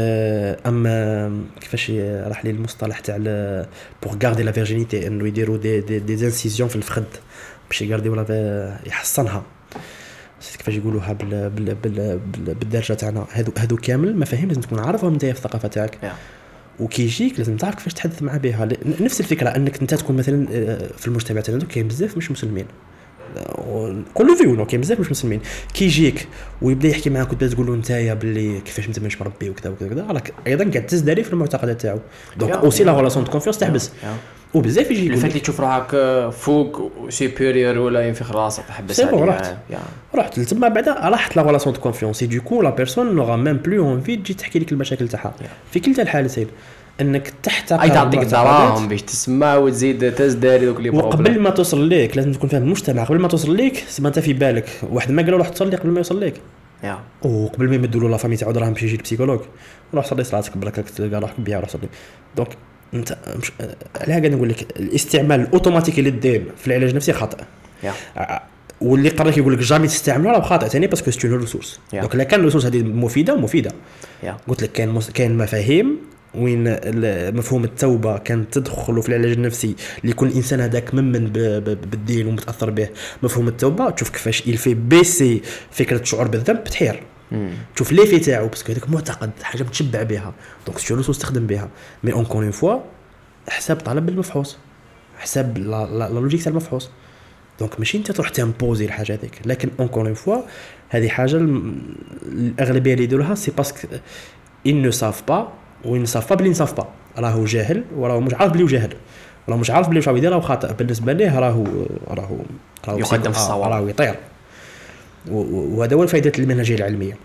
B: كيفاش راح لي المصطلح تاع بور غاردي لا فيرجينيتي، انه يديروا دي انسيزيون في الفخذ باش يغاردي ولا يحصنها، كيفاش يقولوها بالدرجه تاعنا. هادو كامل مفاهيم لازم تكون عارفهم انت في الثقافه تاعك. وكي يجيك لازم تعرف كيفاش تحدث مع بها. نفس الفكره انك انت تكون مثلا في المجتمع تاعنا كاين بزاف مش مسلمين، كل فيو كاين بزاف مش مسلمين، كي يجيك ويبدا يحكي معاك وتبدا تقول له نتايا باللي كيفاش انت مش مربي وكذا وكذا، راك ايضا قاعد تزدري في المعتقدات تاعو. دونك اوسي لا ريلاسيون دو كونفيونس تحبس. وبزاف يجي
A: الفات اللي تشوف روحك فوق سوبيريور ولا ينفخ راسك تحبس
B: عليه. رحت تما بعدا راحت لا ريلاسيون دو كونفيونس، دو لا بيرسون نوغا ميم بلو اونفي تجي تحكي لك المشاكل تاعها. في كلتا الحالتين انك تحتقر
A: اي تعطيك دراهم باش تسمع وتزيد تزداري دوك لي بروبليم.
B: وقبل ما توصل ليك لازم تكون فاهم المجتمع. قبل ما توصل ليك ما انت في بالك واحد ما قالوا روح تصلي قبل ما يوصل ليك، وقبل ما يمدوا له لا فامي تاعو دراهم باش يجي البسيكولوج، روح صلي صلاتك برك تلقى روحك بيها روح صلي. دونك انت على هكا نقول لك الاستعمال الاوتوماتيكي للدين في العلاج النفسي خطا. واللي قررك يقول لك جامي تستعملوا راه خاطئ ثاني، باسكو سي اون ريسورس. دونك لا كان الريسورس هذه مفيده قلت لك كاين مفاهيم وين مفهوم التوبه كان تدخل في العلاج النفسي لكل انسان هذاك ممن بالدين ومتاثر به. مفهوم التوبه تشوف كيفاش يلفي بيسي فكره الشعور بالذنب تحير. تشوف لي في تاعو باسكو هذاك معتقد حاجه متشبع بها دونك سيرو تستخدم بها مي اونكور اون فوا حساب طلب المفحوص حساب لا لوجيك تاع المفحوص دونك ماشي انت تروح تامبوزي الحاجه هذيك لكن اونكور اون فوا هذه حاجه الاغلبيه اللي يديروها سي باسكو ils ne savent pas ou ils ne savent pas بلي نصاف با راهو جاهل وراهو مش عارف بلي جاهل راه مش عارف بلي واش يدير راه خاطئ بالنسبه ليه راهو
A: يقدم في الصواب
B: راهو يطير وهذا هو الفائده المنهجيه العلميه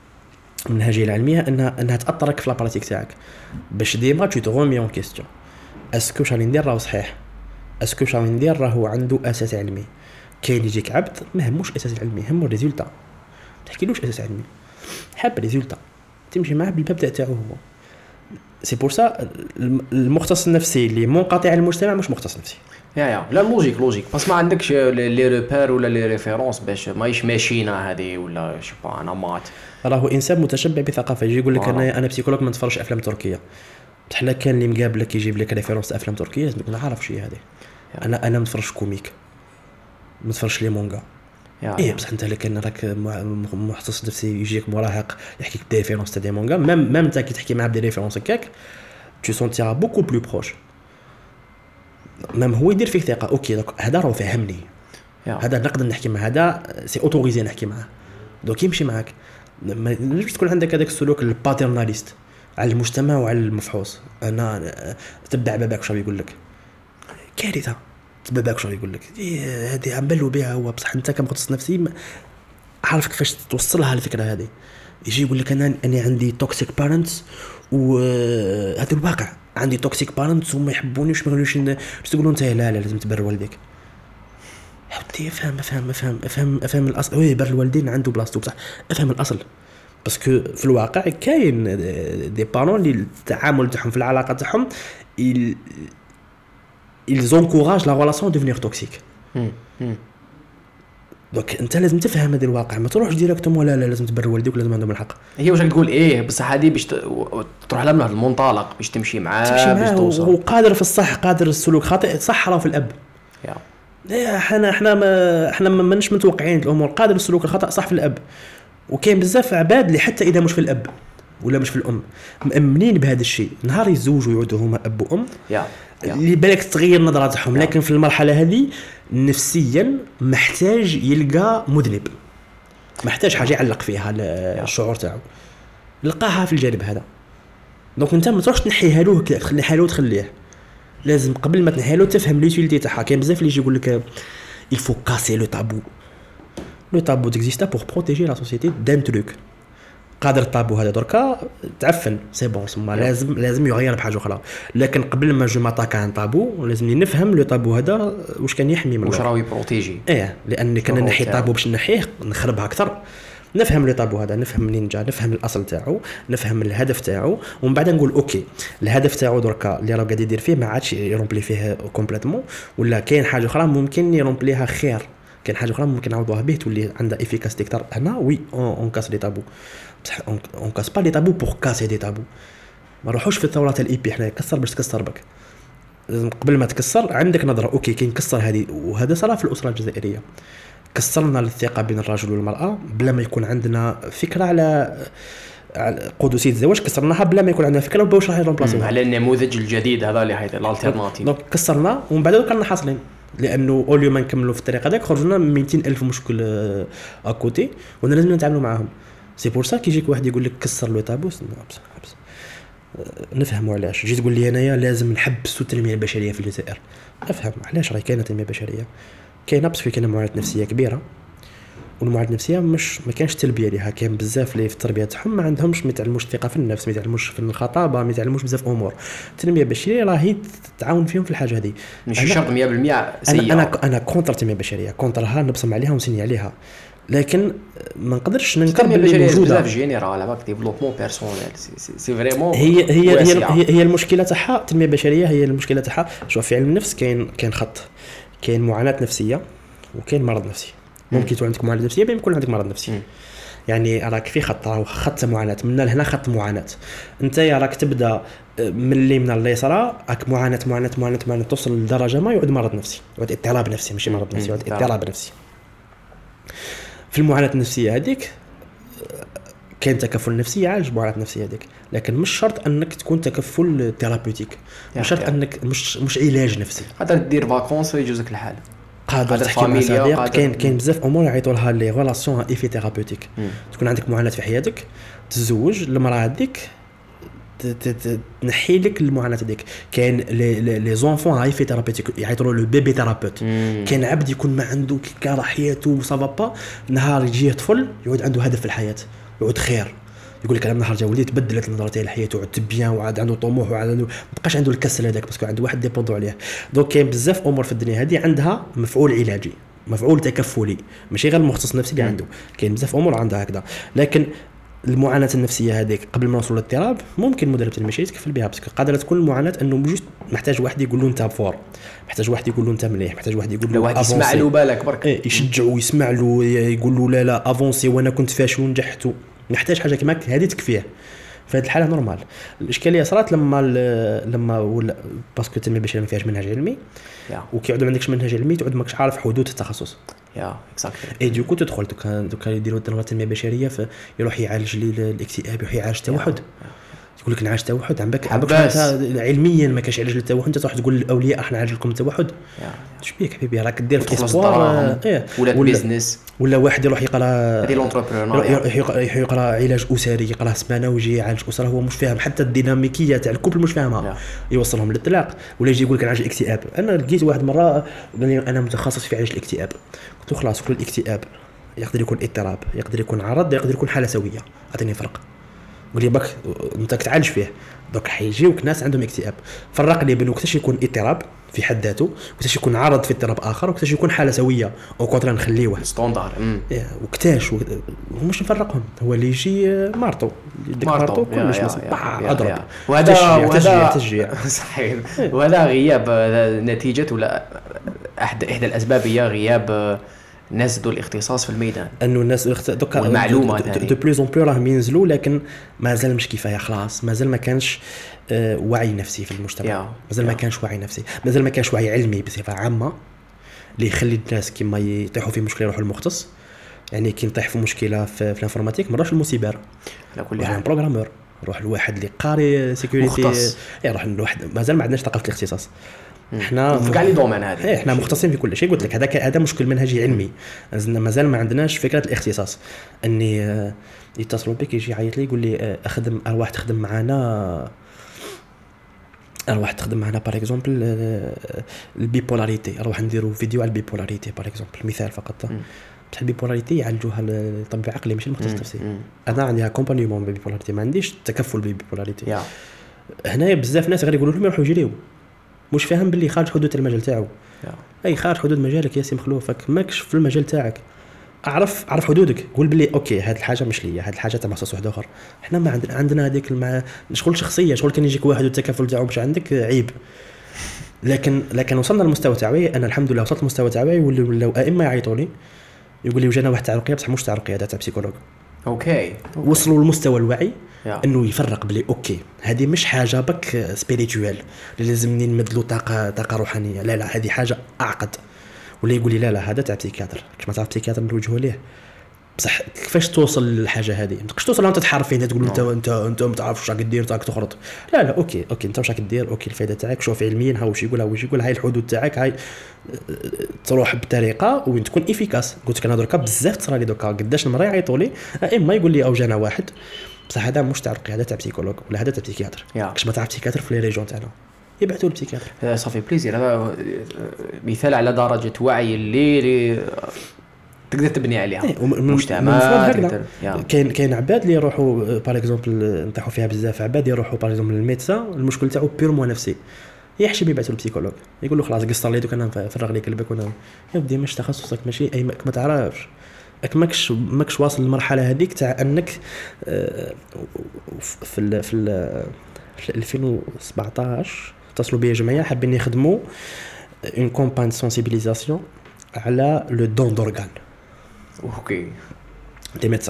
B: انها تاثرك في لاباراتيك تاعك باش ديما tu te remets en question اسكو واش راني ندير راهو صحيح اسكو واش راني ندير راهو عنده اساس علمي كاين يجيك عبد ما هموش اساس علمي همو الريزولتا تحكيلوش اساس علمي حاب الريزولتا تمشي معاه بالباب تاعو هو سي بور سا المختص النفسي اللي منقطع عن المجتمع مش مختص نفسي
A: لا لوجيك بس ما عندكش لي ريبير ولا لي ريفيرونس باش مايش ماشينا هذه ولا شو با نمط راهو
B: انسان متشبع بثقافه يجي يقول لك انا بسيكولوج ما نتفرجش افلام تركيه بحال كان اللي مقابلك يجيب لك ريفيرونس افلام تركيه لازم تكون عارف شي هذه انا نتفرج كوميك ما نتفرجش لي مونغا بصح انت لكن راك مختص نفسي يجيك مراهق يحكيك دي ريفيرونس تاع دي مونغا ميم انت كي تحكي معاه بدي ريفيرونس هكاك tu sentiras beaucoup plus proche ميم هو يدير فيك ثقه اوكي دونك هذا راه فهمني هذا نقدر نحكي مع هذا سي اوتوريزي نحكي معاه دونك يمشي معاك ما تجيش تكون عندك هذاك السلوك الباترناليست على المجتمع وعلى المفحوص انا تبع باباك واش يقول لك كارثه تبع واش يقول لك هذه عملوا بها هو بصح انت كمختص نفسي عارف كيفاش توصلها الفكره هذه يجي يقول لك انا عندي توكسيك بارنتس وهذا الواقع عندي توكسيك بارنتس وما يحبونيش ما يقولوش تقولوا انت لا لازم تبر والديك حتى افهم الاصل وي بر الوالدين عنده بلاصتو بصح افهم الاصل باسكو في الواقع كاين دي بارون اللي التعامل تاعهم في العلاقه تاعهم ils encouragent la relation à devenir toxique. دونك انت لازم تفهم هذا الواقع ما تروحش ديريكتومون لا لازم تبر والديك ولازم عندهم الحق
A: هي واش تقول بصح هذه باش تروح لها من المنطلق باش تمشي معاه باش توصل
B: وقادر في الصح قادر السلوك خاطئ صح راه في الاب احنا ماناش متوقعين الامور قادر السلوك الخطا صح في الاب وكاين بزاف عباد اللي حتى اذا مش في الاب ولا مش في الام مأمنين بهذا الشيء نهار يتزوجوا يعودوا هما اب وام اللي بالك تغير نظرتهم لكن في المرحله هذه نفسيا محتاج يلقى مذنب محتاج حاجه يعلق فيها الشعور تاعو لقاها في الجانب هذا دونك انت ما تروحش تنحيها له تخليها له وتخليه لازم قبل ما تنحيها له تفهم ليوتيليتي تاعها كاين بزاف اللي يجي يقول لك il faut casser le tabou existe pour protéger la société d'un truc قادر الطابو هذا دركا تعفن سي بون ثم لازم يغير بحاجه اخرى لكن قبل ما جو ماتاكا عن طابو لازم نفهم لو طابو هذا واش كان يحمي منه
A: واش راهو يبروتيجي
B: لان كان نحي طابو باش نحيه نخربها اكثر نفهم لو طابو هذا نفهم منين جا نفهم الاصل تاعو نفهم الهدف تاعو ومن بعد نقول اوكي الهدف تاعو دركا اللي راه قاعد يدير فيه ما عادش يرومبلي فيه كومبليتومون ولا كاين حاجه اخرى ممكن يرومبليها خير كاين حاجه اخرى ممكن نعوضوها به تولي عندها افيكاسيتي اكثر هنا وي اون كاس لي طابو on casse pas les tabous pour casser des tabous ما نروحوش في الثورات الايبي احنا كسر باش تكسر بك لازم قبل ما تكسر عندك نظره اوكي كاين كسر هذه وهذا صار في الاسره الجزائريه كسرنا الثقه بين الرجل والمراه بلا ما يكون عندنا فكره على قدسيه الزواج كسرناها بلا ما يكون عندنا فكره باش راح يرومبلاسيوها
A: على النموذج الجديد هذا اللي هي الالتيرناتيف
B: دونك كسرنا ومن بعد كنا حاصلين لانه اول يوم نكملوا في الطريق هذاك خرجنا 200,000 مشكل اكوتي وانا لازم نتعاملوا معاهم سي بور سا كيجيك واحد يقول لك كسر لو طابو حبس نفهموا علاش جيت تقول لي انايا لازم نحبسوا التنميه البشريه في الجزائر افهم علاش راهي كاينه تنميه بشريه كاينه بس كاينه معاناه نفسيه كبيره والمعاناه النفسيه مش ما كانش تلبيه ليها كاين بزاف اللي في التربيه تاعهم ما عندهمش ما يتعلموش الثقه في النفس ما يتعلموش في الخطابه ما يتعلموش بزاف امور التنميه البشريه راهي تعاون فيهم في الحاجه هذه
A: مش شرط 100% سيئه
B: انا كونتر التنميه البشريه كونترها نبصم عليها ونسني عليها لكن ما نقدرش ننكر
A: باللي موجوده بزاف جينيرال هذاك ديفلوبمون بيرسونيل سي فريمون
B: هي المشكله تاعها التنميه البشريه هي المشكله تاعها شوف في علم النفس كاين خط كاين معاناه نفسيه وكاين مرض نفسي ممكن تكون عندك معاناه نفسيه بين يكون عندك مرض نفسي يعني راك في خط معاناه من لهنا خط معاناه انت راك تبدا من اليمين لليسرى راك معاناه توصل لدرجه ما يعود مرض نفسي يعود اضطراب نفسي ماشي مرض نفسي يعود اضطراب نفسي في المعاناه النفسيه هذيك كاين تكفل نفسي يعالج المعاناه النفسيه هذيك، لكن مش شرط انك تكون تكفل ثيرابيوتيك، مش شرط انك مش علاج نفسي.
A: قادر دير فاكونس ويجوزك الحال،
B: قادر تحكي مع صديق. كاين بزاف امور يعيطوا لها لي ريلاسيون ايفي ثيرابيوتيك. تكون عندك معاناه في حياتك، تتزوج المراه هذيك تنحي لك المعاناه هذيك. كاين لي زونفون ايفي ثيرابيوتيك يعيطوا له بيبي ثيرابيوت. كاين عبد يكون ما عنده كاره حياته وصافا با، نهار يجي طفل يعود عنده هدف في الحياه، يعود خير، يقول لك انا نهار جا وليت تبدلت نظرتي للحياه وعدت بيان وعاد عنده طموح وعاد عنده مابقاش عنده الكسل هذاك باسكو عنده واحد ديبوندو عليه. دونك كاين بزاف امور في الدنيا هذه عندها مفعول علاجي، مفعول تكفلي، ماشي غير المختص النفسي اللي عنده. كاين بزاف امور عندها هكذا. لكن المعاناه النفسيه هذيك قبل ما نوصلوا للاضطراب ممكن مدرب المشي يتكفل بها، باسكو قادره تكون المعاناه انه جوست محتاج واحد يقول له انت فور، محتاج واحد يقول له انت مليح، محتاج واحد يقول له
A: واحد يسمع له بالك برك،
B: يشجعه ويسمع له، يقول له لا لا افونسي وانا كنت فاشل ونجحت. محتاج حاجه كيما هذه تكفيه. في هذه الحاله نورمال. الاشكاليه صارت لما ولا باسكو التنميه البشريه ما فيهاش منهج علمي، وكيعود ما عندكش منهج علمي تعود ماكش عارف حدود التخصص.
A: اكزاكتلي.
B: اي دوكو تدخل دوكا يديروا التنميه البشريه يروح يعالج لي الاكتئاب، يروح يعالج التوحد. يقول لك نعالج التوحد عمك علميا ما كاش علاج للتوحد. انت تروح تقول للاولياء راح نعالج لكم التوحد، اش بيك حبيبي؟ راك دير في اسبوار
A: ولا بيزنس،
B: ولا واحد يروح يقرا
A: هذه لونتربرونور،
B: يقرا علاج اسري، يقرا سمانه ويجي يعالج اسره هو مش فاهم حتى الديناميكيه تاع الكوبل مش فاهمها، يوصلهم للطلاق. ولا يجي يقول لك نعالج الاكتئاب. انا لقيت واحد مره قال لي انا متخصص في علاج الاكتئاب. قلت له خلاص كل الاكتئاب يقدر يكون اضطراب، يقدر يكون عرض، يقدر يكون حاله سويه، اعطيني فرق. قال لي باك انت كتعالج فيه. دوك حيجيوك ناس عندهم اكتئاب، فرق لي بين وقتاش يكون اضطراب في حد ذاته، وقتاش يكون عرض في اضطراب اخر، وقتاش يكون حاله سويه او كونترا نخليوه
A: ستاندار.
B: وقتاش ومش نفرقهم. هو اللي يجي مارطو يديك مارطو كلش اضرب،
A: وهذا تشجيع صحيح. وهذا غياب نتيجه ولا احدى الاسباب هي غياب الناس ذو الاختصاص في الميدان.
B: انه الناس دوكا
A: والمعلومات
B: دو بلوز اون بلو راهم ينزلوا، لكن مازال مش كفايه. خلاص مازال ما كانش وعي نفسي في المجتمع، مازال ما كانش وعي نفسي، مازال ما كانش وعي علمي بصفه عامه اللي يخلي الناس كيما يطيحوا في مشكله يروحوا للمختص. يعني كي نطيح في مشكله في الانفورماتيك ما نروحش للمسيبر،
A: على كل حال
B: بروغرامور، نروح لواحد اللي قاري سيكوريتي، نروح لواحد. مازال ما عندناش ثقافه الاختصاص. احنا
A: في كاع لي دومين هذه
B: احنا مختصين في كل شيء. قلت لك هذا مشكل منهجي علمي. مازال ما عندناش فكره الاختصاص. اني يتصلوا بك يجي يعيط لي يقول لي اخدم ارواح تخدم معنا باغ اكزومبل البيبولاريتي، اروح نديروا فيديو على البيبولاريتي باغ اكزومبل، مثال فقط. بصح البيبولاريتي يعالجوها الطبيب العقلي ماشي المختص النفسي. انا عندي اكومبانيمون بالبيبولاريتي، ما عنديش تكفل بالبيبولاريتي. هنايا بزاف ناس غير يقولوا لهم يروحوا يجريوا، مش فاهم باللي خارج حدود المجال تاعو. اي خارج حدود مجالك يا سي مخلوفك، ماكش في المجال تاعك. اعرف حدودك، قول باللي اوكي هذه الحاجه مش ليا، هذه الحاجه تاع مخصص واحد اخر. احنا ما عندنا هذيك شغل شخصيه، شغل كان يجيك واحد والتكافل تاعو مش عندك عيب. لكن وصلنا للمستوى تاعي. انا الحمد لله وصلت للمستوى تاعي، ولاو ائمه يعيطوا لي يقول لي وجانا واحد تاع رقيه بصح مش تاع رقيه، تاع بسيكولوج.
A: اوكي
B: وصلوا للمستوى الوعي انه يفرق بلي اوكي هذه مش حاجه بك سبيريتوال اللي لازمني نمدلو طاقه روحانيه، لا لا هذه حاجه اعقد. ولا يقول لي لا هذا تاع بسيكاتر، كيما تعرف بسيكاتر نوجهوا ليه. بصح كيفاش توصل للحاجه هذه؟ ما تقدرش توصل انت تحارب فين تقول انت ما تعرفش واش راك دير تاعك تخرط. لا اوكي انت واش راك دير، اوكي الفائده تاعك شوف علميا ها واش يقول هاي الحدود تاعك، هاي تروح بطريقه وين تكون افيكاس. قلت لك انا دركا بزاف تصرا لي دوكا قداش نمر يعيطوا لي اما يقول لي او جانا واحد بصح هذا مش تاع رقيه، هذا تاع بسيكولوج ولا هذا تاع بسيكاتر. كاش ما تعرف بسيكاتر في لي ريجون تاعنا يبعثوا لبسيكاتر.
A: صافي بليزير. هذا مثال على درجه وعي اللي تقدر تبني عليها مجتمع.
B: كاين عباد اللي يروحوا باغ اكزومبل نطيحوا فيها بزاف، عباد يروحوا باغ اكزومبل للميدسان المشكل تاعو بيرمو نفسي، يحشم يبعثوا للبسيكولوج يقول له خلاص قصر لي دوك انا نفرغ لك قلبك وانا يا ودي مش تخصصك ماشي اي ما تعرفش ماكش واصل للمرحله هذيك تاع انك في 2017 اتصلوا بي جمعيه حابين يخدموا اون كومباين سونسيبيليزاسيون على لو دون دورغان.
A: اوكي
B: دي ميدسان.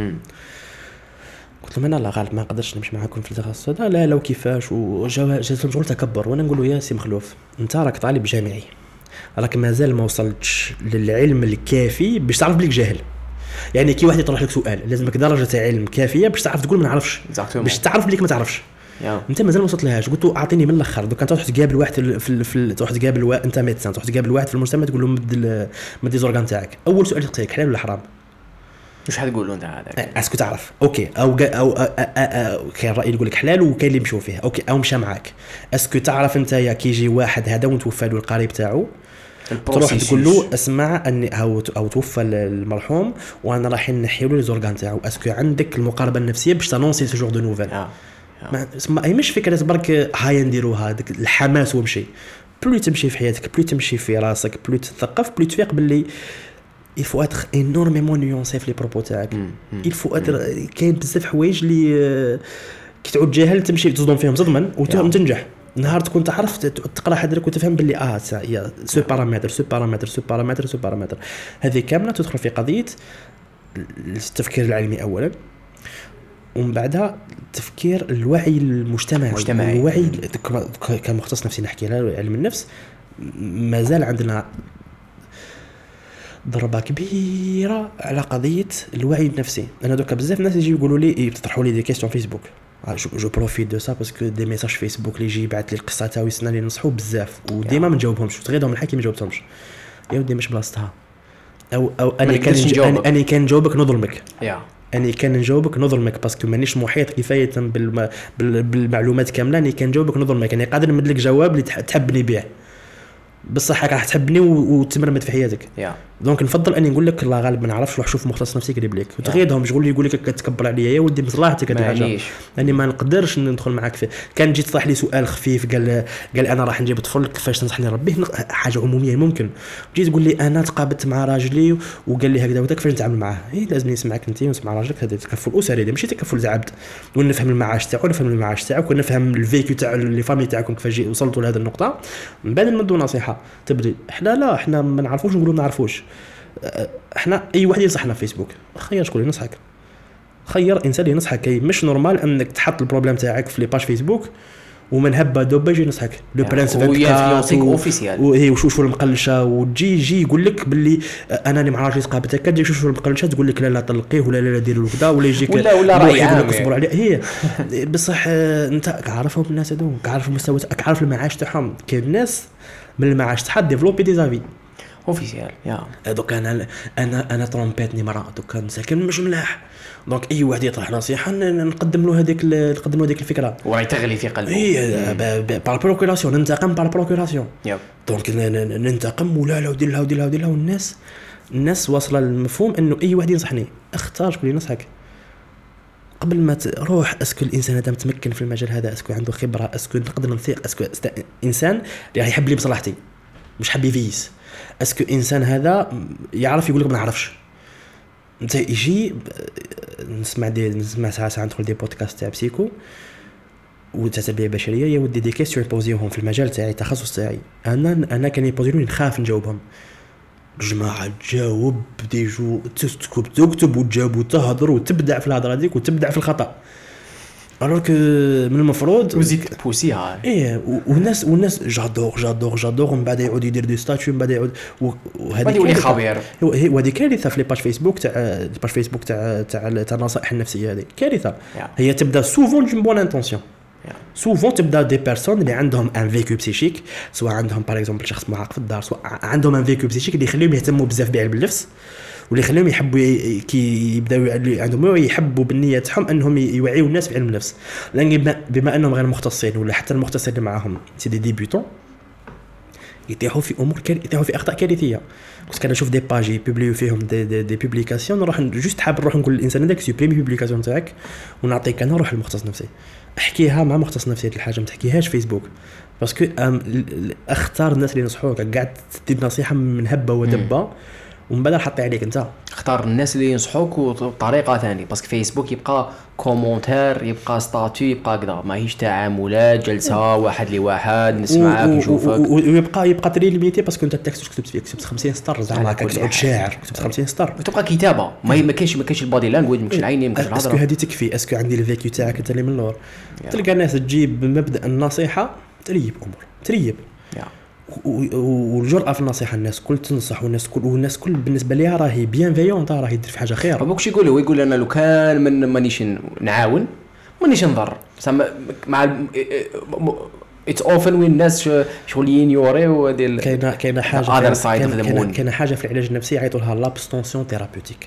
B: قلت لهم انا لا غالب ما نقدرش نمشي معاكم في التخصص هذا. لا لو كيفاش وجاتهم شغل تكبر. وانا نقول له يا سي مخلوف انت راك طالب جامعي، راك مازال ما وصلتش للعلم الكافي باش تعرف بليك جاهل. يعني كي واحد يطرح لك سؤال لازمك درجه علم كافيه باش تعرف تقول ما نعرفش، باش تعرف بليك ما تعرفش. انت مازال ما وصلت لهاش. قلت له اعطيني من الاخر. دوك انت تروح تقابل واحد تروح تقابل انت ميدسان، تروح تقابل واحد في المجتمع تقول له مد زورغان تاعك. اول سؤال يقطيك حلال ولا حرام؟
A: مش حتقول له انت هذاك
B: اسكو تعرف اوكي او كاين راي يقول لك حلال وكاين اللي مشوا فيه اوكي او مشى معاك. اسكو تعرف انت يا كيجي واحد هذا وتوفى له القريب تاعو تروح تقول له اسمع اني او توفى المرحوم وانا رايحين نحيوا له زورغان تاعو، اسكو عندك المقاربه النفسيه باش تانونسي سو جور دو نوفيل؟ ما هي مش فكره برك هاي نديروها ديك الحماس ومشي. بلو تمشي في حياتك، بلو تمشي في راسك، بلو تثقف، بلو تفيق باللي il faut être énormément nuancé في لي بروبو تاعك. il faut être كاين بزاف حوايج اللي كي تعود جاهل تمشي تصدم فيهم صدما وتنجح. نهار تكون تعرف تقرا حدك وتفهم باللي يا سو بارامتر هذه كامله تدخل في قضيه التفكير العلمي اولا، ومن بعدها تفكير الوعي المجتمعي. الوعي كمختص نفسي نحكي له علم النفس مازال عندنا ضربة كبيرة على قضية الوعي النفسي. أنا دوكا بزاف ناس يجي يقولوا لي يطرحوا لي دي كيستيون فيسبوك، جو بروفيت دو سا باسكو دي ميساج فيسبوك اللي يجي يبعث لي القصة تاعو يسنا لي نصحو بزاف وديما ما نجاوبهمش، تغيرهم الحكي ما جاوبتهمش. يا ودي مش بلاصتها او انا كان نجاوبك نظلمك. أنا كان نجاوبك نظلمك باسكو مانيش محيط كفاية بالمعلومات كاملة. أنا كان نجاوبك نظلمك، أنا قادر نمد لك جواب اللي تحبني به بصح راح تحبني وتمرمد في حياتك. دونك نفضل اني نقول لك الله غالب ما نعرفش، روح شوف مختص نفسي قريب لك وتغيدهم شغل يقول لك كتكبر عليا يا ودي مصلحتك هذه حاجه يعني ما نقدرش ندخل معاك فيه. كان جيت طرح لي سؤال خفيف قال انا راح نجيب طفل كيفاش تنصحني ربي حاجه عموميه ممكن. جيت تقول لي انا تقابلت مع راجلي وقال لي هكذا وهكذا كيفاش نتعامل معاه؟ لازم نسمعك انت ونسمع راجلك. هذا تكفل اسري ماشي تكفل تاع عبد، ونفهم المعاش تاعو ونفهم المعاش تاعك ونفهم الفيكيو تاع لي فامي تاعكم كيفاش وصلتوا لهذه النقطه. من بعد نمدوا نصيحه تبدي احنا ما نعرفوش نقولوا ما نعرفوش. احنا اي واحد ينصحنا في فيسبوك خير شكون ينصحك، خير انسان ينصحك. مش نورمال انك تحط البروبليم تاعك في لي باج فيسبوك ومن هبه دوبه يجي ينصحك لو برانس 24
A: اوفيسيال
B: وهي وشوش المقلشه وتجي يقول لك باللي انا اللي مع راجلي تقابلت هكا تجي شوش المقلشه تقول لك لا طلقيه ولا ديروا له كذا ولا يجيك
A: ولا راي عام
B: تصبر عليه. هي بصح انت عارفهم الناس هذو، عارف المستوى، عارف المعاش تاعهم. كاين الناس من المعاش تاع ديفلوبي دي زافي
A: اوفيسيال
B: دوك انا ترومبيتني مرة دوك ساكن مش ملاح. دونك اي واحد يطرح نصيحه نقدم له هذيك الفكره
A: وراي تغلي في قلبه.
B: بار بروكوراسيون ننتقم بار بروكوراسيون. دونك ننتقم ولا ودير لها والناس واصله للمفهوم انه اي واحد ينصحني اختار شكون ينصحك قبل ما تروح. اسكو الانسان هذا متمكن في المجال هذا، اسكو عنده خبره، اسكو نقدر نثيق، اسكو انسان اللي يحب لي بصلاحتي مش حب يفيس، اسكو انسان هذا يعرف يقول لك ما نعرفش. انت يجي نسمع ساعات ندخل دي بودكاست تاع بسيكو وتتبع بشريه يا ودي دي كيستيون يبوزيوهم في المجال تاعي التخصص تاعي. انا كان يبوزيوني نخاف نجاوبهم. جماعه تجاوب ديجو تكتب وتجاوب وتهضر وتبدع في الهضره ديك وتبدع في الخطا alors que من المفروض
A: وزيد بوسيها
B: والناس جادور ومن بعد يعود يدير دي ستاتيو من بعد يعود
A: وهذه يولي خبير.
B: وهذه كارثه في لي باج فيسبوك تاع النصائح النفسيه. هذه كارثه. هي تبدا سوفون دون بون انتونسيون، سوفون تبدا دي بيرسون اللي عندهم ان فيكو بسيشيك، سواء عندهم باغ اكزومبل شخص معاق في الدار، سواء عندهم ان فيكو بسيشيك اللي يخليهم يهتموا بزاف بعلم النفس واللي يخليهم يحبوا كي يبداو عندهم يحبوا بالنية تاعهم انهم يوعيوا الناس بعلم النفس. لان بما انهم غير مختصين ولا حتى المختصين اللي معاهم سي دي ديبيوتون يتيحوا في يتيحوا في اخطاء كارثيه. كنت كنشوف دي باج يبوبليو فيهم دي بوبليكاسيون نروح جوست حاب نروح نقول للانسان هذاك سوبريمي بوبليكاسيون تاعك ونعطيك انا روح المختص نفسي احكيها مع مختص نفسي. هذه الحاجه ما تحكيهاش فيسبوك باسكو اختار الناس اللي ينصحوك قاعد تدي نصيحه من هبه ودبه ومن بعد حطي عليك انت
A: اختار الناس اللي ينصحوك بطريقه ثانيه. باسكو فيسبوك يبقى كومونتير، يبقى ستاتيو، يبقى كذا، ماهيش تعاملات جلسه واحد لواحد نسمعك نشوفك
B: ويبقى تري ليميتي باسكو انت التكست كتبت فيه كتبت 50 سطر زعما كتعود شاعر كتبت 50 سطر
A: وتبقى كتابه ما كاينش البادي لانجويج ما كاينش العينين ما كاينش الهضره.
B: اسكو هذه تكفي؟ اسكو عندي الفيكيو تاعك انت اللي من اللور تلقى الناس تجيب مبدا النصيحه تريب امور تريب والجرأة في النصيحة. الناس كل تنصح والناس كل بالنسبة ليها راهي بيانفيونت، راهي يدير في حاجة خير.
A: هو كش يقول انا لو كان مانيش نعاون مانيش نضر مع اتس اوفن وين الناس شغلين يوريو ديال
B: كاينه حاجه في العلاج النفسي يعيطوا لها لابستونسيون ثيرابيوتيك،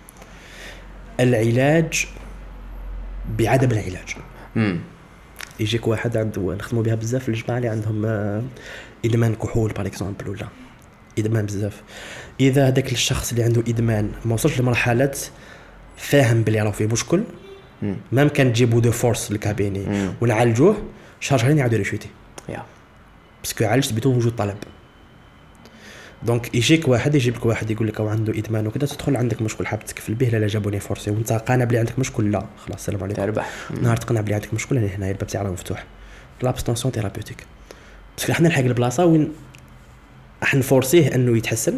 B: العلاج بعدم العلاج. يجيك واحد عنده نخدموا بها بزاف في الجماعه اللي عندهم ادمان كحول باغ اكزومبل ولا ادمان بزاف. اذا هذاك الشخص اللي عنده ادمان ما وصلش لمرحله فاهم بلي راه فيه مشكل، ما كان تجيبوا دو فورس للكابيني ونعالجوه شهر شهرين يعاودوا ريشوتي باسكو عالجت بدون وجود طلب. دونك يجيب لك واحد يقول لك او عنده ادمان وكذا، تدخل عندك مشكل حاب تكفل به، لا جابوني فورسي وانت قانع بلي عندك مشكل، لا خلاص السلام عليكم
A: تربح.
B: نهار تقنع بلي عندك مشكل هنا الباب تاعنا مفتوح. لابستونسيون ثيرابيوتيك باسكو حنا نلحق البلاصه وين راح نفورسيه انه يتحسن،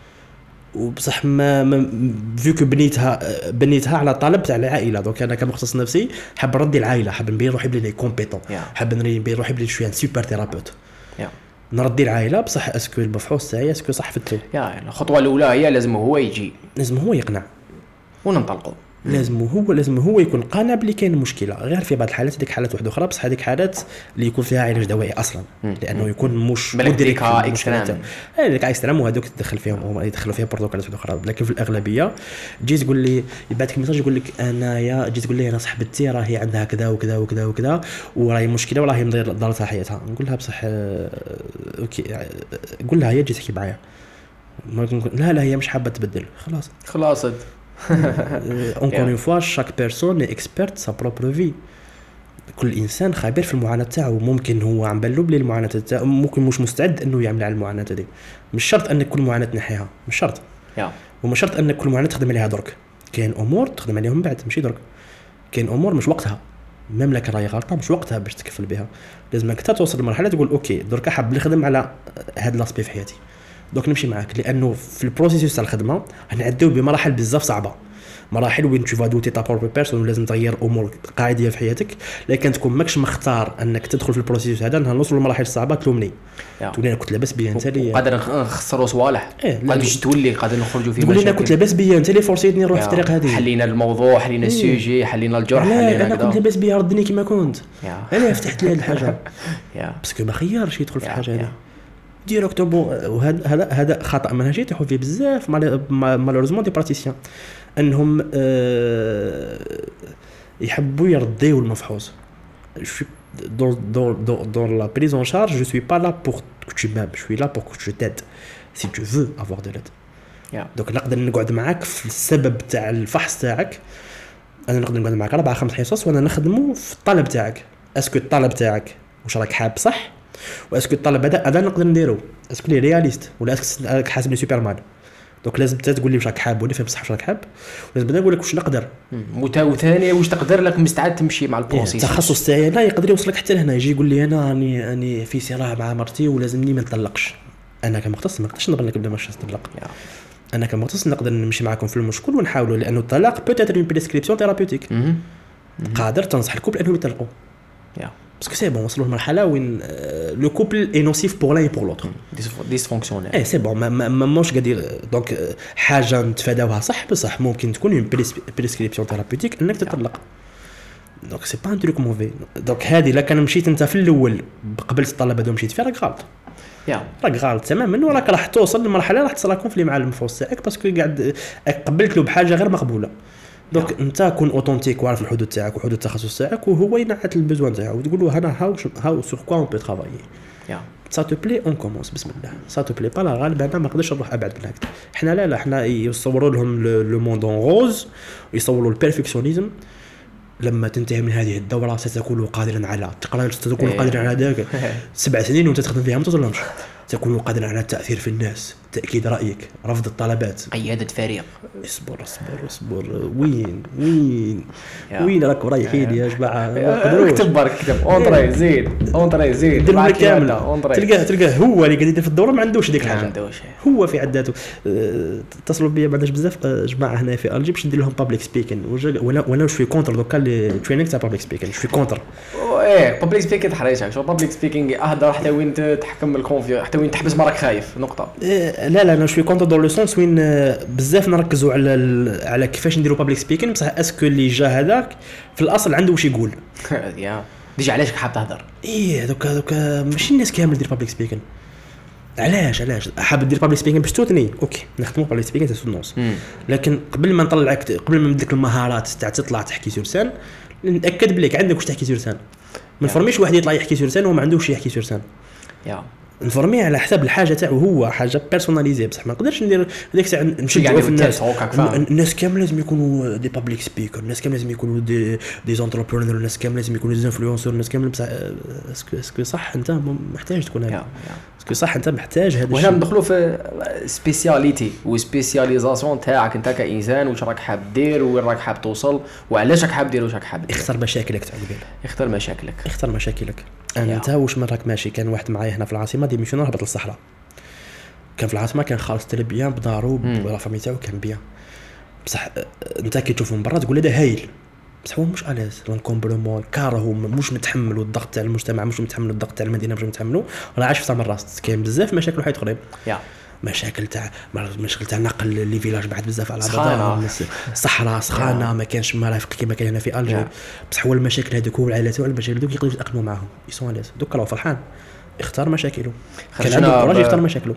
B: وبصح ما فيكو بنيتها على طلب تاع العائله. دونك انا كمختص نفسي حاب نردي العائله، حاب نبين روحي بلي كومبيتون، حاب نبين روحي بلي شويه سوبر ثيرابيوت، نردي العائله. بصح اسكو المفحوص تاعي اسكو صح فتو.
A: الخطوه الاولى هي لازم هو يجي،
B: لازم هو يقنع
A: وننطلقوا.
B: لازم هو يكون قانع بلي كاين مشكله. غير في بعض الحالات هذيك حالات واحده اخرى، بصح هذيك حالات اللي يكون فيها علاج دوائي اصلا، لانه يكون مش
A: مدرك اكستريم،
B: هذيك اكستريم وهذوك تدخل فيهم هما يدخلوا فيها بروتوكولات واحده اخرى. لكن في الاغلبيه جيت تقول لي يبعث لك ميساج يقول لك انايا جيت تقول لي انا صاحبتي راهي عندها كذا وكذا وكذا وكذا وراهي مشكله وراهي ضرتها حياتها. نقول لها بصح اوكي، قول لها هي جيت تحكي معايا، لا هي مش حابه تبدل، خلاص encore une fois chaque personne est experte de sa propre vie. كل انسان خبير في المعاناه تاعو. ممكن هو عم بالو بلي المعاناه تاعو ممكن مش مستعد انه يعمل على المعاناه هذه. مش شرط ان كل معاناه تنحيها، مش شرط ومش شرط ان كل معاناه تخدم عليها درك. كاين امور تخدم عليهم بعد ماشي درك. كاين امور مش وقتها، المملكه راهي غلطه مش وقتها باش تكفل بها. لازمك حتى توصل لمرحله تقول اوكي درك حاب نخدم على هذا لاسبي في حياتي، دوك نمشي معاك. لانه في البروسيس تاع الخدمه نعديو بمراحل بزاف صعبه، مراحل وين تشوف دوتي تا بروبر بيرسون ولازم تغير امور قاعديه في حياتك. لكن تكون ماكش مختار انك تدخل في البروسيس هذا نوصلوا لمراحل صعبه تلومني تقول انا كنت لاباس بيا انت لي
A: قادر نخسروا صوالح، قادر تولي قادر نخرجوا في
B: مشاكل. تقول انا كنت لاباس بيا انت لي فورسيتني نروح في الطريق هذه،
A: حلينا الموضوع، حلينا السوجي، حلينا الجرح، حلينا
B: انا كنت لاباس بيا ردني كما كنت، انا فتحت لي هذه الحاجه باسكو ما خيرش يدخل في الحاجه هذه ديريكتوم. وهذا خطا منهجي يطيحوا فيه بزاف مالوريزمون دي براتيسيان، انهم يحبوا يرديوا المفحوص. dans la prise en charge je suis pas là pour que tu m'aimes, je suis là pour que je t'aide si tu veux avoir de l'aide. donc نقدر نقعد معاك في السبب تاع الفحص تاعك، انا نقدر نقعد معاك 4-5 حصص وانا نخدمه في الطلب تاعك. اسكو الطلب تاعك واش راك حاب صح، واسكو الطلب هذا نقدر نديرو، اسكو لي رياليست ولا اسكو حاسبني سوبر مان. دونك لازم تقول لي واش راك حاب ولا فهم صح واش راك حاب، ولازم نقول لك واش نقدر
A: وثاني واش تقدر لك مستعد تمشي مع البروسيس.
B: التخصص تاعي لا يقدر يوصلك حتى لهنا، يجي يقول لي انا راني في صراع مع مرتي ولازمني ما نطلقش. انا كمختص ما نقدرش نضل لك بلا ما نطلق. انا كمختص نقدر نمشي معكم في المشكل ونحاولوا، لانه الطلاق بوتيتر اون بريسكريبسيون ثيرابيوتيك. قادر تنصح الكوبل انهم يطلقوا parce que c'est bon وصلوا لمرحله وين لو كوبل اي نوسيف بور لان بور لوتر
A: ديسفونكسيونيل.
B: سي بون ما موش قادر. دونك حاجه نتفاداوها صح، بصح ممكن تكون اون بريسكريبسيون ثيرابيوتيك انك تطلق. دونك سي با ان تروك موفي. دونك هذه الا كان مشيت انت في الاول قبلت الطلب هذو مشيت فيه راك غلط، راك غلط تماما. وراك راح توصل لمرحله راح تصرا كونفلي مع المفحوص تاعك باسكو قاعد قبلت له بحاجه غير مقبوله. دونك انت كون اوتونتيك وعارف الحدود تاعك وحدود التخصص تاعك، وهو ينعت البزوان تاعو وتقول له انا هاو سور كوا اون بو ترافايي. سا تو بلي اون كومونس بسم الله. سا تو بلي با لا غالب انا ما نقدرش نروح ابعد من هكذا. احنا لا احنا يصوروا لهم لو موند اون روز ويصوروا البيرفكسيونيزم. لما تنتهي من هذه الدوره ستكون قادرا على ستكون قادرا على ذلك 7 سنين وانت تخدم فيها ما توصلهمش. تكون قادرا على التاثير في الناس، تاكيد رايك، رفض الطلبات،
A: قياده فريق.
B: اصبر وين راكم رايحين يا جماعه؟
A: اكتب برك اكتب اونطري زيد
B: دير كامله. تلقاه هو اللي قاعد يدير في الدوره ما عندوش ديك الحاجه، هو في عداته. اتصلوا بيا بعداش بزاف جماعه هنا في الجي باش ندير لهم بابليك سبيكين، وانا شوي كونتر دوكا لي ترينينغ تاع بابليك سبيكين شوي كونتر.
A: بابليك سبيكين حريص شو بابليك سبيكين اهدر حتى وين تحكم الكونفيو حتى نقطه وين تحبس ما راك خايف نقطه.
B: لا انا شوي كونتر دون لو سونس وين بزاف نركزوا على كيفاش نديروا بابليك سبيكين، بصح اسكو اللي جا هذاك في الاصل عنده واش يقول.
A: يا ديجا علاش حاب تهضر؟
B: دوكا ماشي الناس كامل دير بابليك سبيكين. علاش حاب دير بابليك سبيكين باش توتني اوكي نخدموا بابليك سبيكين تاع النص، لكن قبل ما نطلعك قبل ما نمدك المهارات تاع تطلع تحكي سورسان نتاكد بليك عندك واش تحكي سورسان. ما نفرميش واحد يطلع يحكي سورسان وما عندوش يحكي سورسان. نفرميه على حسب الحاجه تاعو هو حاجه بيرسوناليزي، بصح ما نقدرش ندير هذيك الساعه نشجعوا في الناس. الناس كامل لازم يكونوا دي بابليك سبيكر، الناس كامل لازم يكونوا دي زونتربرونور، الناس كامل لازم يكونوا دي انفلونسور، الناس كامل. بصح اسكو صح انت محتاج تكون هذا؟ اسكو صح انت محتاج هذا الشيء؟
A: وهنا ندخلوا في سبيسياليتي وسبيسياليزاسيون تاعك انت كانسان، واش راك حاب دير وين راك حاب توصل وعلاش راك حاب دير واش راك حاب دير.
B: اختار مشاكلك تاع قبيل،
A: اختار مشاكلك.
B: انت واش راك ماشي. كان واحد معايا هنا في العاصمه ديميسيون هبط للصحراء، كان في العاصمه كان خالص بيان بدارو ولا فامي تاعو كان بيان، بصح انت كي تشوفه من برا تقول هذا هايل، بصح هو مش الاز لانكومبلومون كارهو مش متحمل الضغط تاع المجتمع، مش متحمل الضغط تاع المدينه، مش متحملو، راه عايش في سامر راس. كاين بزاف مشاكل وحيد اخرين مشاكل تاع نقل لي فيلاج بعد بزاف على بعضها، صحراء سخانه ما كانش مرافق كيما كاين هنا في الجي. بصح هو المشاكل هذوك والعائلات والمشاكل هذوك يقدروا يتاقلموا معاهم يسون الاز. دوك راه فرحان اختار مشاكله، كان عنده كوراج يختار مشاكله.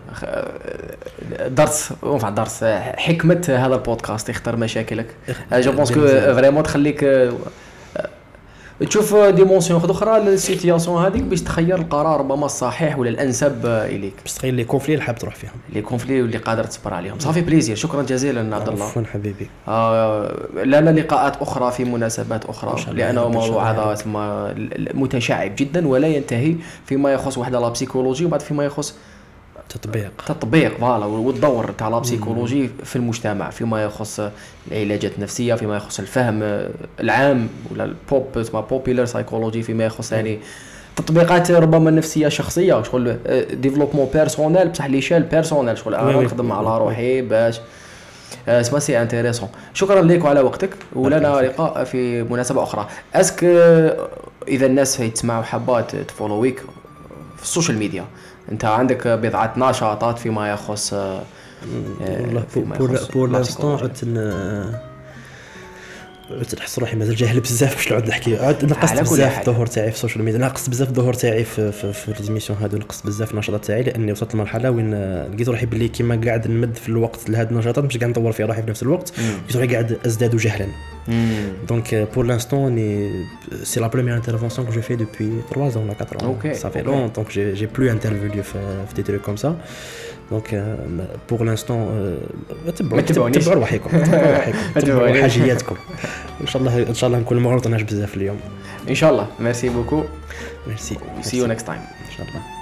A: درس حكمه هذا البودكاست اختار مشاكلك. جو بونس كو فريمون تخليك تشوف ديمونسيون اخرى للسيتياسيون هذيك باش تخير القرار ربما الصحيح ولا الانسب اليك،
B: باش تخير لي كونفلي اللي حاب تروح فيهم،
A: لي كونفلي اللي قادر تصبر عليهم. صافي بليزير، شكرا جزيلا عبد الله.
B: عفوا حبيبي.
A: لنا لقاءات اخرى في مناسبات اخرى، لانه موضوع هذا متشعب جدا ولا ينتهي فيما يخص وحده لا بسيكولوجي وبعد فيما يخص تطبيق فوالا والدور تاع لا بسيكولوجي في المجتمع فيما يخص العلاجات النفسيه، فيما يخص الفهم العام ولا البوبولار سايكولوجي، فيما يخص يعني تطبيقات ربما النفسيه الشخصيه، شغل ديفلوبمون بيرسونيل بصح ليشيل بيرسونيل، شغل انا نخدم على روحي باش اسمع سي انتريسون. شكرا لك وعلى وقتك، ولنا لقاء في مناسبه اخرى. اسك اذا الناس هيتسمعوا حبات تفولويك في السوشيال ميديا، انت عندك بضعه نشاطات فيما يخص
B: بور لانستون تحس روحي مازال جاهل بزاف باش نعود نحكي. نقصت بزاف الظهور تاعي في السوشيال ميديا، نقصت بزاف الظهور تاعي في ليزيميسيون هادو، نقصت بزاف النشاطات تاعي لاني وصلت لمرحله وين لقيت روحي باللي كيما قاعد نمد في الوقت لهاد النشاطات مش قاعد نطور فيها روحي في نفس الوقت، لقيت روحي قاعد ازداد جهلا. دونك بور لانستون سي لا بروميير انترفونسيون كو جو في دوبوي 3 ans ولا 4 ans صافي لون، دونك جي بلو انترفيو في دي تروك كوم سا. دونك بور لانستون تبعوا روحكم، تبعوا حاجياتكم. ان شاء الله نكون ما غلطناش بزاف اليوم
A: ان شاء الله. ميرسي بوكو.
B: ميرسي.
A: سي يو نيكست تايم
B: ان شاء الله.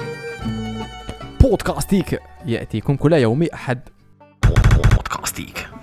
A: بودكاستيك يأتيكم كل يوم أحد. بودكاستيك.